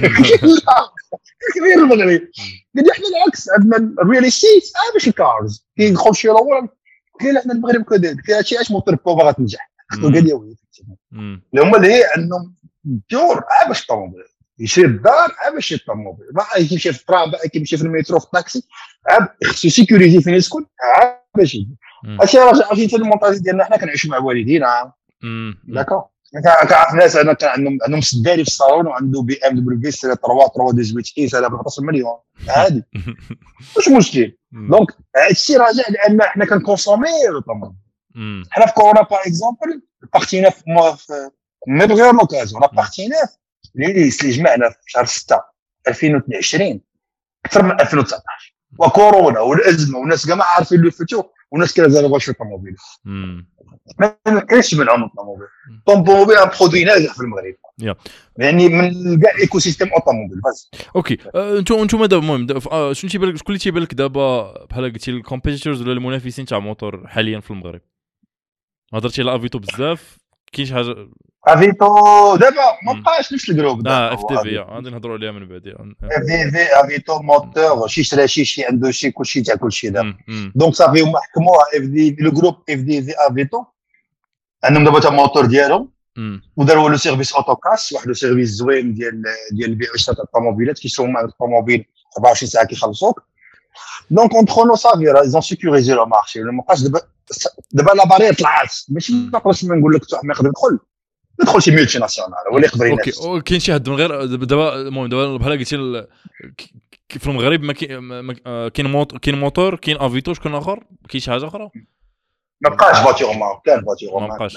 كبير المغرب قال لي احنا العكس عندنا الريال استيت باش الكارز كيدخل شي روان قال احنا المغرب كذلك هادشي علاش موتور بوبا غتنجح قال لي وي اللي هما اللي عندهم دور باش الطوموبيل يشري الدار باش يشري الطوموبيل كيمشي في الترام كيمشي في المترو في الطاكسي خصو سيكوريزي فين يسكن باش يجي هادشي راه عرفتي المونطاج ديالنا حنا كنعيشوا مع والدينا داكور كنعرف ناس انا كان عندهم سداري في الصالون وعنده بي ام دبليو 3 18 اي سنه ب 14 مليون عادي واش مشكل دونك هادشي راجع لان حنا كنكونسوميو الطوموبيل حنا في كورونا باغ اكزومبل بارتينا في مي بغير لوكازيون لا بارتينا اللي جمعنا في شهر 6 2020 اكثر من 2019 وكورونا والازمه والناس كاع ما عارفين لو فيتور والناس كانوا واش في الطوموبيل ما كاينش منعهم الطوموبيل الطوموبيل ان برودوي ناجح في المغرب يعني من كاع ايكو سيستيم اوتوموبيل بس اوكي انتم دابا المهم شنو تيبان لك شكون اللي تيبان لك دابا بحال قلتي الكومبيتيتورز ولا المنافسين تاع موتور حاليا في المغرب هضرتي على افيتو بزاف كاين شي حاجه افيتو دابا ما بقاش نفس الجروب اف تي في غادي نهضروا عليها من بعد افيتو موتور شي شرا شي عنده شي كلشي تاع كلشي دابا دونك صافي هما حكموها اف دي لو جروب اف دي في افيتو عندهم دابا تا موتور ديالهم وداروا له سيرفيس اوتوكاس واحد السيرفيس زوين ديال البيع والشراء تاع الطوموبيلات كيشرو مع الطوموبيل 24 ساعه كيخلصوك دونك اونترو صافي راه ايزون سيكوريزي لو مارشي ما بقاش دابا لا بارير طلعت ماشي ما نقدرش نقول لك ما يقدر يدخل شي ميلتي ناسيونال ولا يقدر ينافس اوكي كاين شي حد من غير دابا المهم دابا بحال قلتي في المغرب ما كاين موتور كاين افيتو شكون اخر كاين شي حاجه اخرى ما بقاش فاتيور ما كان فاتيور ما بقاش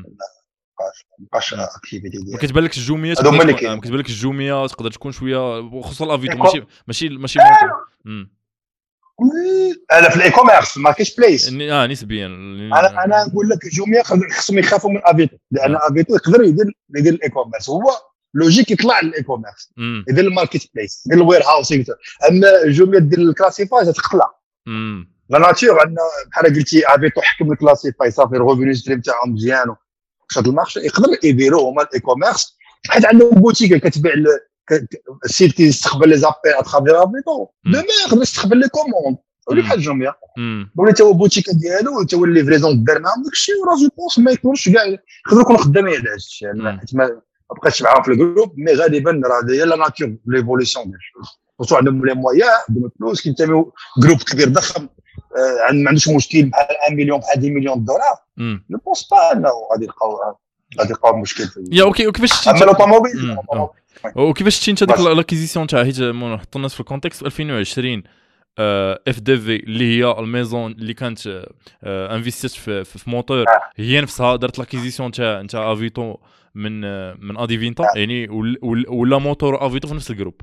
اكتيفيتي ديال ما كتبان لك الجوميه تقدر تكون شويه خصوصا الافيتو ماشي موتور انا في الاي كوميرس ماركت بليس نسبيا انا نقول لك جوميا خصهم يخافوا من افيتو لان افيتو يقدر يدير الاي كوميرس هو لوجيك يطلع للاي كوميرس يدير الماركت بليس يدير الوير هاوسينغ اما جوميا دير الكلاسيفاي تقلع لا ناتور عندنا بحال قلتي افيتو حكم الكلاسيفاي صافي الريفينيو ستريم تاعهم مزيان شاد المارشي يقدر يديروا هما الاي كوميرس حيت عندهم بوتيك كتبيع السيت كيستقبل لي زابيل اترافير افيتو دما يقدر يستقبل لي كوموند ولا بحال جوميا ولا تا هو بوتيك ديالو تا هو ليفريزون دار معاهم داكشي وراه جو بونس ما يكونش كاع يقدروا يكونوا خدامين على هادشي حيت ما بقاش معاهم في الجروب مي غالبا راه هي لا ناتور ليفوليسيون ديال الشغل عندهم لي مويا عندهم الفلوس كينتميو جروب كبير ضخم ما عندوش مشكل بحال 1 مليون بحال 10 مليون دولار جو بونس با انه غادي يلقاو مشكل في اوكي وكيفاش اما الاوتوموبيل وكيفاش تشين هذيك لاكيزيسيون تاع حيت نحط الناس في الكونتكست 2020 اف دي في اللي هي الميزون اللي كانت انفيستيت في موتور هي نفسها دارت لاكيزيسيون تاع افيتو من اديفينتا يعني ولا موتور افيتو في نفس الجروب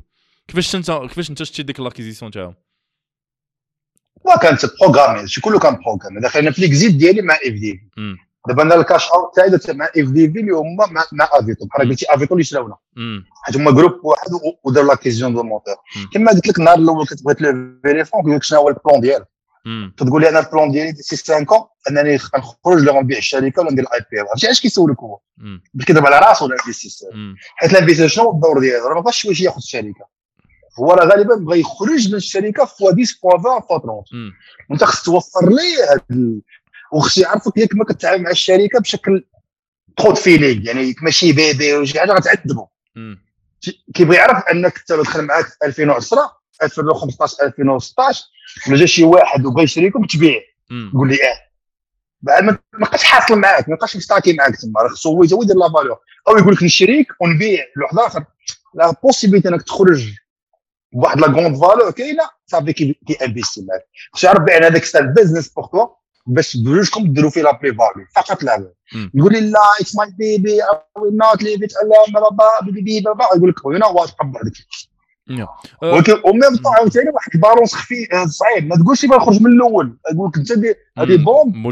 كيفاش انت شتي ديك لاكيزيسيون تاعهم؟ وكانت بروغرامي شي كله كان بروغرامي. دخلنا في ليكزيت ديالي مع اف دي في. دابا انا الكاش اوت تاعي درت مع اف دي في اللي هما مع افيتو. بحال قلتي افيتو اللي شراونا حيت هما جروب واحد وداروا لاكيزيون دو مونتور. كما قلت لك النهار الاول كتبغي تلوفي لي فون قلت لك شنو هو البلان ديالك. تقول لي انا البلان ديالي ديسي 5 ans انني نخرج ولا نبيع الشركه ولا ندير الاي بي او. عرفتي علاش كيسولك هو كيضرب على راسو الانفستيسور؟ حيت الانفستيسور شنو الدور ديالو؟ راه ما بغاش واش ياخذ الشركه، هو راه غالبا بغى يخرج من الشركه فوا 10 فوا 20 فوا 30. وانت خصك توفر ليه هاد وخصو يعرفك ياك ما كتعامل مع الشركه بشكل تخوض فيلينغ، يعني ماشي بيبي ولا شي حاجه غتعذبو. كيبغي يعرف انك انت دخل معاك في 2010 2015 2016 ولا جا شي واحد وبغى يشريكم تبيع قول لي بعد ما بقاش حاصل معاك، ما بقاش مستاكي معاك تما. راه خصو هو يدير لا فالور او يقول لك نشريك ونبيع لواحد اخر. لا بوسيبيتي انك تخرج بواحد لا غوند فالور كاينه صافي كي انفيستي معاك. خصو يعرف بان هذاك سال بيزنس بور توا باش بجوجكم ديروا فيه لا بلي فاليو فقط لا. يقول لي لا اتس ماي بيبي او ويل نوت ليف ات الا بابا بيبي بابا يقول لك يو نو وات قبل هذيك. ولكن وميم طون عاوتاني واحد البالونس خفي صعيب. ما تقولش باغي نخرج من الاول، يقول لك انت هذه بوم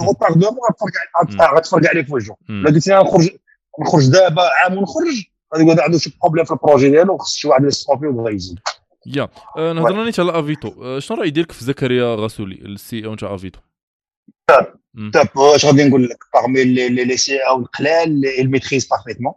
غتفرق عليك في وجهه. لا قلت لي نخرج دابا عام ونخرج غادي يقول عنده شي بروبليم في البروجي ديالو خص شي واحد يستوبي وبغى يزيد. نهضرنا نيت على افيتو. شنو راي ديالك في زكريا غاسولي السي او نتاع افيتو؟ طب واش غادي نقول لك parmi les CEO القلال الميتريز بارفيتمون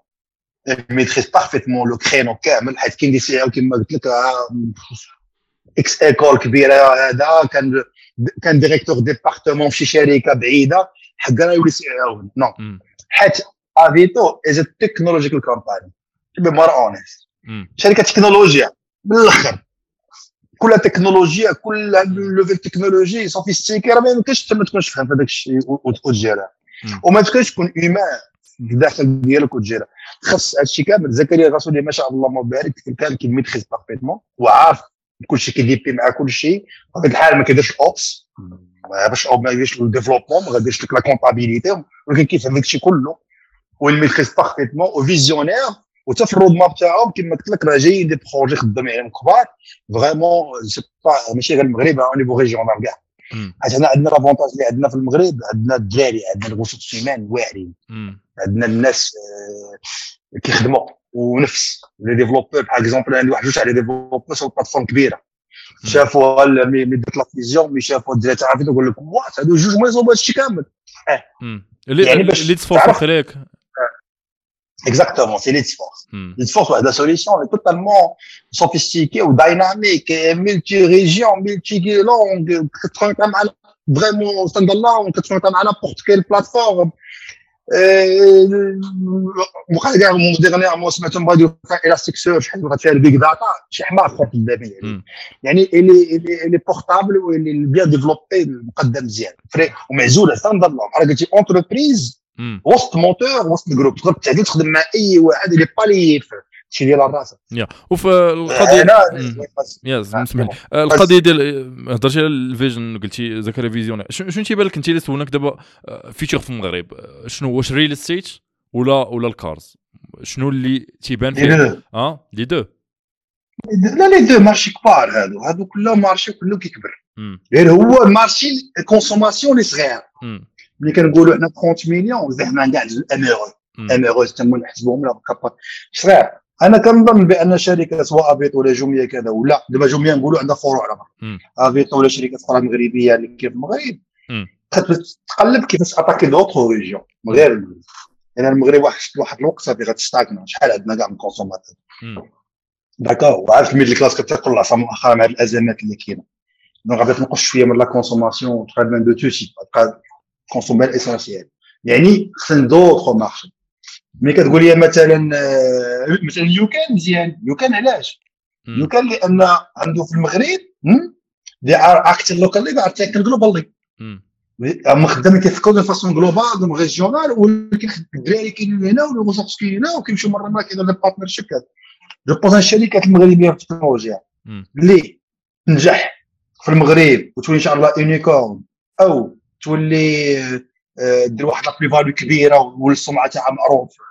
لو كرينو كامل. حيت كاين دي سي او كما قلت لك اكس ايكول كبيره. هذا كان ديريكتور ديبارتمون في شي شركه بعيده حقنا يولي سي او نو. حيت افيتو از تكنولوجيكال كومباني بي مور اونست. شركه تكنولوجيا بالاخر، كل تكنولوجيا كل ليفل تكنولوجي سوفيستيكي راه ما يمكنش ما تكونش فاهم هذاك الشيء وتجيرها وما تكونش تكون ايمان الداخل ديالك وتجيرها. خاص هادشي كامل. زكريا غاسولي ما شاء الله مبارك كان كيميتريز بارفيتمون وعارف كلشي كيديبي مع كلشي. بطبيعه الحال ما كيديرش اوبس ما يديرش الديفلوبمون ما غاديرش لك لا كونطابيليتي، ولكن كيفهم داكشي كله والميتريز بارفيتمون وفيزيونير. وتا في الرود ماب تاعهم كما قلت لك راه جايين دي بروجي خدامين عليهم كبار فريمون. سي با ماشي غير المغرب او نيفو ريجيونال كاع. حيت حنا عندنا لافونتاج اللي عندنا في المغرب، عندنا الدراري، عندنا الغوصات السيمان واعرين، عندنا الناس كيخدموا ونفس لي ديفلوبور. باغ اكزومبل عندي واحد جوج تاع لي ديفلوبور سو بلاتفورم كبيره شافوا مي درت لا فيزيون مي شافوا الدراري تاع عرفتو يقول لك وات هادو جوج ما يصوبوا هادشي كامل. يعني باش تصفر عليك Exactement, c'est l'e-force. L'e-force, la solution est totalement sophistiquée ou dynamique, multi-région, multi-langue, vraiment stand-alone, à n'importe quelle plateforme. Dernièrement, ce matin, on va faire Elasticsearch, on va faire le big data, c'est حمار خط الدابي يعني elle est portable ou elle est bien développée مقدم مزيان فري ومعزوله stand-alone. على قلتي entreprise وسط موتور وسط الجروب تقدر تعدي تخدم مع اي واحد اللي بالي شي ديال راسك. وفي القضيه اسمح لي القضيه ديال هضرتي على الفيجن قلتي زكريا فيزيون. شنو تيبان لك انت اللي سولناك دابا فيتشر في المغرب شنو واش ريل استيت ولا الكارز شنو اللي تيبان فيه لي دو؟ لا لي دو مارشي كبار هادو كلهم مارشي كله كيكبر غير هو مارشي كونسوماسيون اللي صغير. ملي كنقولوا حنا 30 مليون زعما كاع اميرو تما نحسبوهم لا كابا صغير. انا كنظن بان شركه سواء افيتو ولا جوميه كذا ولا دابا جوميه نقولوا عندها فروع على افيتو ولا شركات اخرى مغربيه اللي كاين في المغرب تقلب كيفاش اتاكي دوطخ ريجيون غير المغرب. يعني المغرب واحد الوقت صافي غتستاكنا شحال عندنا كاع من كونسوماتور داكور. وعارف الميدل كلاس كتاكل العصا مؤخرا مع الازمات اللي كاينه دونك غادي تنقص شويه من لا كونسوماسيون تقريبا دو تو سي تبقى كونسومي الاسونسيال. يعني خصنا دوطخ مارشي. ملي كتقول لي مثلا يوكان مزيان يوكان علاش يوكان لان عنده في المغرب دي ار اكتر لوكالي دي ار تيكن جلوبالي هما خدامين كيفكروا دو فاسون جلوبال دو ريجيونال ولكن الدراري كاينين هنا والوسط كاينين هنا وكيمشيو مره ما كاين لي بارتنرشيب كذا. جو بوز الشركات المغربيه في التكنولوجيا اللي تنجح في المغرب وتولي ان شاء الله يونيكورن او تولي دير واحد لا بلي فاليو كبيره والسمعه تاعها معروف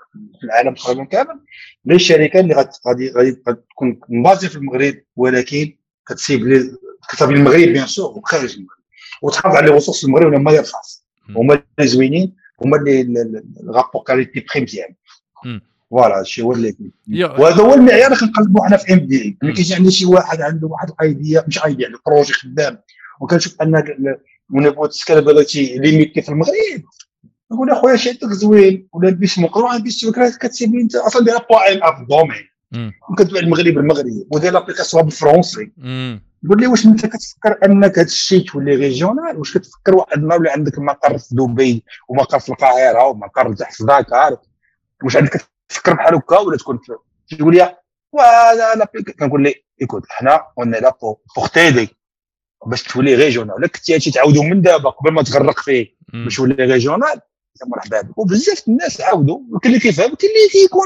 في العالم تقريبا كامل. لي الشركات اللي غادي تكون مبازيه في المغرب ولكن كتسيب المغرب بيان سور وخارج المغرب وتحافظ على ريسورس المغرب ولا ما يرخص هما اللي زوينين هما اللي الرابور كاليتي بري مزيان. فوالا هادشي هو اللي وهذا هو المعيار اللي كنقلبوا حنا في ام بي اي. ملي كيجي عندنا شي واحد عنده واحد الايديا مش ايديا يعني بروجي خدام وكنشوف ان ونبغوا السكالابيليتي ليميتي في المغرب نقول اخويا شي عندك زوين ولا البيس مقروع البيس كتسيب انت اصلا دير بوين اف دومين وكتبع المغرب ودير لابليكاسيون بالفرونسي. قول لي واش انت كتفكر انك هذا الشيء تولي ريجيونال واش كتفكر واحد النهار ولا عندك مقر في دبي ومقر في القاهره ومقر تحت في داكار واش عندك تفكر بحال هكا ولا تكون تقول لي ولا كنقول لي ايكوت حنا قلنا لا بور تيدي باش تولي ريجيونال ولا كنتي تعاودوا من دابا قبل ما تغرق فيه باش تولي ريجيونال مرحبا بك. وبزاف الناس عاودوا وكاين اللي كيفهم وكاين اللي كيكون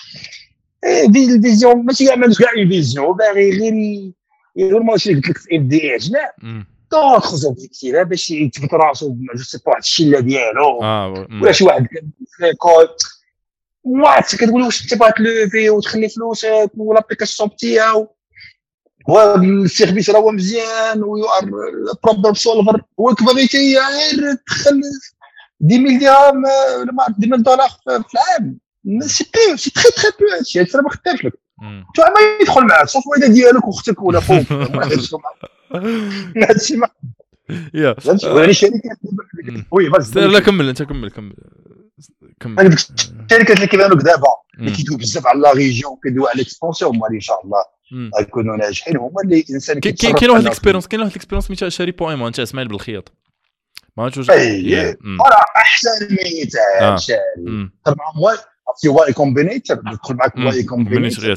فيزيون ماشي كاع ما عندوش كاع فيزيون باغي غير ماشي قلت لك في ام دي عجنا دوطخ زوبجيكتيف باش يثبت راسو جو سي با الشله ديالو ولا شي واحد كيكول وات كتقول واش انت باغي تلوفي وتخلي فلوسك والابليكاسيون تاعو والسيرفيس راه مزيان ويو ار بروبلم سولفر وكفاغيتي غير تدخل 10,000 درهم ولا ما 10,000 دولار في العام سي بي سي تري تري بو هادشي انا ما خدامش لك تو ما يدخل معاك صافي واحد ديالك واختك ولا خوك هادشي ما يا يعني شركات وي بس لا كمل انت كمل هذيك الشركات اللي كيبانوا دابا اللي كيدويو بزاف على لا ريجيون كيدويو على الاكسبونسيون هما اللي ان شاء الله غيكونوا ناجحين هما اللي الانسان كاين واحد الاكسبيريونس مثال شاري بويمون انت اسماعيل بالخياط ما عرفتش واش راه احسن مثال شاري طبعا هو في واي كومبينيتور ندخل معك واي كومبينيتور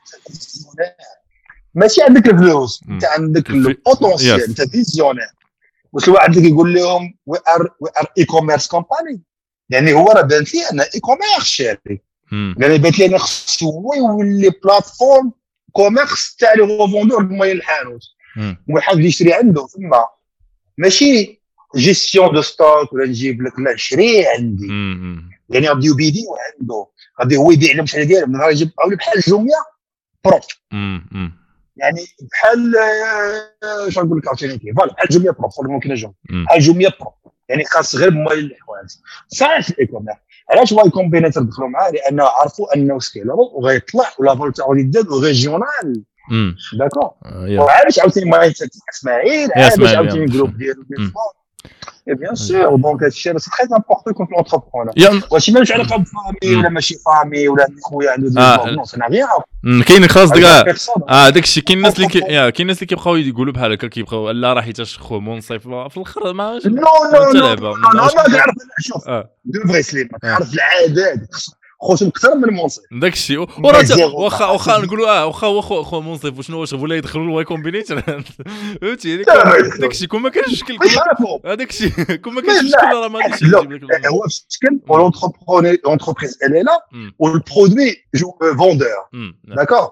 ماشي عندك الفلوس انت عندك البوتونسيال انت فيزيونير واش الواحد اللي كيقول لهم وي ار اي كوميرس كومباني يعني هو راه بان فيه ان اي كوميرس شاري يعني بان لي انا خصو هو يولي بلاتفورم كوميرس تاع لي روفوندور الموين الحانوت وحاب يشري عنده ثم ماشي جيستيون دو ستوك ولا نجيب لك لا شري عندي يعني غادي يبيدي عنده غادي هو يبيع لهم شحال ديالهم من غير يجيب بحال جوميا برو يعني بحال شنو نقول لك عاوتاني فوالا بحال جوميا برو ممكن جوميا بحال جوميا برو يعني خاص غير مويل الحوايج صحيح في الايكوميرس. علاش واي كومبينيتور دخلوا معاه لانه عرفوا انه سكيلابل وغيطلع ولا فولتا غادي يزاد ريجيونال داكور وعلاش عاوتاني ما اسماعيل علاش عاوتاني الجروب ديالو bien sûr donc c'est très important quand l'entrepreneur واش ماشي علاقه بفامي ولا ماشي فامي ولا خويا عنده ديفلوبمون سنا غير كاين خاص كاع داك الشيء كاين الناس اللي كاين الناس اللي كيبقاو يقولوا بحال هكا كيبقاو لا راه حيتاش خو منصف في الاخر ما نو ما تعرف شوف دو فري سليم تعرف العادات خوتهم اكثر من منصف داك الشيء واخا نقولوا واخا خو منصف وشنو واش ولا يدخلوا الواي كومبينيتور فهمتي داك الشيء كون ما كانش مشكل هذاك الشيء كون ما كانش مشكل راه ما غاديش يجيب لك هو مشكل لونتربريز elle est là والبرودوي فوندور داكور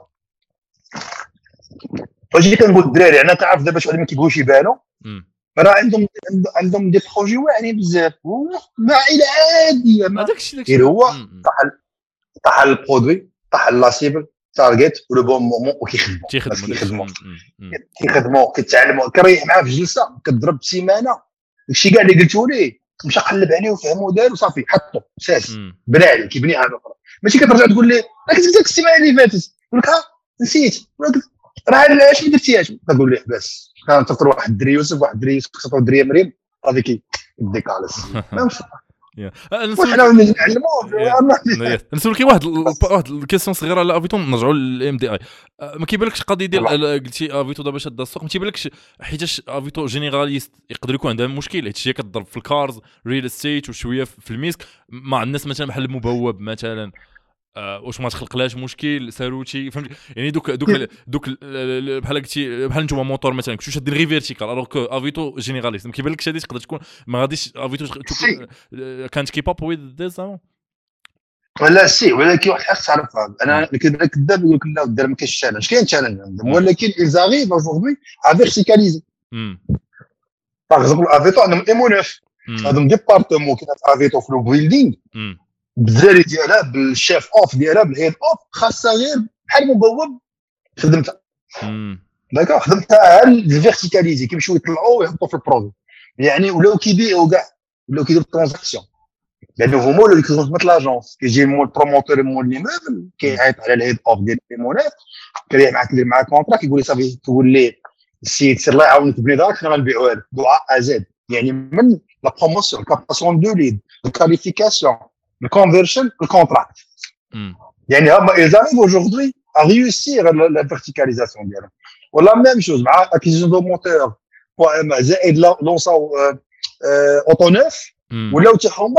واش كنقول الدراري انا كنعرف دابا شي واحد ما كيبغيوش يبانوا راه عندهم دي بروجي واعرين بزاف ما الى عاديه ما غير هو طاح البرودوي طاح لا سيبل تارجت ولو بون مومون كيخدموا كيتعلموا كريح معاه في جلسه كتضرب سيمانه داكشي كاع اللي قلتو ليه مشى قلب عليه وفهمو دار وصافي حطو ساس بنى عليه كيبني حاجه اخرى ماشي كترجع تقول ليه راك كتبت السيمانه اللي فاتت يقول لك نسيت راه علاش ما درتيهاش كتقول ليه بس كان تفطر واحد الدري يوسف واحد الدري يوسف خصو الدري مريم هذيك يديكالس ماشي نسولك واحد الكيسيون صغيره على افيتون نرجعوا للام دي اي ما كيبانلكش قضيه ديال قلتي افيتو دابا شاد السوق ما كيبانلكش حيتاش افيتو جينيراليست يقدر يكون عندها مشكل حيت هي كتضرب في الكارز ريل استيت وشويه في الميسك مع الناس مثلا بحال المبوب مثلا واش ما تخلقلاش مشكل ساروتي فهمت يعني دوك بحال قلتي بحال نتوما موتور مثلا كنتو شادين غير فيرتيكال الوغ كو افيتو جينيراليست ما كيبانلكش هذه تقدر تكون ما غاديش افيتو كانت كيب اب ويز ذيس ولا سي ولكن واحد خاص تعرف انا كذاب يقول لك لا دار ما كاينش تشالنج كاين تشالنج عندهم ولكن ils arrivent aujourd'hui à verticaliser par exemple افيتو عندهم ايمو 9 عندهم ديبارتمون كيف افيتو في البيلدينغ بالدراري ديالها بالشيف اوف ديالها بالهيد اوف خاصها غير بحال مبوب خدمتها داكوغ خدمتها على الفيرتيكاليزي كيمشيو يطلعوا ويحطوا في البرودوي يعني ولاو كيبيعوا كاع ولاو كيديروا ترانزاكسيون لانه هما اللي كيخدموا في لاجونس كيجي مول بروموتور مول لي موبل كيعيط على الهيد اوف ديال ليمونات كيريح معاك دير معاك كونطرا كيقول لي صافي تقول لي السيد سير الله يعاونك بني دارك حنا غنبيعوها لك دعاء ازاد يعني من لا بروموسيون الكاباسيون دو ليد الكاليفيكاسيون الكونفيرشن الكونتراكت يعني هما ils aujourd'hui à réussir la verticalisation ديالهم ولا ميم شوز مع اكيزيشن دو موتور زائد لونساو اوتو نوف ولاو تيحوما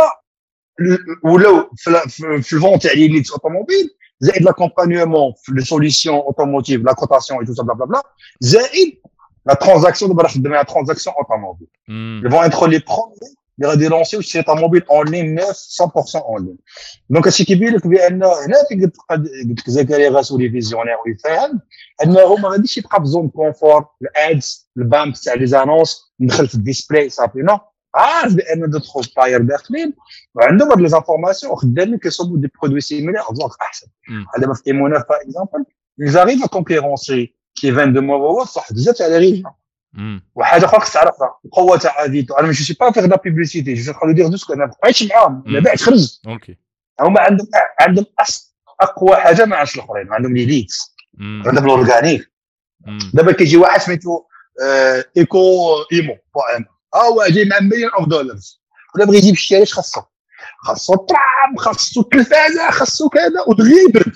ولاو في الفون تاع لي ليد اوتوموبيل زائد لاكومبانيومون في لي سوليسيون اوتوموتيف لا كوتاسيون اي تو سا بلا بلا بلا زائد لا ترانزاكسيون دابا خدمنا على ترانزاكسيون اوتوموبيل ils vont être les premiers اللي غادي يلونسيو شي طوموبيل اون لين نيف 100% اون لين دونك هادشي كيبين لك بان هنا قلت لك زكريا غاسولي فيزيونير ويفهم انه ما غاديش يبقى بزون كونفور الادز البامب تاع لي زانونس ندخل في الديسبلاي صافي نو عارف بان دوطخ باير داخلين وعندهم هاد لي زانفورماسيون خدامين كيصوبوا دي برودوي سيميلير دونك احسن دابا في ايموناف باغ اكزومبل ils arrivent à concurrencer كي فان دو موا صح بزاف تاع لي ريجيون وحاجه اخرى خصك تعرفها القوه تاع افيتو انا ماشي با فيغ لا بوبليسيتي جو خلو دير دوسك انا بقيتش معاهم ما بعد خرج اوكي هما عندهم اقوى حاجه ما عندش الاخرين عندهم لي ليدز عندهم الاورغانيك دابا كيجي واحد سميتو ايكو ايمو هو جاي مع مليون اوف دولار ولا بغى يجيب الشارع اش خاصو طرام خاصو التلفازه خاصو كذا وتغيبر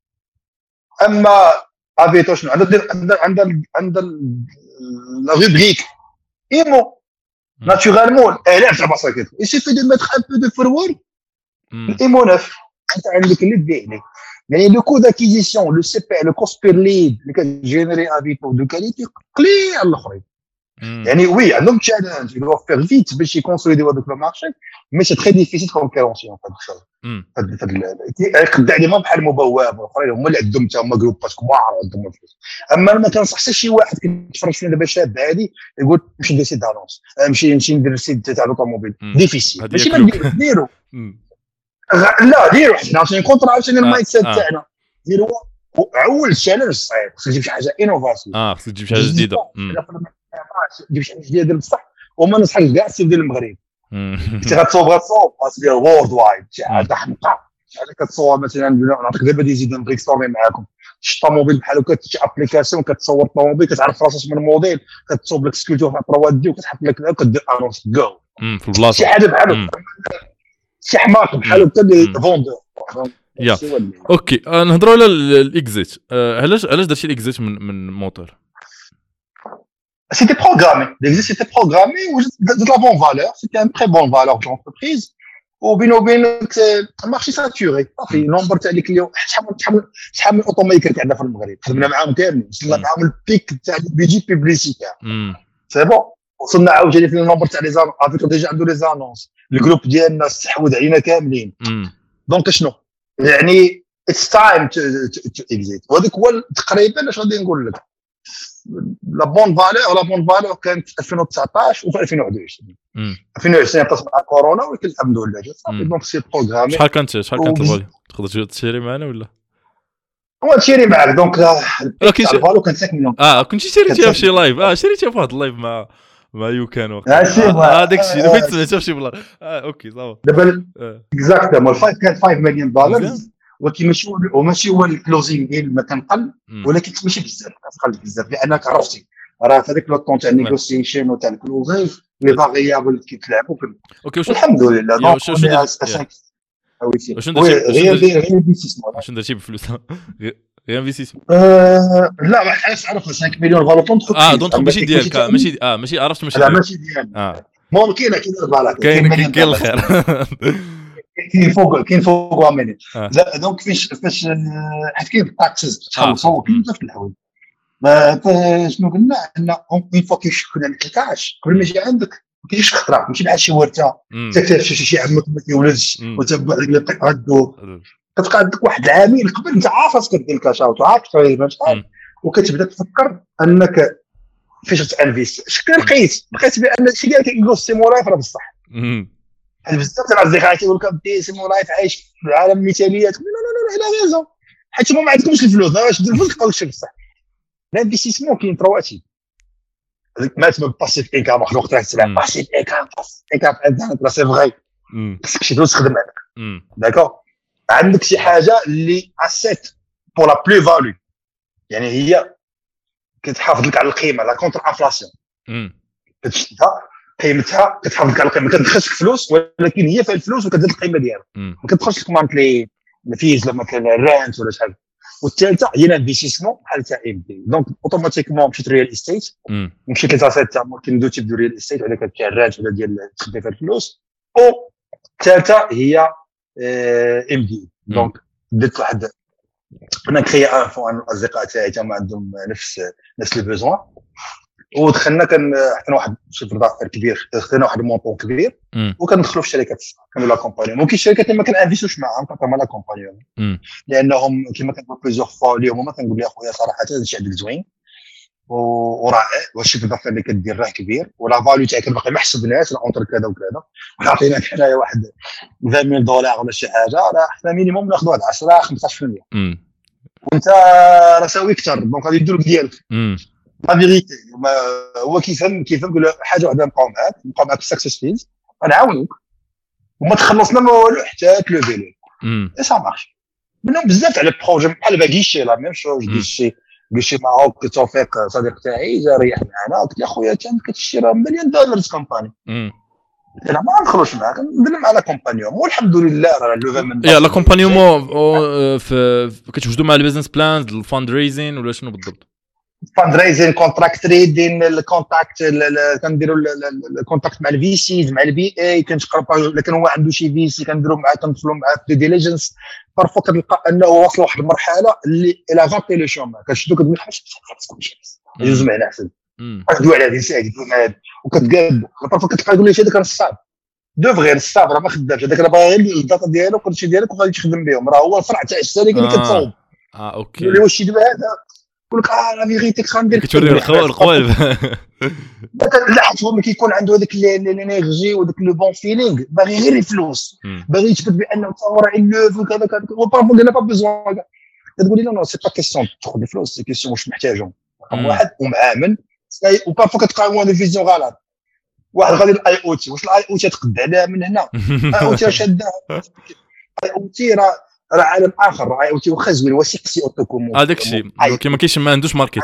اما افيتو شنو عندها la rubrique IMO naturellement elle est très basse il suffit de mettre un peu de forward IMO 9 انت عندك اللي تبيع لي يعني le coût d'acquisition le CP le cost per lead اللي كتجينيري افيتو دو كاليتي قليل على الاخرين يعني وي عندهم تشالنج يدو فير فيت باش يكونسوليديو هذاك المارشي مي سي تري ديفيسيل كونكورونسيون يقد عليهم بحال مبواب والاخرين هما اللي عندهم حتى هما جروبات كبار عندهم الفلوس اما ما كنصحش شي واحد كيتفرج فينا دابا شاب عادي يقول نمشي ندير سيت دانونس نمشي ندير سيت تاع لوطوموبيل ديفيسيل ماشي ما نديرو لا ديروا حنا عشان كونطرا عشان المايند سيت تاعنا ديروا اول تشالنج صعيب خصك تجيب شي حاجه انوفاسيون خصك تجيب شي حاجه جديده تجيب شي حاجه جديده بصح وما نصحك كاع السيف ديال المغرب انت غتصوب ديال وورد وايد شي حاجه حمقى شي حاجه كتصور مثلا نعطيك دابا دي زيد بريك ستوري معاكم شي طوموبيل بحال هكا شي ابليكاسيون كتصور الطوموبيل كتعرف راسك من الموديل كتصوب لك سكولتور في 3 دي وكتحط لك كدير انونس جو في البلاصه شي حاجه بحال شي حماق بحال هكا اللي فوندور يا اوكي نهضروا على الاكزيت علاش درتي الاكزيت من موتور C'était programmé. L'exit c'était programmé ou de la bonne valeur. C'était un très bonne valeur de l'entreprise. Ou bien un marché saturé. في nombre تاع لي كليون شحال من اوتوميكر عندنا في المغرب خدمنا معاهم كاملين وصلنا معاهم البيك تاع البيجي بيبليسيتير سي بون وصلنا عاوتاني في النمبر تاع لي زانونس افيكو ديجا عنده لي زانونس الجروب ديالنا استحوذ علينا كاملين دونك شنو يعني اتس تايم تو اكزيت وهذاك هو تقريبا اش غادي نقول لك لا بون فالور كانت في 2019 وفي 2021 2020 قص مع كورونا ولكن الحمد لله جات صافي دونك سي بروغرامي شحال كانت الفالور تقدر تشري معنا ولا هو تشري معك دونك الفالور كان 5 مليون كنتي شريتيها في شي لايف شريتيها في واحد اللايف مع يوكان وقت داك الشيء دابا سمعتها في شي بلان اوكي صافي دابا اكزاكتومون الفايف كان 5 مليون دولار ولكن ماشي هو الكلوزينغ ديال ما كنقل ولكن ماشي بزاف كتقل بزاف لانك عرفتي راه في هذاك لو طون تاع النيغوسيشن وتاع الكلوزينغ لي فاريابل كيتلعبوا اوكي الحمد لله دونك غير انفستيسمون شنو درتي بالفلوس غير انفستيسمون لا ما حاش عرف 5 مليون فالو دونك ماشي ديالك ماشي عرفت ماشي لا ماشي ديالك ممكن كاين البلاك كاين الخير كاين فوق وامين دونك فاش حيت كاين التاكسز تخلصوا كاين بزاف د الحوايج شنو قلنا ان اون فوا كيشكل عليك الكاش قبل ما يجي عندك ما كاينش خطره ماشي بحال شي ورثه تكتشف شي عمك ما كيولدش وتبع ديك الدقيقه غدور كتبقى عندك واحد العامل قبل انت عارف راسك دير الكاش اوت عارف تقريبا شحال وكتبدا تفكر انك فاش تانفيست شكون لقيت بان شي ديال كيقول السيمولايف راه بصح بحال بزاف ديال الاصدقاء تيقول لك بدي سي مولاي عايش في عالم مثاليات. لا لا لا لا غيزون، حيت ما عندكمش الفلوس. واش دير الفلوس تبقاو تشوف بصح. الانفستيسمون كاين ترواتي هذيك ما تسمى باسيف انكام. واحد الوقت تسمع باسيف انكام انت سي فغي خصك شي فلوس تخدم عليك. داكور عندك شي حاجه اللي اسيت بور لا بلو فالو، يعني هي كتحافظ لك على القيمه لا كونتر انفلاسيون. كتشدها قيمتها كتحافظ لك على القيمه، كتدخلش فلوس ولكن هي فيها الفلوس وكتزيد القيمه ديالها. ما كتدخلش لك مارك لي فيز لما كان الرانت ولا شحال. والثالثه هي الانفستيسمون بحال تاع ام دي. دونك اوتوماتيكمون مشيت ريال استيت، مشيت لتاسيت تاع ممكن دو تيب دو ريال استيت، ولا كتبيع الرانت ولا ديال تخدم فيها الفلوس. او الثالثه هي ام دي. دونك درت واحد انا كريي ان فون الاصدقاء تاعي تما عندهم نفس لي بيزوان، ودخلنا كان حنا واحد شيفر دافير كبير، خدينا واحد المونطون كبير وكندخلوا في الشركات كانوا لا كومباني. ممكن الشركات اللي ما كنانفيستوش معاهم كما لا كومباني لانهم كما كنقول بليزيور فوا ليهم ما كنقول يا خويا صراحه هذا الشيء عندك زوين ورائع، والشيفر دافير اللي كدير راه كبير ولا فاليو تاعك باقي ما حسبناش راه اونتر كذا وكذا، وعطيناك حنايا واحد $20,000 ولا شي حاجه، راه حنا مينيموم ناخذ واحد 10-15%. وانت راه ساوي اكثر دونك غادي يدير لك ديالك. لا فيغيتي هو كيفهم حاجه واحده نبقاو معاك سكسسفيل غنعاونوك وما تخلصنا ما والو حتى تلوفي لي اي سا مارش. منهم بزاف على البروجي بحال باغيشي لا ميم شوز. غيشي معاك توفيق صديق تاعي جا ريح معنا قلت له خويا انت كتشري راه $1,000,000 كومباني. انا ما ندخلوش معاك ندير مع لا كومبانيون والحمد لله راه لوفا من يا لا كومبانيون كتوجدوا مع البيزنس بلانز الفاند ريزين ولا شنو بالضبط؟ فاند ريزين كونتراكت تريدين الكونتاكت كنديروا الكونتاكت مع الفي سيز مع البي اي كنتقرب لكن هو عنده شي في سي كنديروا معاه كندخلوا معاه في ديليجنس. بارفو كتلقى انه وصل لواحد المرحله اللي الى غابي لو شوما كتشدو كتقول حاجه يجوز معنا احسن ندوي على هذه الساعه وكتقاد بارفو كتلقى يقول لي هذاك راه صعب دو فغير الصعب راه ما خدامش هذاك راه باغي الداتا ديالو كلشي ديالك وغادي تخدم بهم راه هو الفرع تاع الشركه اللي كتصاوب. اوكي يقول لي واش يدير هذا يقول لك لا فيغيتي غندير كتوري القوالب. لا حيت هو كيكون عنده هذاك الانرجي وذاك لو بون فيلينغ باغي غير الفلوس باغي يثبت بانه هو راه يلوف وكذا كذا وبارفو دينا با بيزوان. كتقول لي لا سي با كيسيون تاخذ الفلوس سي كيسيون واش محتاجهم رقم واحد ومعامل وبارفو كتلقى وان فيزيون غلط. واحد غادي الاي او تي واش الاي او تي تقد عليها من هنا اي او تي شاده اي او تي راه عالم اخر. اي او تي واخا زوين وسيق سي اوتوكومون هذاك الشيء كيما كاينش ما عندوش ماركت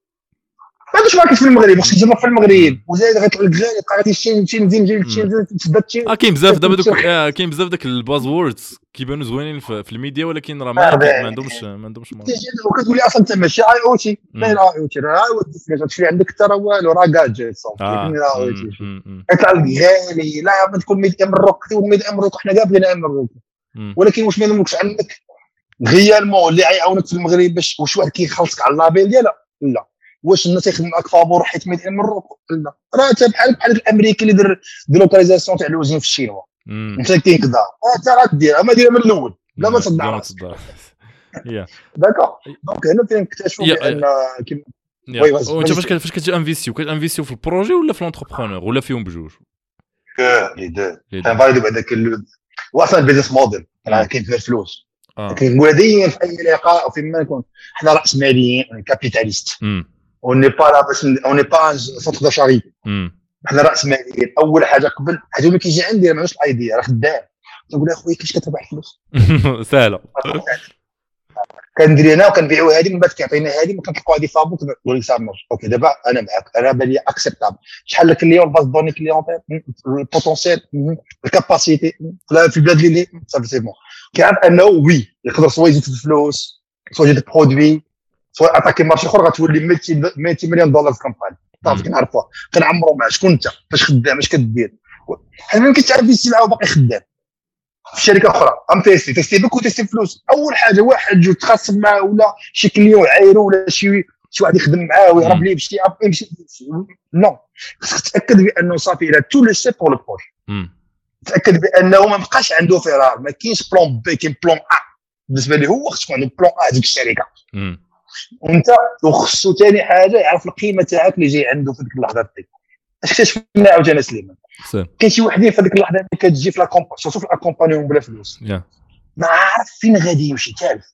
ما عندوش ماركت في المغرب خصك تجرب في المغرب وزايد غيطلع لك غالي تبقى غادي تزيد تثبت كاين بزاف دابا دوك كاين بزاف داك الباز ووردز كيبانوا زوينين في الميديا ولكن راه ما عندهمش ماركت. وكتقول لي اصلا انت ماشي اي او تي لا اي او تي راه تشري عندك حتى راه والو راه جاجيت صافي لكن اي او تي يطلع لك غالي لا ما تكون 100 امروك و100 امروك حنا كاع بغينا امروك ولكن واش ما يملكش عندك غيالمون اللي غيعاونك في المغرب باش واش واحد كيخلصك على اللابيل ديالها لا واش الناس يخدم معاك فابور حيت 100 امروك لا راه حتى بحال الامريكي اللي دار ديلوكاليزاسيون تاع الوزين في الشينوا انت كينقدر انت راه ديرها ما ديرها من الاول لا ما تصدع راسك داكور. دونك هنا فين نكتشفوا بان وي وانت فاش كتجي انفيستيو كتانفيستيو في البروجي ولا في لونتربرونور ولا فيهم بجوج؟ لي دو كنفاليدو بهذاك واصلا البيزنس موديل راه كاين فيه الفلوس كنقول دايما في اي لقاء او فيما نكون حنا راس ماليين كابيتاليست اون ني با لا باش اون ني با سونتر دو شاريتي حنا راس ماليين. اول حاجه قبل حاجه اللي كيجي عندي ما عندوش الايديا راه خدام نقول اخويا كيفاش كتربح فلوس سهله كندير انا وكنبيعوا هذه من بعد كيعطينا هذه ما كنلقاو هذه فابوك نقول لك صافي اوكي دابا انا معاك انا بالي اكسبتابل شحال الكليون الباز دوني كليون البوتونسيال الكاباسيتي في البلاد اللي صافي سي بون كيعرف انه وي يقدر سوا يزيد في الفلوس سوا يزيد برودوي سوا اتاكي مارشي اخر غتولي 200 مليون دولار في كامباني صافي كنعرفوها كنعمروا معاه شكون انت فاش خدام اش كدير حنا ما كنتعرف يسي معاه باقي خدام في شركه اخرى ام تيستي بك وتيستي فلوس. اول حاجه واحد جو تخاصم معاه ولا شي كليون عايرو ولا شي واحد يخدم معاه ويهرب ليه بشي اب يمشي نو خصك تاكد بانه صافي الى تو لو سي بور لو بروجي تاكد بانه ما بقاش عنده فرار ما كاينش بلان بي كاين بلان ا بالنسبه ليه هو خصو عنده بلان ا ديك الشركه وانت وخصو ثاني حاجه يعرف القيمه تاعك اللي جاي عنده في ديك اللحظه ديك اكتشفنا عاوتاني سليمان كاين شي وحدين في هذيك اللحظه اللي كتجي في سورتو في الاكومبانيون بلا فلوس ما عارف فين غادي يمشي تعرف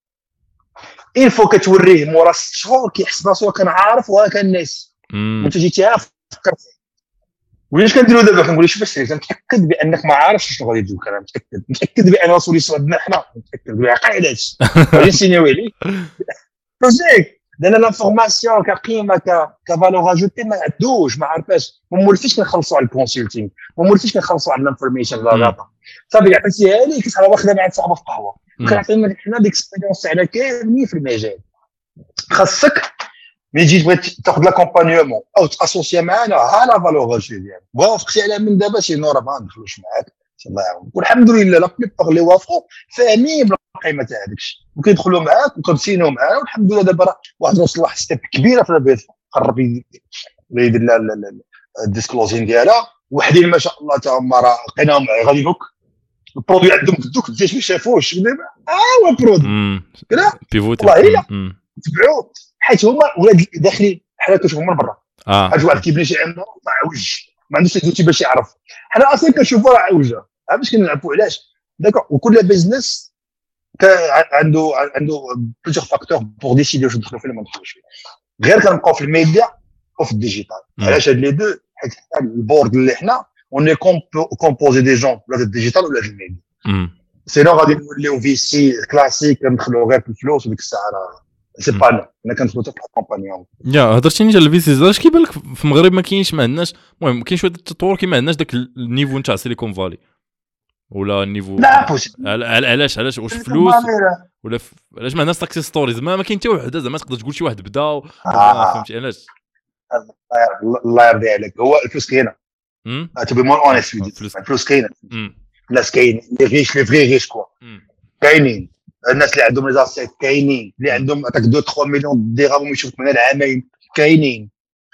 il faut كتوريه مورا 6 شهور كيحس راسو كان عارف وكان ناس وانت جيتي فكر ولاش كنديروا دابا كنقول شوف السير متاكد بانك ما عارفش شنو غادي يجيو كلام متاكد بان راسو اللي صدنا حنا متاكد بعقيدات غادي نسينيو عليه بروجيك دانا لانفورماسيون كقيمه كفالور اجوتي ما عندوش ما عارفاش ما مولفيش كنخلصوا على الكونسلتينغ ما مولفيش كنخلصوا على الانفورميشن لا صافي عطيتيها لي كتبقى واخده مع صاحبه في قهوه كنعطينا حنا ديكسبيريونس على كاملين في المجال خاصك ملي تجي تبغي تاخذ لاكومبانيومون او تاسوسيا معنا ها لا فالور اجوتي ديالك وافقتي على من دابا شي نور ما ندخلوش معاك الله يعاون والحمد لله لا بليبار اللي وافقوا فاهمين بالقيمه تاع هذاك الشيء وكيدخلوا معاك وكنسينوا معاه والحمد لله دابا راه واحد وصل لواحد ستيب كبيره في البيت قرب يدير الديسكلوزين ديالها وحدين ما شاء الله تا هما راه لقيناهم غادي دوك البرودوي عندهم في الدوك ما شافوش دابا هو برودوي كذا والله الا تبعوه حيت هما ولاد داخلين حنا كنشوفوا من برا حاج واحد كيبني شي عمره عوج ما عندوش دوتي باش يعرف حنا اصلا كنشوفوا راه عوجه باش كنلعبوا علاش داكور وكل بيزنس عنده بلوزيغ فاكتور بور ديسيدي واش ندخلوا فيه ولا ما ندخلوش فيه غير كنبقاو في الميديا وفي الديجيتال علاش هاد لي دو حيت البورد اللي حنا اون كومبوزي دي جون ولا الديجيتال ولا الميديا سينو غادي نوليو في سي كلاسيك ندخلوا غير في الفلوس وديك الساعه راه سي با انا كندخلوا حتى في الكومبانيون يا هضرتيني على الفيسيز اش كيبان لك في المغرب ما كاينش ما عندناش المهم كاين شويه التطور كي ما عندناش داك النيفو نتاع سيليكون فالي ولا النيفو لا بوسيبل علاش واش فلوس ولا علاش ما عندناش ساكسيس ستوريز ما كاين حتى وحده زعما تقدر تقول شي واحد بدا فهمتي علاش الله يرضي عليك هو الفلوس كاينه تبي مور اونست الفلوس كاينه الناس كاين لي فري ريش كوا كاينين الناس اللي عندهم ليزاسيت كاينين اللي عندهم هذاك 2 3 مليون درهم يشوف من العامين كاينين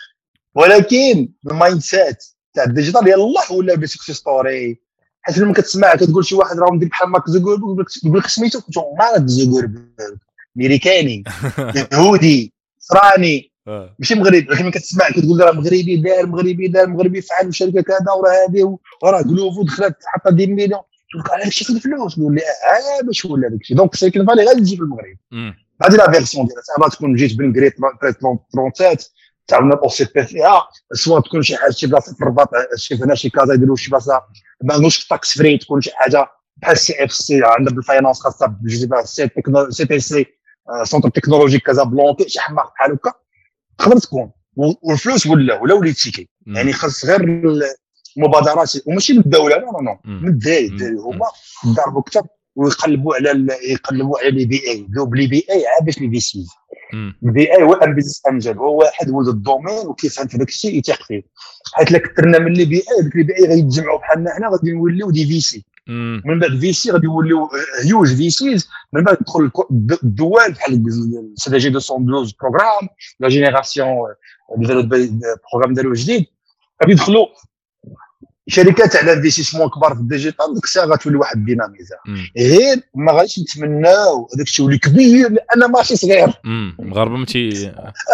ولكن المايند سيت تاع الديجيتال يلاه ولا بسكسي ستوري حيت لما كتسمع كتقول شي واحد راه مدير بحال مارك زوكربيرغ يقول لك سميتو مارك زوكربيرغ امريكاني يهودي صراني ماشي مغربي لكن ملي كتسمع كتقول راه مغربي فعل الشركه كذا وراه هذه وراه كلوفو دخلت حطها 10 مليون تقول لك على هادشي فين الفلوس نقول لي باش ولا داكشي دونك سيليكون فالي غادي تجي في المغرب هذه لا فيرسيون ديالها سواء تكون جيت بن كريت 37 تعاوننا اوسيبي فيها سواء تكون شي حاجه شي بلاصه في الرباط شي هنا شي كازا يديروا شي بلاصه ما عندوش تاكس فري تكون شي حاجه بحال سي اف سي عندنا بالفاينانس خاصه بجوج سي تي سي سونتر تكنولوجيك كازابلانكا شي حماق بحال هكا تقدر تكون والفلوس ولا وليت تيكي يعني خاص غير المبادرات وماشي من الدوله لا من الداير هما ضربوا كثر ويقلبوا على لي بي اي بلي بي اي باش لي في سي البي اي هو البيزنس انجل هو واحد ولد الدومين وكيفهم في داك الشيء يثق فيه حيت لك كثرنا من لي بي اي ديك لي بي اي غيتجمعوا بحالنا حنا غادي نوليو دي في سي من بعد في سي غادي يوليو هيوج في سيز من بعد تدخل الدول بحال سي جي 212 بروغرام لا جينيراسيون بروغرام ديالو جديد غادي يدخلوا شركات على انفستيسمون كبار في الديجيتال ديك الساعه غتولي واحد الديناميزا غير ما غاديش نتمناو هذاك الشيء يولي كبير لان ماشي صغير المغاربه ماشي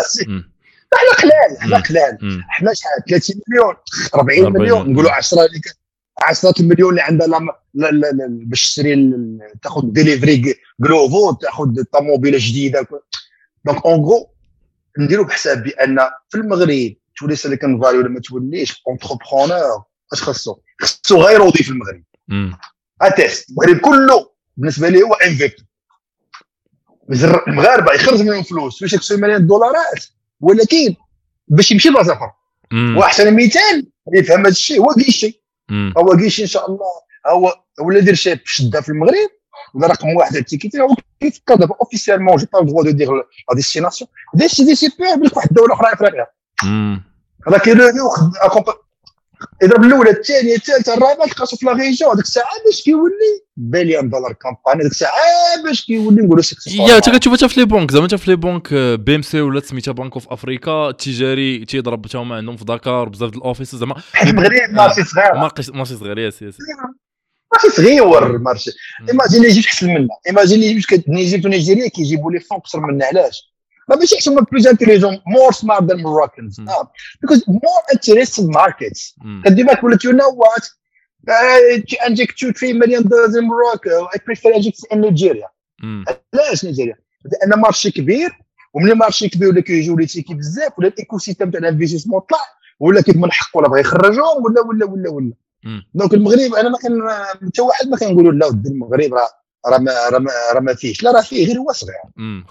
حنا قلال حنا شحال 30 مليون 40 مليون نقولوا 10 المليون اللي عندها باش تشري تاخذ ديليفري جلوفو تاخذ طوموبيله جديده دونك اون غو نديروا بحساب بان في المغرب تولي سيليكون فالي ولا ما توليش اونتربرونور اش خاصو غير يوظف في المغرب اتيست المغرب كله بالنسبه لي هو انفيكت المغاربه يخرج منهم فلوس باش يكسبوا مليون دولارات ولكن باش يمشي لبلاصه اخرى واحسن مثال يفهم هذا الشيء هو كيشي هو كيشي ان شاء الله هو ولا دير شي شده في المغرب ولا رقم واحد التيكيتي هو كيفكر دابا اوفيسيالمون جي با الدروا دو دير لا ديستيناسيون ديسي بي واحد الدوله اخرى افريقيا راه كيريو يضرب الاولى الثانيه الثالثه الرابعه تلقاو في لا ريجيون ديك الساعه باش كيولي بليون دولار كامباني ديك الساعه باش كيولي نقولوا سكسيس يا انت كتشوفها في لي بنك زعما في لي بنك بي ام سي ولا سميتها بنك اوف افريكا التجاري تيضرب حتى هما عندهم في دكار بزاف د الاوفيس زعما المغرب ماشي صغير ماشي صغير يا سياسي ماشي صغير المارشي ايماجيني يجي احسن منا ايماجيني يجي نيجيريا كيجيبوا لي فون اكثر منا علاش ماشي حسن plus intelligent more smart than Moroccans because more interested markets كديما تقول you know what to inject 2-3 million dollars in Morocco I prefer inject in Nigeria علاش نيجيريا لان مارشي كبير وملي مارشي كبير ولا كيجيو لي تيكي بزاف ولا الايكو سيستيم تاع الانفستيسمون طلع ولا كيف من حق ولا بغى يخرجهم ولا دونك المغرب انا ما كان حتى واحد ما كنقولوا لا ود المغرب راه ما فيهش لا راه فيه غير هو صغير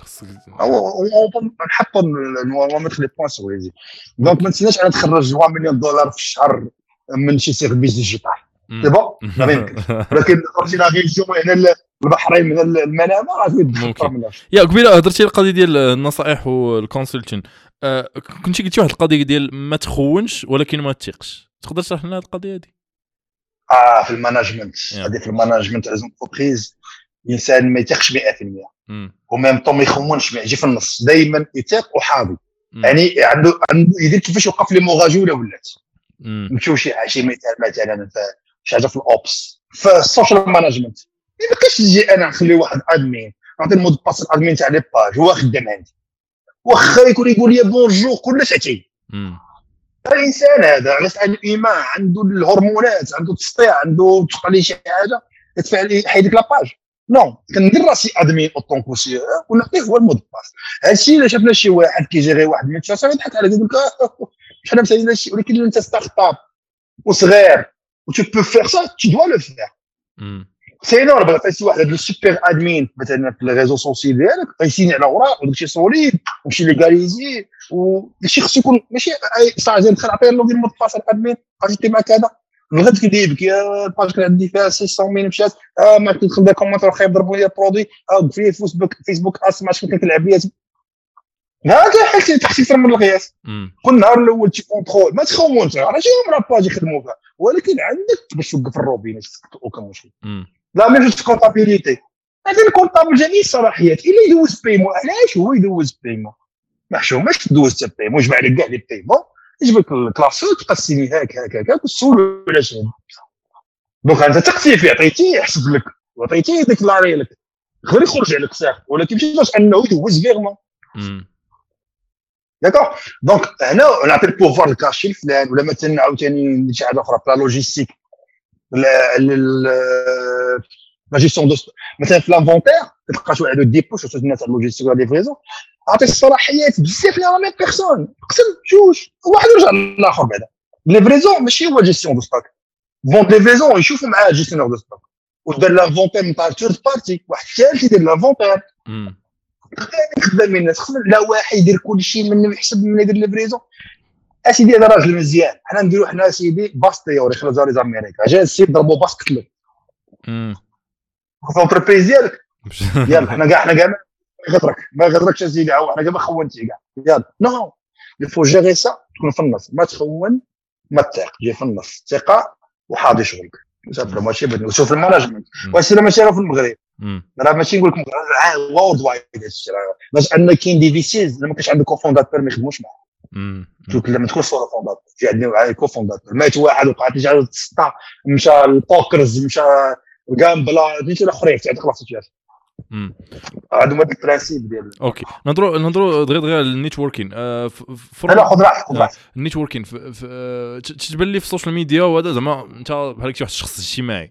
نحط نمثل لي بوين سويزي دونك ما نسيناش انا نخرج 1 مليون دولار في الشهر من شي سيرفيس ديجيتال سي بون ما يمكنش ولكن خرجنا غير الجمعه هنا البحرين من المنامه راه ممكن يا قبيله هضرتي على القضيه ديال النصائح والكونسلتين كنتي قلتي واحد القضيه ديال ما تخونش ولكن ما تثقش تقدر تشرح لنا هذه القضيه هذه في المانجمنت هذه في المانجمنت تاع لونتربريز الانسان ما يثقش 100% وميم طون ما يخونش يجي في النص دائما يثق وحاضي يعني عنده يدير كيفاش يوقف لي مغاجوله ولات نمشيو شي مثلا شي حاجه في الاوبس في السوشيال مانجمنت ما بقاش تجي انا نخلي واحد ادمين نعطي المود باس الادمين تاع لي باج هو خدام عندي واخا يكون يقول لي بونجور كل ساعتين الانسان هذا غير عنده ايمان عنده الهرمونات عنده تسطيع عنده تحط لي شي حاجه يدفع لي حيدك لاباج نو كندير راسي ادمين اوطون كوسي ونعطيه هو المود باس هادشي الا شفنا شي واحد كيجيري واحد من الشاشه يضحك على يقول لك شحال مسالين هادشي ولكن انت ستارت اب وصغير و tu peux faire ça tu dois le faire سينو بغا فايسي واحد هاد السوبر ادمين مثلا في الريزو سوسيال ديالك غيسيني على اوراق وداكشي سوليد وشي ليغاليزي وداكشي خصو يكون ماشي صاجي ندخل نعطيه لو ديال المود باس الادمين قاعدتي مع كذا الغد كيديبك يا الباج كان عندي فيها 600 مشات ما كنت ندير كومونتير خايب ضربوا لي البرودوي في فيسبوك اسمع شنو كنلعب بيها هذا حتى تحسير من القياس كل نهار الاول تي كونترول ما تخونش راه شي مرة باج يخدموا فيها ولكن عندك باش توقف الروبين اوكا مشكل لا ميم جو كونطابيليتي هذا الكونطابل جميع الصلاحيات الا يدوز بيمون علاش هو يدوز بيمون ما حشوماش تدوز حتى بيمون جمع لك كاع لي بيمون يجيبك الكلاسو تقسمي هكا وتسول ولا شنو دونك انت تقسي فيه عطيتيه يحسب لك وعطيتيه ديكلاري لك غير يخرج عليك صافي ولكن ماشي باش انه يدوز فيرمون داكوغ دونك هنا نعطي البوفوار الكاشي لفلان ولا مثلا عاوتاني شي حاجه اخرى لا لوجيستيك لا جيستيون دو مثلا في لانفونتير تلقى شي واحد ديبوش وصلت الناس على اللوجيستيك ولا ليفريزون عطي الصلاحيات بزاف لا ميم بيرسون قسم جوج واحد يرجع للاخر بعدا ليفريزون ماشي هو جيستيون دو ستوك فون ليفريزون يشوفوا معاه جيستيونور دو ستوك ودار لانفونتير من طار ثيرد بارتي واحد ثالث يدير لانفونتير خدام الناس خصنا لا واحد يدير كل شيء منه يحسب من يدير ليفريزون اسيدي هذا راجل مزيان حنا نديروا حنا اسيدي باس تيوري خرجوا لي زاميريكا جا السيد ضربوا باس قتلو لونتربريز ديالك يلا حنا كاع ما غدركش اسيدي حنا كاع ما خونتي كاع يلا نو الفو جيري سا تكون في النص ما تخون ما تثق جي في النص ثقه وحاضي شغلك صافي ماشي بدنا نشوف المانجمنت واش ماشي راه في المغرب راه ماشي نقول لكم وورد وايد باش ان كاين دي فيسيز ما كاينش عندك كوفونداتور ما يخدموش معاه شوف لما تكون صوره فونداتور في عندنا كوفونداتور مات واحد وقعت لي جا تسطا مشى البوكرز مشى الجامبلا ديك الاخرين تعرف خلاص تجي هذا هو البرانسيب ديال اوكي نهضروا دغيا النيتوركين لا خذ راحتك النيتوركين تتبان لي في السوشيال ميديا وهذا زعما انت بحال كي واحد الشخص اجتماعي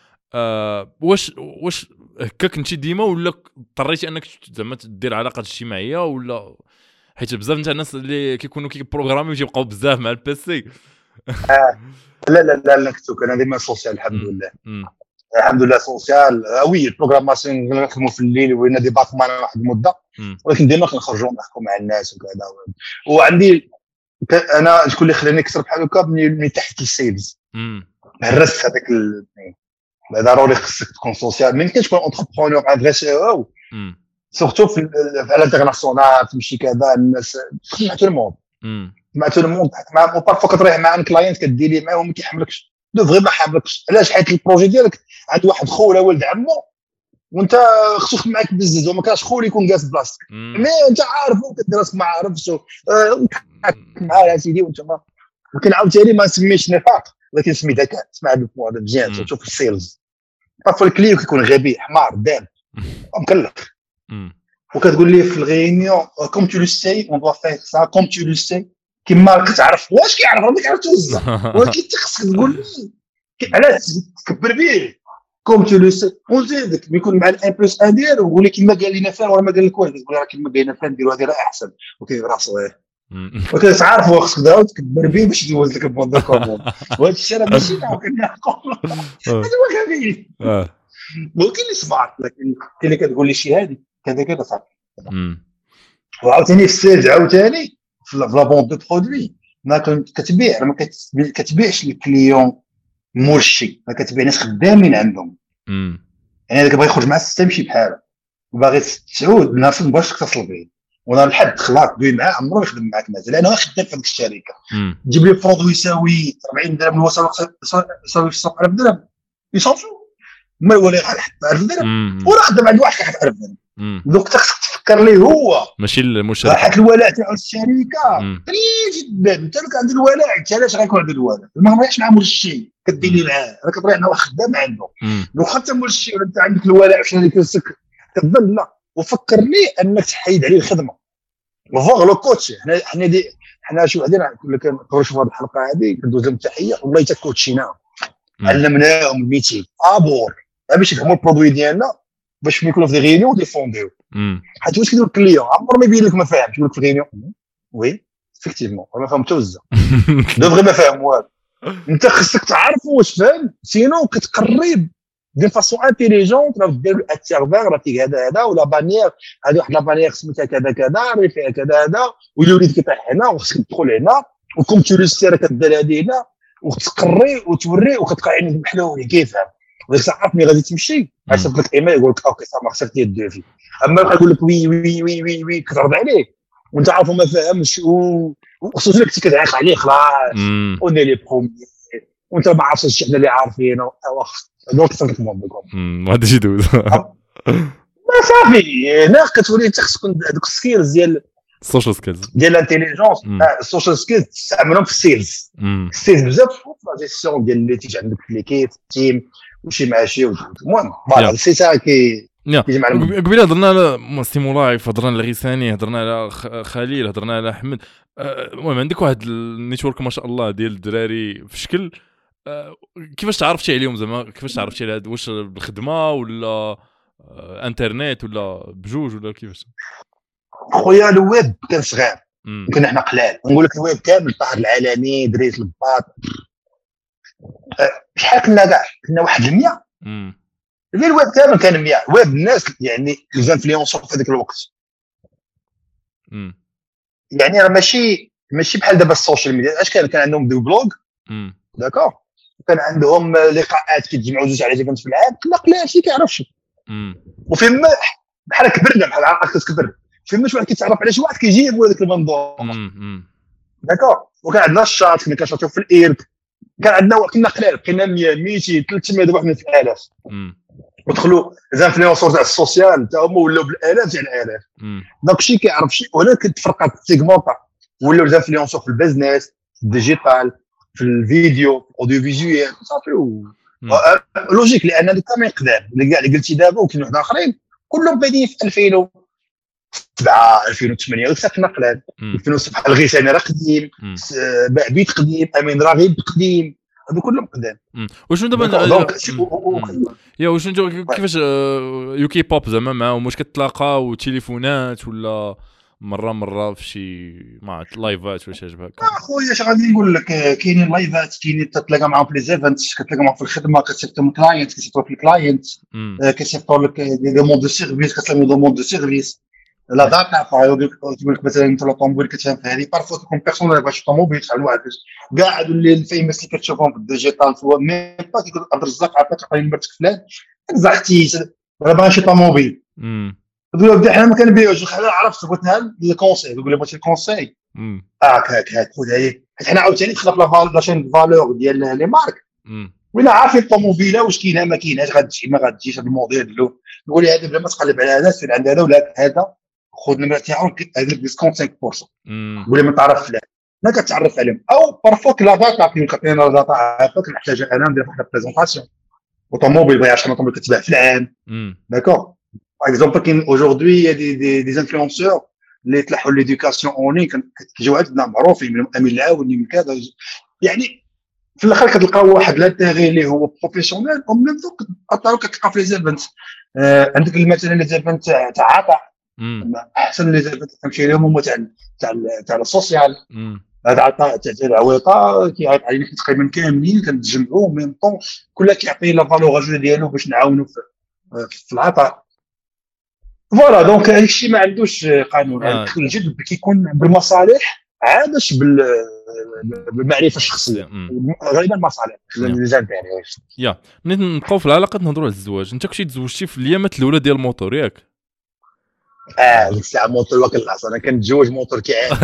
واش هكاك انت ديما ولا اضطريتي انك زعما دير علاقات اجتماعيه ولا حيت بزاف نتاع الناس اللي كيكونوا كيبروغرامي ويبقاو بزاف مع البيسي لا كنت انا ديما سوسيال الحمد لله سوسيال وي البروغراماسيون نخدموا في الليل وين ديبارتمان واحد المده ولكن ديما كنخرجوا نحكوا مع الناس وكذا وعندي انا شكون اللي خلاني نكسر بحال هكا من تحت السيلز هرست هذاك ضروري خصك تكون سوسيال ما يمكنش تكون انتربرونور ان فري سي او سورتو في الانترناسيونال تمشي كذا الناس مع تو الموند مع تو الموند مع بارفو كتريح مع ان كلاينت كديري معاه وما كيحملكش دو فري ما حاملكش علاش حيت البروجي ديالك عند واحد خو ولا ولد عمو وانت خصو يخدم معاك بزز وما كاش خو اللي يكون جالس بلاصتك مي انت عارف وكدير راسك ما عارفش معاه سيدي وانت ما ولكن عاوتاني ما نسميش نفاق ولكن نسمي ذكاء اسمع هذا الموضوع مزيان تشوف السيلز بارفو الكليو كيكون غبي حمار داب مكلخ وكتقول لي في الغينيون كوم تو لو سي اون دوا فير سا كوم تو لو سي كيما كتعرف واش كيعرف راه كيعرف توزع ولكن انت خصك تقول لي علاش تكبر به كوم تو لو سي ونزيدك يكون مع الان بلس ان ديالو ويقول لك كيما قال لنا فلان ولا ما قال لك والو تقول راه كيما قال لنا فلان ديروا هذه راه احسن وكيف راه صغير وكتعرف خصك تعاود تكبر به باش يدوز لك البوند كومون وهذا الشيء راه ماشي كنقول هذا هو خفيف ولكن اللي صبعت لكن اللي كتقول لي شي هذه كذا صافي وعاوتاني في السيلز عاوتاني في لا بوند دو برودوي ما كتبيع ما كتبيعش للكليون مولشي ما كتبيع ناس خدامين عندهم يعني هذاك بغى يخرج مع السيستم شي بحاله باغي تعود الناس ما بغاش تتصل به وانا الحد خلاص دوي معاه عمرو يخدم معاك مازال انا خدام في هذيك الشركه تجيب لي برودوي يساوي 40 درهم الوصل يساوي في السوق 1000 درهم يصافو ما ولا حتى 1000 درهم ولا خدام عند واحد كيحط 1000 درهم دوك خصك تفكر ليه هو ماشي المشاركه حيت الولاء تاع الشركه قليل جدا انت لك عند الولاء انت علاش غيكون عند الولاء ما مريحش مع مول الشيء كديري معاه راه كتريح مع واحد خدام عنده لو خدت مول الشيء ولا انت عندك الولاء في شركتك كتظن لا وفكر ليه انك تحيد عليه الخدمه وفوغ لو كوتش حنا شي وحدين كنا كنقراو في هذه الحلقه هذه كندوز لهم تحيه والله حتى كوتشينا علمناهم الميتي ابور باش يفهموا البرودوي ديالنا باش يكونوا في غينيون وديفونديو حيت واش كيدير الكليون عمر ما يبين لك ما فاهمش يقول لك في غينيون وي افكتيفمون ما فهمت توزع دوغري ما فاهم والو انت خصك تعرفوا واش فاهم سينو كتقرب دي فاسون انتيليجونت راه دير السيرفر راه فيه هذا ولا بانيير هذه واحد لا بانيير سميتها كذا راه فيها كذا والوليد كيطيح هنا وخصك تدخل هنا وكم تولي السيره كدير هذه هنا وتقري وتوري وكتلقى عينك محلول كيفهم ديك الساعه ملي غادي تمشي غيصيفط لك ايميل يقول لك اوكي صافي خسرتي الدوفي اما يبقى يقول لك وي وي وي وي وي كترد عليه وانت عارفو ما فاهمش وخصوصا لك كتعيق عليه خلاص اوني لي بروميي وانت ما عارفش شي حنا اللي عارفينه دونك صافي ما غاديش يدوز ما صافي هنا كتولي انت خصك هذوك السكيلز ديال السوشيال سكيلز ديال الانتيليجونس السوشيال سكيلز تستعملهم في السيلز بزاف في لا جيستيون ديال اللي تيجي عندك في ليكيب تيم وشي ماشي المهم فوالا سي سا كي قبيله هضرنا على ستيمولايف هضرنا على غيساني هضرنا على خليل هضرنا على احمد المهم عندك واحد النيتورك ما شاء الله ديال الدراري في شكل كيفاش تعرفتي عليهم زعما كيفاش تعرفتي على واش بالخدمه ولا انترنت ولا بجوج ولا كيفاش خويا الويب كان صغير كنا حنا قلال نقول لك الويب كامل طاهر العالمي دريس الباط شحال كنا كاع كنا واحد 100 اللي الويب كامل كان 100 ويب الناس يعني لي انفلونسور في هذاك الوقت يعني راه ماشي بحال دابا السوشيال ميديا اش كان عندهم دو بلوغ داكور كان عندهم لقاءات كيتجمعوا جوج على ايفنت في العام كنا قلال شي كيعرفش وفين ما بحال كبرنا بحال عقلك كتكبر فين ما شي واحد كيتعرف على شي واحد كيجيب هذاك المنظور داكور وكان عندنا الشاط كنا كنشاطيو في الايرك كان عندنا كنا قلال بقينا 100 200 300 دابا حنا في الالاف ودخلوا زانفلونسور تاع السوسيال تا هما ولاو بالالاف تاع الالاف داكشي كيعرف شي ولكن تفرقات السيغمونطا ولاو زانفلونسور في البيزنس في الديجيتال في الفيديو في الاوديو فيزيوال صافي لوجيك لان هذوك كامل قدام اللي كاع اللي قلتي دابا وكاين واحد اخرين كلهم بادين في 2007 2008 غير كنا قلال 2007 الغيساني راه قديم بعبيد قديم امين راغب قديم هذو كلهم قدام وشنو دابا يا وشنو كيفاش يوكي بوب زعما معاهم واش كتلاقاو تليفونات ولا مره في شي مع لايفات ولا شي حاجه هكا اخويا اش غادي نقول لك كاينين لايفات كاينين تتلاقى معاهم في لي زيفنتس كتلاقى معاهم في الخدمه كتسيفطوا كلاينت كيسيفطوا في الكلاينت كيسيفطوا لك دي دوموند دو سيرفيس كتسمي دوموند دو سيرفيس لا داتا فايو تقول لك مثلا انت لوطوموبيل كتفهم في هذه بارفو تكون بيرسونال باش الطوموبيل تاع الواحد كاع هادو اللي الفيمس اللي كتشوفهم في الديجيتال سوا ميم با كيقول عبد الرزاق عطاك عطيني نمرتك فلان زعتي راه باغي شي طوموبيل تقول له حنا ما كنبيعوش حنا عرفت بغيتها لي كونساي يقول لي بغيتي الكونساي هاك خذ هذه حيت حنا عاوتاني دخلنا في لا شين فالور ديال لي مارك ولا عارفين الطوموبيله واش كاينه ما كايناش غتجي ما غتجيش هذا الموديل له نقول لي هذا بلا ما تقلب على هذا سير عند هذا ولا هذا خذ النمره تاعو هذاك ديسكونت 5% قول لي ما تعرف فلان ما كتعرف عليهم او بارفوك لا داتا كيعطينا لا داتا هكاك نحتاجها انا ندير واحد البريزونطاسيون اوتوموبيل بغا 10 طوموبيل كتباع في العام داكور باغ اكزومبل كاين اaujourd'hui دي انفلونسور اللي يطلعوا ليدوكاسيون اون لين كيجيو عندنا معروفين من امين العاوني من كذا يعني في الاخر كتلقاو واحد لانتيغي اللي هو بروفيسيونيل او ميم دوك عطاو كتلقى في لي زيفنت عندك مثلا لي زيفنت تاع عطاء احسن لي زيفنت تمشي لهم هما تاع السوسيال هذا عطاء تاع العويطه كيعطي علينا تقريبا كاملين كنتجمعوا ميم طون كل كيعطي لا فالور اجو ديالو باش نعاونوا في العطاء فوالا دونك هذاك الشيء ما عندوش قانون الجد كيكون بالمصالح عادش بالمعرفه الشخصيه غالبا مصالح الجانبيه يا نبقاو في العلاقه نهضروا على الزواج انت كنتي تزوجتي في الايامات الاولى ديال الموتور ياك ديك الساعه موتور وكل العصر انا كنتزوج موتور كيعاني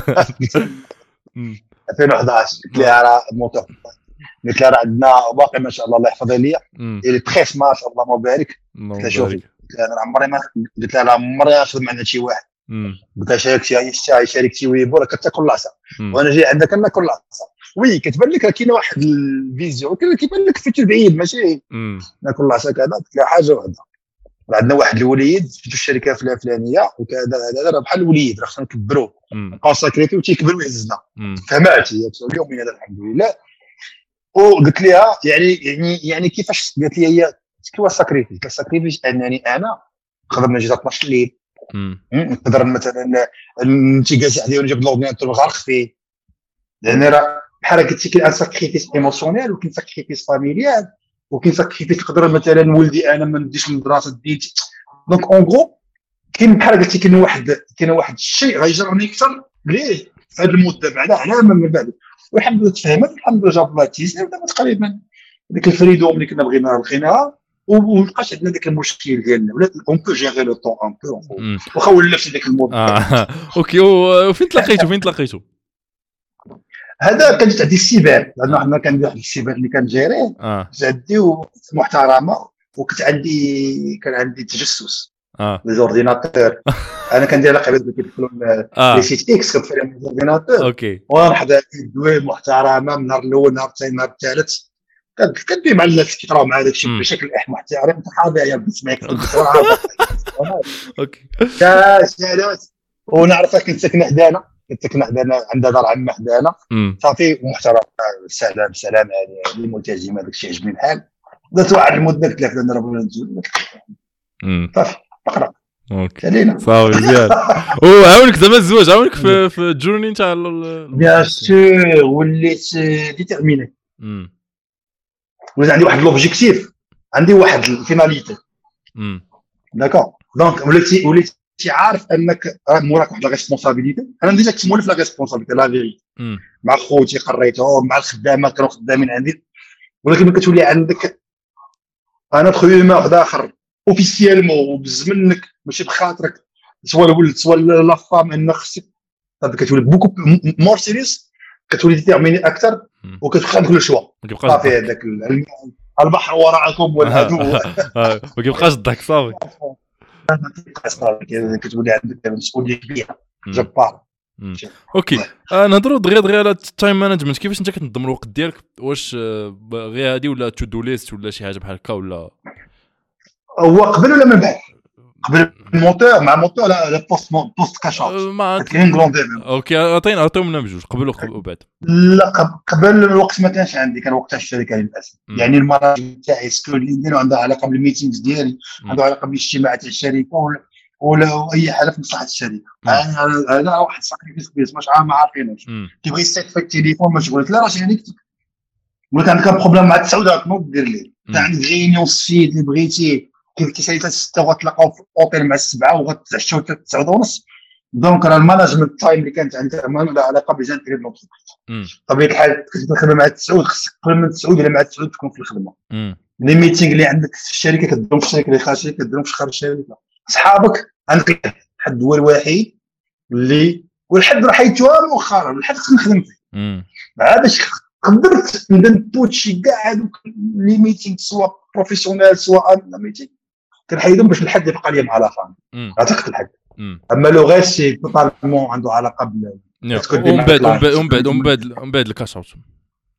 2011 قلت لها راه موتور قلت لها راه عندنا باقي ما شاء الله يحفظها ليا اللي تخيس ما شاء الله مبارك قلت لها شوفي قلت لها عمري ما قلت لها عمري ما نخدم عند شي واحد قلت لها شاركتي ويبو راه كتاكل العصا وانا جاي عندك ناكل العصا وي كتبان لك كاينه واحد الفيزيون كيبان لك في البعيد ماشي ناكل العصا كذا قلت لها حاجه واحده عندنا واحد الوليد في الشركه الفلانيه وكذا هذا راه بحال الوليد راه خصنا نكبروه نبقاو ساكريتي وتيكبر ويهزنا فهمات هي اليوم هذا الحمد لله وقلت لها يعني كيفاش قالت لي هي كيوا ساكريفي كساكريفي انني انا نقدر نجي 12 الليل نقدر مثلا انت جالس عليه ونجيب الاورديناتور نغرق فيه لان راه بحال قلتي كاين ساكريفيس ايموسيونيل وكاين ساكريفيس فاميليال وكاين ساكريفيس نقدر مثلا ولدي انا ما نديش للدراسه ديالي دونك اون غرو كاين بحال قلتي كاين واحد الشيء غيجرني اكثر ليه في هذه المده بعدا على من بعد والحمد لله تفهمت الحمد لله جاب الله تيسير ودابا تقريبا ديك الفريدوم اللي كنا بغينا لقيناها ومابقاش عندنا داك المشكل ديالنا ولات اون بو جيري لو طون ان بو واخا ولا في داك المود اوكي وفين تلاقيتو هذا كان جات عندي السيبان لانه حنا كان واحد السيبان اللي كان جيري جدي ومحترمه كان عندي تجسس ليزورديناتور انا كندير علاقه بهذوك كيدخلوا لي سيت اكس كنطفي لهم ليزورديناتور اوكي وانا حدا دوي محترمه من النهار الاول نهار الثاني نهار الثالث كندوي مع الناس كيقراو مع داك الشيء بشكل محترم انت حاضر يا بسمعك اوكي كاسالات ونعرفها كنت ساكنه حدانا عندها دار عمه حدانا صافي ومحترمه سلام يعني اللي ملتزمه داك الشيء عجبني الحال درت واحد المده قلت لها انا راه بغينا نتزوج صافي اقرا اوكي صافي مزيان عاونك زعما الزواج عاونك في الجورني نتاع بيان سور وليت ديتيرميني وليت عندي واحد لوبجيكتيف عندي واحد الفيناليتي داكور دونك وليت عارف انك موراك واحد لا ريسبونسابيلتي انا ديجا كنت مولف لا ريسبونسابيلتي لا فيري مع خوتي قريتهم مع الخدامه كانوا خدامين عندي ولكن كتولي عندك انا تخويما واحد اخر اوفيسيالمون وبز منك ماشي بخاطرك سوا الولد سوا لا فام ان خصك كتولي بوكو مور سيريس كتولي ديتيرميني اكثر وكتخلي كل شوا صافي هذاك البحر وراءكم والعدو ما كيبقاش الضحك صافي كتولي عندك مسؤوليه كبيره جبار اوكي نهضروا دغيا على التايم مانجمنت كيفاش انت كتنظم الوقت ديالك واش غير هادي ولا تو دو ليست ولا شي حاجه بحال هكا ولا هو قبل ولا من بعد قبل الموتور مع الموتور لا بوست كاشات كاين غروندير اوكي عطيهم لنا بجوج قبل وبعد لا قبل الوقت ما كانش عندي كان وقتها الشركه للاسف يعني المراجع تاعي سكول اللي نديرو عندها علاقه بالميتينغز ديالي عنده علاقه بالاجتماعات تاع الشركه ولا اي حاجه في مصلحه الشركه هذا واحد ساكريفيس كبير مش ما عارفينوش كيبغي يستيق في التليفون مشغول لا راه يعني ولا عندك بروبليم مع التسعودات ما دير ليه عندك غينيون سيد اللي بغيتي كيسالي 6 وغتلاقاو في الاوتيل مع 7 وغتعشاو 9:30 دونك راه الماناجمنت تايم اللي كانت عندها ما علاقه بجانتري لونتربريز طبيعه الحال كنت تخدم مع 9 خصك قبل من 9 ولا مع 9 تكون في الخدمه لي ميتينغ اللي عندك في الشركه كديرهم في الشركه اللي خارج الشركه كديرهم في خارج الشركه صحابك عندك حد هو الوحيد اللي والحد راه حيتوها مؤخرا الحد خصني نخدم فيه باش قدرت ندبوت شي كاع هذوك لي ميتينغ سواء بروفيسيونيل سواء ميتينغ كنحيدهم باش الحد يبقى لي مع لا فام عتقت الحد اما لو غير سي توتالمون عنده علاقه بال ومن بعد الكاش اوت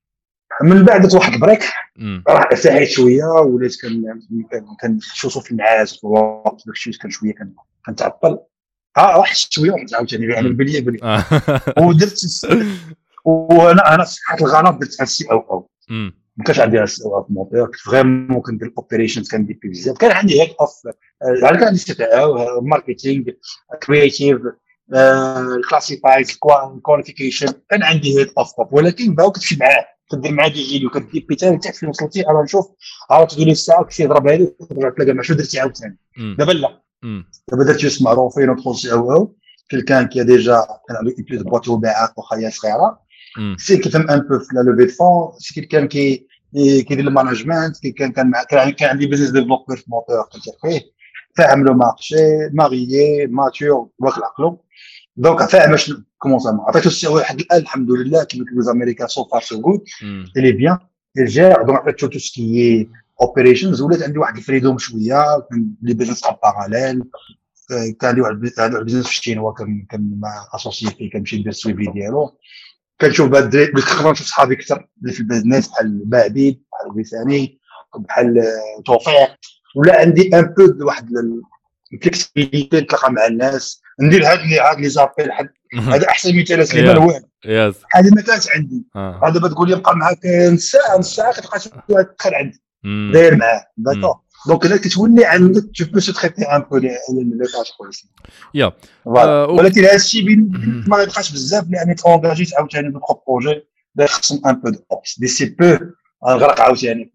من بعد واحد البريك راه ارتحيت شويه وليت كنشوفوا في الناس في الوقت داكشي كان شويه كنتعطل واحد شويه عاوتاني يعني بلي ودرت وانا صحه الغلط درت السي او ما كانش عندي السي او في الموطور كنت فريمون كندير الاوبريشنز كندير بزاف كان عندي هيد اوف كان عندي سي او ماركتينغ كرياتيف الكلاسيفايز كواليفيكيشن كان عندي هيد اوف ولكن باو كتمشي معاه كدير معاه دي جيلي وكدير بيتال حتى فين وصلتي انا نشوف تقول لي الساعه كشي يضربها لي ترجع تلاقى مع شنو درتي عاوتاني دابا لا دابا درت جوست معروفين وندخل سي او quelqu'un qui a déjà كان عنده plus de boîte وباعات وخايه صغيره سي كيفهم ان بو في لا لوفي دو فون سي quelqu'un كي كيدير المانجمنت كان عندي بزنس ديفلوبر في موتور كنت فيه فاهم لو مارشي ماريي ماتور واخ العقلو دونك فاهم كومون سا عطيتو السي واحد الان الحمد لله كيما كيقولوا الامريكان سو فار سو غود لي بيان الجير دونك عطيتو تو سكي اوبريشنز ولات عندي واحد الفريدوم شويه لي بيزنس ان باراليل كان عندي واحد البيزنس في الشينوا كان مع اسوسيي فيه كنمشي ندير السويفي ديالو كنشوف بعد الدراري كنقدر نشوف صحابي اكثر اللي في البيزنس بحال بعبيد بحال وسامي بحال توفيق ولا عندي ان بو واحد الفلكسبيليتي نتلاقى مع الناس ندير هاد لي زابيل هذا احسن مثال سليمان هو هذه ما كانش عندي هذا بتقول لي بقى معاك نص ساعه كتلقى تدخل عندي داير معاه داكور دونك الا كتولي عندك تو بو سو تريتي ان بو لي تاش كويس يا ولكن هذا الشيء ما غيبقاش بزاف لاني تونجاجيت عاوتاني دوطخ بروجي خصهم ان بو دو اوبس دي سي بو غنغرق عاوتاني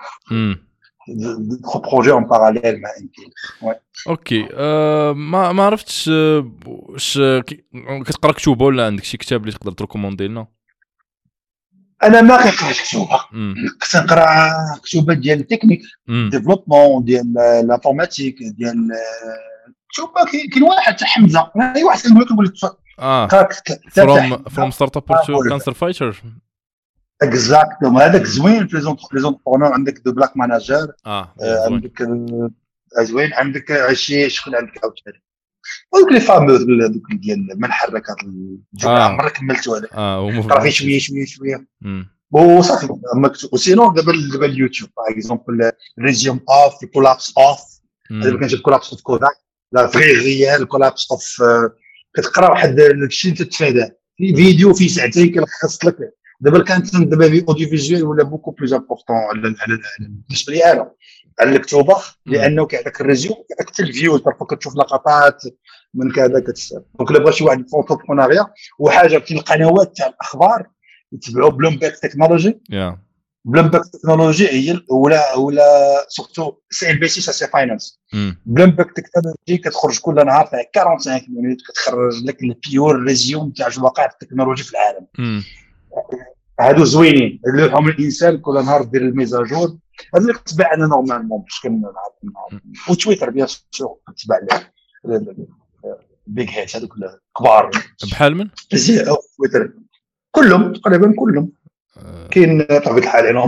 دوطخ بروجي اون باراليل مع انكيل اوكي ما عرفتش واش كتقرا كتب ولا عندك شي كتاب اللي تقدر تريكوموندي لنا؟ انا ما كنقراش كتب كنت نقرا كتب ديال التكنيك ديفلوبمون ديال لافورماتيك ديال كتب كاين واحد تاع حمزه اي واحد كنقول لك فروم ستارت اب تو كانسر فايتر اكزاكتوم هذاك زوين في لي زونتربرونور عندك دو بلاك ماناجر عندك زوين عندك شي شكون عندك عاوتاني دوك لي فاموز دوك ديال من حرك هذا الجمله مره كملتو هذاك قرا فيه شويه وصافي مكتوب وسينو دابا اليوتيوب باغ اكزومبل ريزيوم اوف كولابس اوف دابا كنجيب كولابس اوف كوداك لا فري ريال كولابس اوف كتقرا واحد الشيء تتفاداه في فيديو في ساعتين كيلخص لك دابا كانت دابا في اوديو فيجوال ولا بوكو بلوز امبورطون بالنسبه لي انا على الكتوبه لانه كيعطيك الريزيوم كيعطيك حتى الفيو كتشوف لقطات من كذا دونك الا بغى شي واحد فونتوبرونيا وحاجه كاين القنوات تاع الاخبار يتبعوا بلومبيرغ تكنولوجي بلومبيرغ تكنولوجي هي ولا سورتو سي ام بي سي سي فاينانس بلومبيرغ تكنولوجي كتخرج كل نهار فيها 45 مينوت كتخرج لك البيور ريزيوم تاع الواقع التكنولوجي في العالم هادو زوينين اللي هم الانسان كل نهار دير الميزاجور هذا اللي كتبع انا نورمالمون باش كنعرف وتويتر بيان سور كتبع بيج هيت هذوك الكبار بحال من تويتر كلهم تقريبا كلهم كاين بطبيعه الحال انا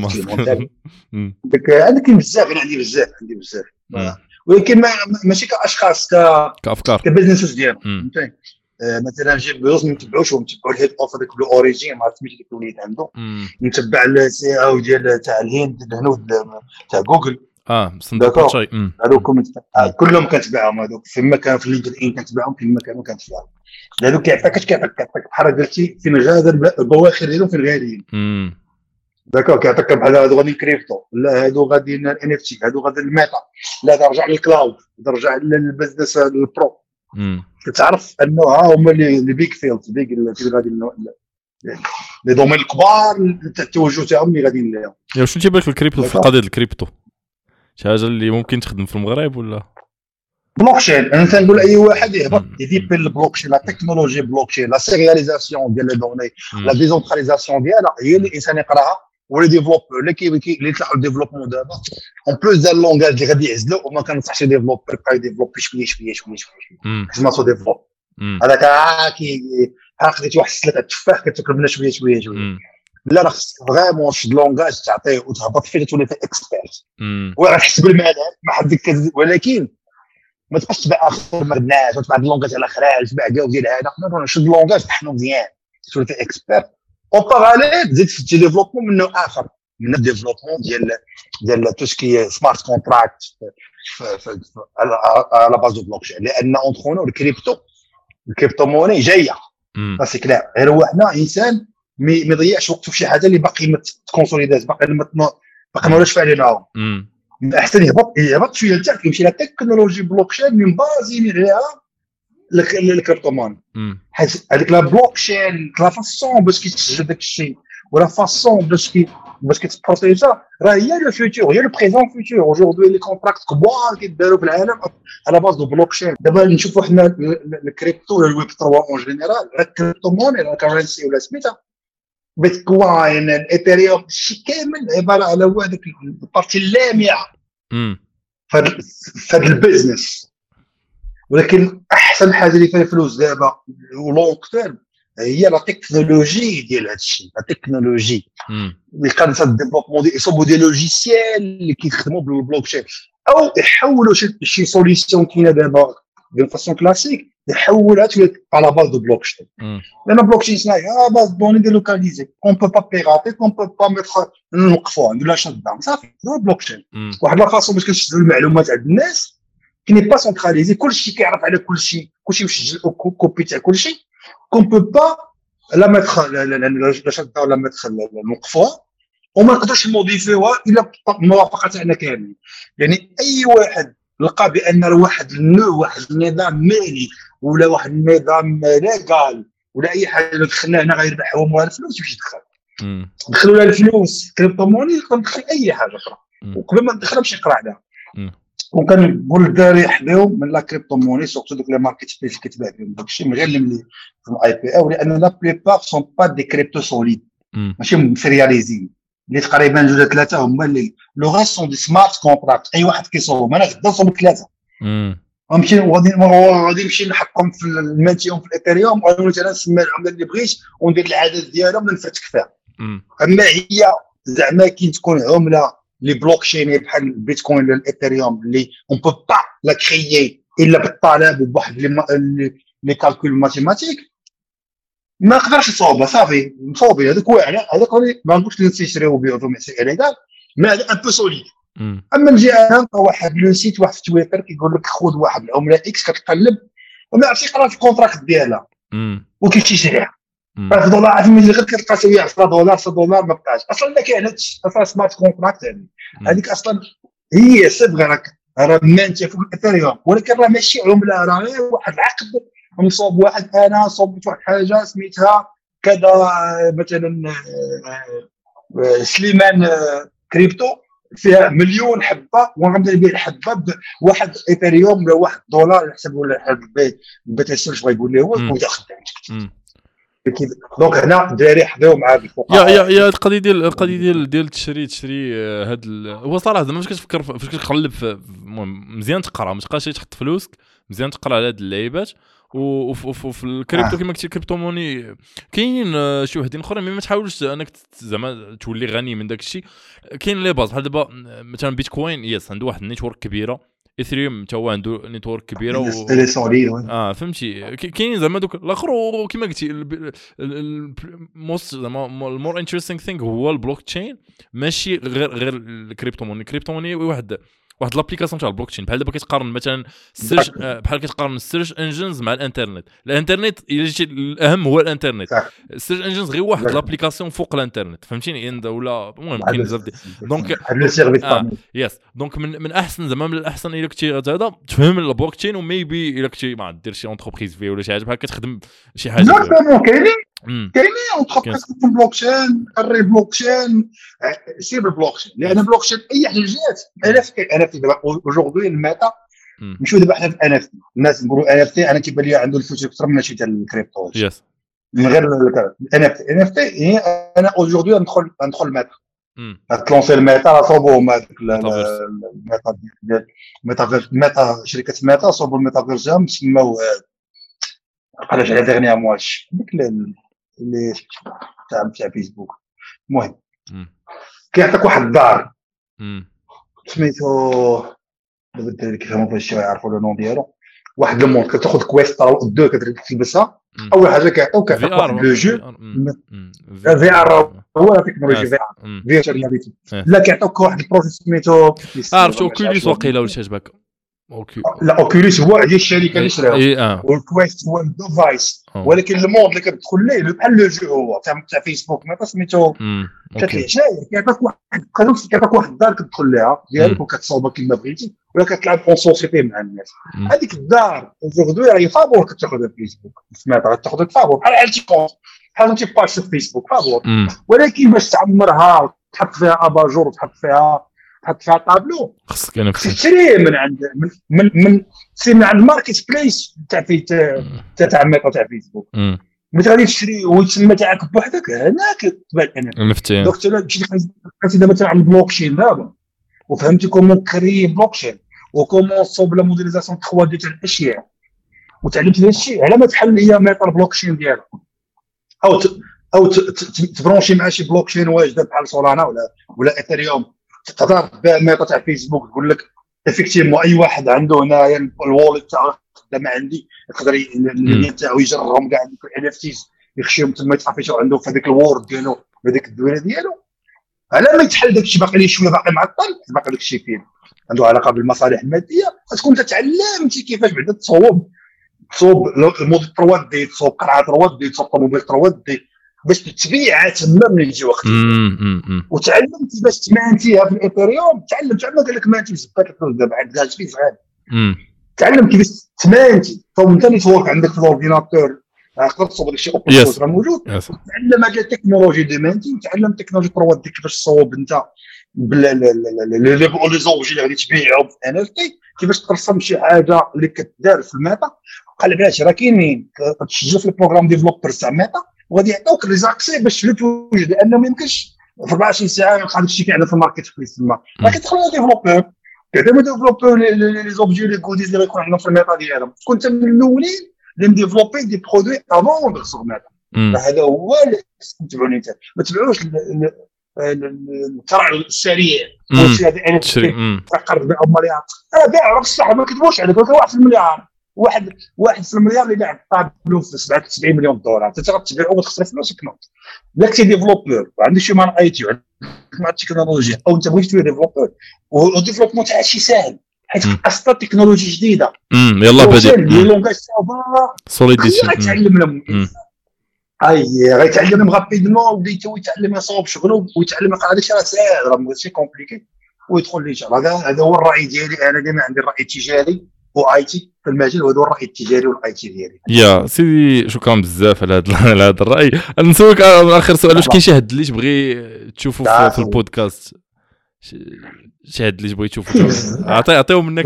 عندك بزاف انا عندي بزاف ولكن ماشي كاشخاص كافكار كبزنس ديالهم فهمتي مثلا نجيب بزاف ما نتبعوش ونتبعوا الهيد اوف هذاك بلو اوريجين ما عرفتش ديك الوليد عنده نتبع السي او ديال تاع الهند الهنود تاع جوجل صندوق شي هذوك كلهم كنتبعهم هذوك فيما كان في لينكد ان كنتبعهم فيما كانوا كنتبعهم هذوك كيعطيك بحال قلتي فين غادا البواخر ديالهم فين غاديين داكور كيعطيك بحال هادو غادي كريبتو لا هادو غادي ان اف تي هادو غادي الميتا لا ترجع للكلاود ترجع للبزنس البرو كتعرف انه ها هما لي بيك فيلدز بيك اللي غادي لي دومين الكبار التوجه تاعهم اللي غاديين ليهم شنو تيبان لك الكريبتو في قضيه الكريبتو شي حاجه اللي ممكن تخدم في المغرب ولا بلوكشين انا تنقول اي واحد يهبط يديبل البلوكشين لا تكنولوجي بلوكشين لا سيرياليزاسيون ديال لي دوني لا ديزونتراليزاسيون ديالها هي اللي الانسان يقراها ولا ديفلوبور اللي طلعوا الديفلوبمون دابا اون بلوس ديال اللونغاج اللي غادي يعزلوا وما كنصحش ديفلوبر بقى يديفلوبي شويه كما سو ديفلوب هذاك كي خديتي واحد السلطه التفاح كتاكل منها شويه لا راه خصك فريمون شي لونغاج تعطيه وتهبط فيه تولي فيه اكسبيرت وغتحس بالملل ما حدك ولكن ما تبقاش تبع اخر ما الناس وتبع اللونغاج على خراج تبع كاع ديال هذا شد اللونغاج طحنو مزيان تولي فيه اكسبيرت اون باراليل زيد في الديفلوبمون من نوع اخر من الديفلوبمون ديال تو سكي سمارت كونتراكت على باز دو بلوكشين لان اونترونو الكريبتو موني جايه سي كلير غير هو حنا انسان ما يضيعش وقته في شي حاجه اللي باقي ما تكونسوليداش باقي ما ولاش فاعلينها احسن يهبط شويه لتحت يمشي لا تكنولوجي بلوكشين من بازين عليها الكريبتو موني حيت هذيك لا بلوكشين لا فاسون باش كيتسجل داك الشيء ولا فاسون باش كتبروتيجا راه هي لو فيوتور هي لو بريزون فيوتور اوجوردي لي كونتراكت كبار كيداروا في العالم على باز دو بلوكشين دابا نشوفوا حنا الكريبتو ولا الويب 3 اون جينيرال راه الكريبتو موني راه كارنسي ولا سميتها بيتكوين الايثيريوم شي كامل عباره على هذيك البارتي اللامعه في هذا البيزنس ولكن احسن حاجه اللي فيها الفلوس دابا ولونغ تيرم هي لا تكنولوجي ديال هذا الشيء لا تكنولوجي اللي كانت الديفلوبمون ديال يصوبوا دي لوجيسيال اللي كيخدموا بالبلوكشين او يحولوا شي سوليسيون كاينه دابا دو فاسون كلاسيك يحولها على باز دو بلوكشين لان بلوكشين صناعي باز دوني ديلوكاليزي اون بو با بيغاتي اون بو با ميتر نوقفوها نديروا شات داون صافي هو بلوكشين واحد لا فاسون باش كنشدوا المعلومات عند الناس كي ني با سونتراليزي كلشي كيعرف على كلشي مسجل كوبي تاع كلشي كون بو با لا ميتر لا شات داون لا ميتر نوقفوها وما نقدرش نموديفيوها الا موافقه تاعنا كامل يعني اي واحد لقى بان واحد النظام مالي ولا واحد النظام ليغال ولا اي حاجه دخلنا هنا غير يربحوا مال الفلوس باش يدخل دخلوا لها الفلوس كريبتو موني ندخل اي حاجه اخرى وقبل ما ندخل باش يقرا عليها وكنقول الدراري يحذروا من لا كريبتو موني سورتو دوك لي ماركت سبيس اللي كتباع بهم داكشي من غير اللي في الاي بي او لان لا بليبار سون با دي كريبتو سوليد ماشي ماتيرياليزي اللي تقريبا جوج ثلاثه هما اللي لو غاس سون دي سمارت كونتراكت اي واحد كيصوب انا غدا نصوب ثلاثه غنمشي غادي نمشي نحطهم في الماتيوم في الاثيريوم وغادي مثلا نسمي العمله اللي بغيت وندير العدد ديالهم ونفتك فيها اما هي زعما كي تكون عمله لي بلوكشين بحال البيتكوين ولا الاثيريوم اللي اون بو با لا كريي الا بالطلب وبواحد لي كالكول ماتيماتيك ما نقدرش نصوبها صافي مصوبين هذاك واعر هذاك ما نقولش نشريو بيعوا مع ليغال ما هذا ان بو سوليد اما نجي انا واحد لو سيت واحد في تويتر كيقول لك خذ واحد العمله اكس كتقلب وما عرفتش يقرا في الكونتراكت ديالها وكيشريها في دولار ملي غير كتلقى شويه 10 دولار 10 دولار ما بقاش اصلا ما كاينش اصلا سمارت كونتراكت هذيك اصلا هي صبغه راه مانتيه في الاثيريوم ولكن راه ماشي عمله راه غير واحد العقد نصوب واحد انا صوبت واحد حاجه سميتها كذا مثلا سليمان كريبتو فيها مليون حبه وغنبدا نبيع الحبه بواحد ايثيريوم ولا واحد دولار يحسب ولا البيت السيرش بغا يقول لي هو وداخل دونك هنا الدراري حضروا مع الفقراء يا القضيه ديال تشري هاد هو صراحه زعما فاش كتفكر فاش كتقلب مزيان تقرا ما تبقاش تحط فلوسك مزيان تقرا على هاد اللعيبات وفي الكريبتو كما قلتي الكريبتو موني كاينين شي وحدين اخرين ما تحاولش انك زعما تولي غني من داك الشيء كاين لي باز بحال دابا مثلا بيتكوين يس عنده واحد النيتورك كبيره اثريوم حتى هو عنده نيتورك كبيره فهمتي كاين زعما دوك الاخر كما قلتي الموست زعما المور انتريستينغ ثينغ هو البلوك تشين ماشي غير الكريبتو موني واحد لابليكاسيون تاع البلوك تشين بحال دابا كتقارن مثلا السيرش بحال كتقارن السيرش انجنز مع الانترنت الا جيتي الاهم هو الانترنت السيرش انجنز غير واحد لابليكاسيون فوق الانترنت فهمتيني ولا المهم كاين بزاف دونك يس دونك من احسن زعما من الاحسن الا كنتي هذا تفهم البلوك تشين وميبي الا كنتي ما دير شي اونتربريز فيه ولا شي حاجه بحال كتخدم شي حاجه كاينين اونتربريز في البلوكشين الري بلوكشين سير بالبلوكشين لان البلوكشين اي حاجه جات انا في دابا اوجوردي الميتا نمشيو دابا حنا في ان اف تي الناس نقولوا ان اف تي انا كيبان لي عنده الفلوس اكثر من شي تاع الكريبتو يس من غير ان اف تي هي انا اوجوردي ندخل الميتا تلونسي الميتا صوبوا هذاك الميتا شركه ميتا صوبوا الميتافيرس سماو علاش على ديرنيير مواش ديك اللي تاع فيسبوك المهم كيعطيك واحد الدار سميتو دابا الدراري كيفهموا فاش يعرفوا لو نون ديالو واحد المونط كتاخذ كويست دو كتلبسها اول حاجه كيعطوك لو جو في ار هو تكنولوجيا في ار فيرتشوال رياليتي لا كيعطوك واحد البروجيكت سميتو عرفت اوكوليس واقيلا ولا شي عجبك لا اوكوليس هو ديال الشركه اللي شراها والكويست هو الديفايس ولكن المود اللي كتدخل ليه بحال لو جو هو تاع فيسبوك ما سميتو كتعيش كيعطيك واحد الدار كتدخل ليها ديالك وكتصوبها كما بغيتي ولا كتلعب اون سوسيتي مع الناس هذيك الدار وجوردو راهي فابور كتاخذها فيسبوك سمعت غتاخذ فابور بحال تي كونت بحال تي باج في فيسبوك فابور ولكن باش تعمرها تحط فيها اباجور وتحط فيها طابلو خصك انا تشري من عند من سي من عند الماركت بليس تاع ميتا تاع فيسبوك ملي غادي تشري ويتسمى تاعك بوحدك هناك تبان انا مفتين دونك انت مشيتي دابا مثلا عند البلوكشين دابا وفهمتي كومون كري بلوكشين وكومون صوب لا موديليزاسيون 3 دي تاع الاشياء وتعلمت هذا الشيء على ما تحل هي ميتا البلوكشين ديالك او تبرونشي مع شي بلوكشين واجده بحال سولانا ولا ايثيريوم تقدر تبيع ميتا تاع فيسبوك تقول لك افيكتيفمون اي واحد عنده هنايا الواليت تاعو خدام عندي يقدر النيت تاعو يجرهم كاع الان اف تيز يخشيهم تما يتافيشوا عنده في هذيك الوورد ديالو بهذيك الدويره ديالو على ما يتحل داك الشيء باقي ليه شويه باقي معطل باقي داك الشيء فيه عنده علاقه بالمصالح الماديه تكون تعلمتي كيفاش بعدا تصوب الموديل 3 دي تصوب قرعه 3 دي تصوب طوموبيل 3 دي باش تبيعها تما من يجي وقت وتعلمت باش تمانتيها في الايثيريوم تعلمت قال لك مانتي بزاف دابا عند جالس فيه صغير تعلم كيفاش تمانتي انت نيتورك عندك في الاورديناتور تقدر تصوب داك الشيء اوبن سورس راه موجود تعلم هذه التكنولوجي دي مانتي تعلم تكنولوجي 3 دي كيفاش تصوب انت لي زوبجي اللي غادي تبيعهم في ان اف تي كيفاش ترسم شي حاجه اللي كتدار في الميتا قال علاش راه كاينين تسجل في البروغرام ديفلوبر تاع ميتا وغادي يعطوك لي زاكسي باش توجد لانه ما يمكنش في 24 ساعه يلقى داكشي كيعرض في الماركت بليس تما راه كيدخلوا ديفلوبور كيعملوا ديفلوبور لي زوبجي لي كوديز اللي غيكون عندهم في الميتا ديالهم كنت من الاولين اللي مديفلوبي دي برودوي افون دو سور ميتا هذا هو اللي تبعوني انت ما تبعوش الترعل السريع واش هذا انا فقرت بها مليار بيع راك الصح ما كتبوش عليك 1 مليار واحد في المليار اللي باع طابلو في 77 مليون دولار انت غتبيعو وتخسر فلوسك نوت لا كنتي ديفلوبور وعندك شي مان اي تي مع التكنولوجيا او انت بغيتي تبيع ديفلوبور والديفلوبمون تاع هادشي ساهل حيت اصلا تكنولوجيا جديده يلا بادئ لي لونغاج صعبه سوليديتي غيتعلم لهم غيتعلم رابيدمون وبدا يتعلم يصوب شغله ويتعلم هذاك الشيء راه ساهل راه ماشي كومبليكي ويدخل لي شغل هذا هو الراي ديالي انا ديما عندي الراي التجاري واي تي في المجال وهذا هو الراي التجاري والاي تي ديالي يا سيدي شكرا بزاف على هذا الراي نسولك اخر سؤال واش كاين شي حد اللي تبغي تشوفه في البودكاست شي حد اللي تبغي تشوفه عطيهم منك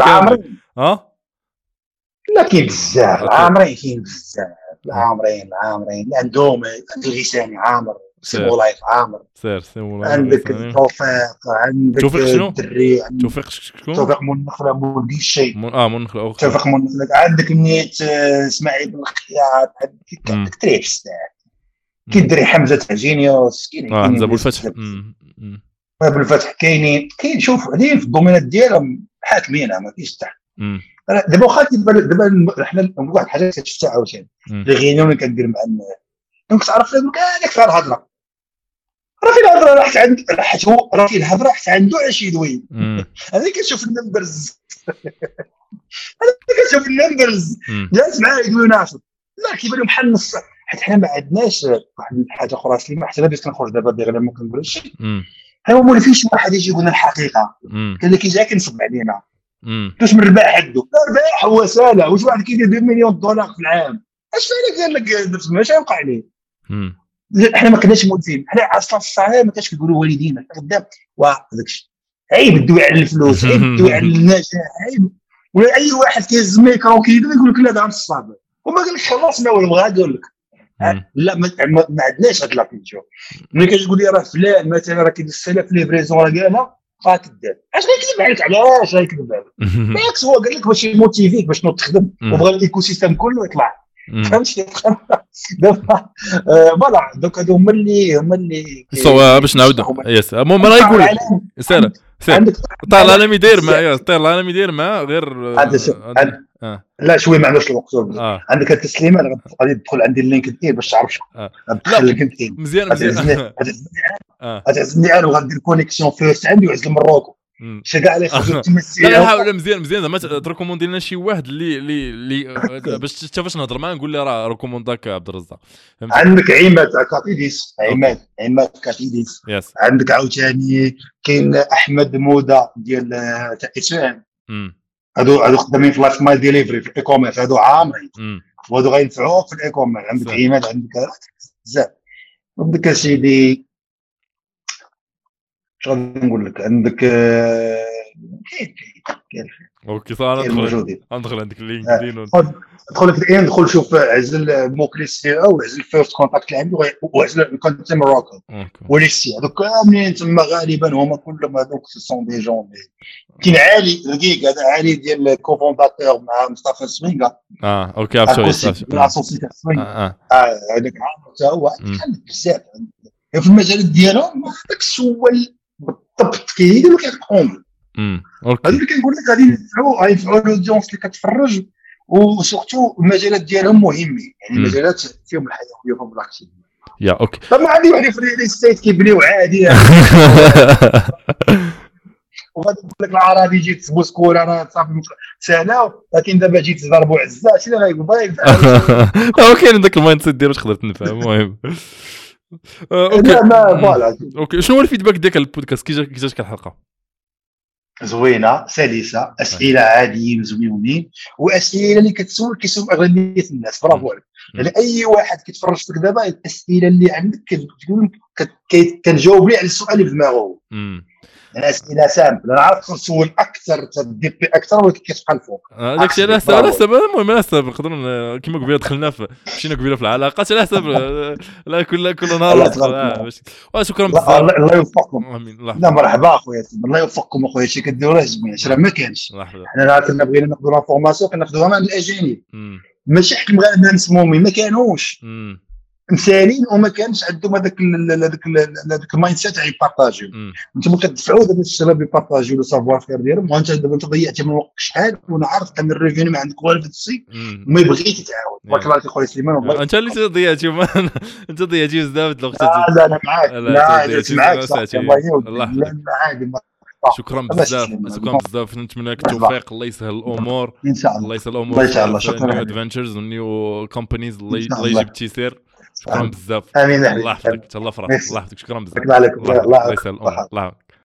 لا كاين بزاف عامرين كاين بزاف عامرين عندهم الغساني عامر سيمولايف عامر عندك توفيق عندك الدري توفيق شكون توفيق منخله مولدي الشيء منخله توفيق منخله عندك نيت اسماعيل بن الخياط عندك تريكس كاين دري حمزه تاع جينيوس كاين حمزه ابو الفتح ابو الفتح كاين شوف هذه في الدومينات ديالهم حاكمين ما فيش تحت دابا واخا دابا حنا واحد الحاجه كتشفتها عاوتاني لي غينيون اللي كندير مع دونك تعرف هذاك فيها الهضره راه فين الهضره راحت عند حيت هو راه فين الهضره حتى عنده عشي دوين هذا كتشوف النمبرز جالس معاه يقولوا ناشط لا كيبان لهم بحال نص حيت حنا ما عندناش واحد الحاجه اخرى سليمه حتى انا بديت كنخرج دابا غير ممكن نقول شي هو ما فيش واحد يجي يقول لنا الحقيقه كان اللي كيجي كنصب علينا واش من الرباح عنده الرباح هو ساله واش واحد كيدير 2 مليون دولار في العام اش قال لك ماش يوقع عليه احنا ما كناش مولفين حنا اصلا الصحيح ما كانش كيقولوا والدينا قدام وهذاك الشيء عيب الدوي على الفلوس عيب الدوي على النجاح عيب ولا اي واحد كيهز ميكرو كيدير يقول لك لا هذا الصابر وما قال لك خلصنا ولا بغا يقول لك لا ما عندناش هاد لابيتيو ملي كتقول لي راه فلان مثلا راه كيدير السلف ليفريزون راه قالها كذاب اش غيكذب عليك علاش غيكذب عليك بالعكس هو قال لك باش يموتيفيك باش تنوض تخدم وبغى الايكو سيستيم كله يطلع فهمتي دابا فوالا دوك هادو هما اللي باش نعاود يس المهم راه يقول سالا عندك طال انا ميدير معايا طال انا ميدير مع غير لا شويه ما عندوش الوقت عندك التسليمه غادي تدخل عندي اللينكد ان باش تعرف ندخل لينكد مزيان غتعزمني انا وغندير كونيكسيون فيرست عندي وعزل مروكو شي كاع اللي خرجوا تمثيل لا مزيان زعما تريكوموندي لنا شي واحد اللي باش تشوفاش نهضر معاه نقول له راه ريكومونداك عبد الرزاق. عندك عماد كاتيديس عماد كاتيديس عندك عاوتاني كاين احمد موده ديال تاع اسفان هادو خدامين في لايف مايل ديليفري في الايكوميرس هادو عامرين وهادو غينفعوك في الايكوميرس. عندك عماد عندك بزاف عندك سيدي شنو غادي نقول لك عندك كاين اوكي صار ندخل عندك اللينكدين ادخل لك دخل شوف عزل موكلي سي او عزل فيرست كونتاكت اللي عندي وعزل الكونتيم روكل وليسي هذوك كاملين تما غالبا هما كلهم هذوك سون دي جون كاين علي رقيق هذا علي ديال كوفونداتور مع مصطفى سوينغا اوكي عرفتو لاسوسيتي سوينغا هذاك حتى هو عندك بزاف في المجالات ديالهم هذاك السؤال بالضبط كيديروا كيقوم اوكي هذا اللي كنقول لك غادي ينفعوا الاودينس اللي كتفرج وسورتو المجالات ديالهم مهمين يعني المجالات فيهم الحيويه وفيهم الاكتيف يا اوكي طبعا عندي واحد في الريل استيت كيبنيو عادي وغادي نقول لك العربي جيت تبوسكور انا صافي سنه لكن دابا جيت تضربوا عزه شنو غايقول باغي كاين داك المايند سيت ديالو تقدر تنفع المهم اوكي فوالا اوكي شنو هو الفيدباك ديالك على البودكاست كي جاتك الحلقه؟ زوينه سلسه اسئله عاديين زوينين واسئله اللي كيسول اغلبيه الناس برافو عليك يعني اي واحد كيتفرج فيك دابا الاسئله اللي عندك كنجاوب ليه على السؤال اللي في دماغه يعني اسئله سامبل انا عارف نسول اكثر تديبي اكثر ولكن كتبقى الفوق داكشي على حساب المهم على حساب نقدروا كيما قبيله دخلنا مشينا قبيله في العلاقات على حساب لا كل نهار شكرا بزاف الله يوفقكم لا مرحبا اخويا الله يوفقكم اخويا شي كديروا راه زوين راه ما كانش حنا كنا بغينا ناخذوا لافورماسيون كناخذوها من الاجانب ماشي حق المغاربه مسمومين ما كانوش مثالين وما كانش عندهم هذاك المايند سيت تاع يبارطاجيو انتم كتدفعوا دابا الشباب يبارطاجيو لو سافوار فير ديالهم وانت دابا ضيعتي من وقتك شحال وانا عارف ان الريفينيو ما عندك والو في السي وما بغيتيش تتعاون بارك الله فيك خويا سليمان والله انت اللي ضيعتي انت ضيعتي بزاف د الوقت لا انا معاك لا معاك الله عادي شكرا بزاف نتمنى لك التوفيق الله يسهل الامور ان شاء الله الله يسهل الامور ان شاء الله شكرا ادفنتشرز ونيو كومبانيز الله يجيب التيسير شكرا بزاف امين الله يحفظك الله يفرح الله يحفظك شكرا بزاف الله يسهل الله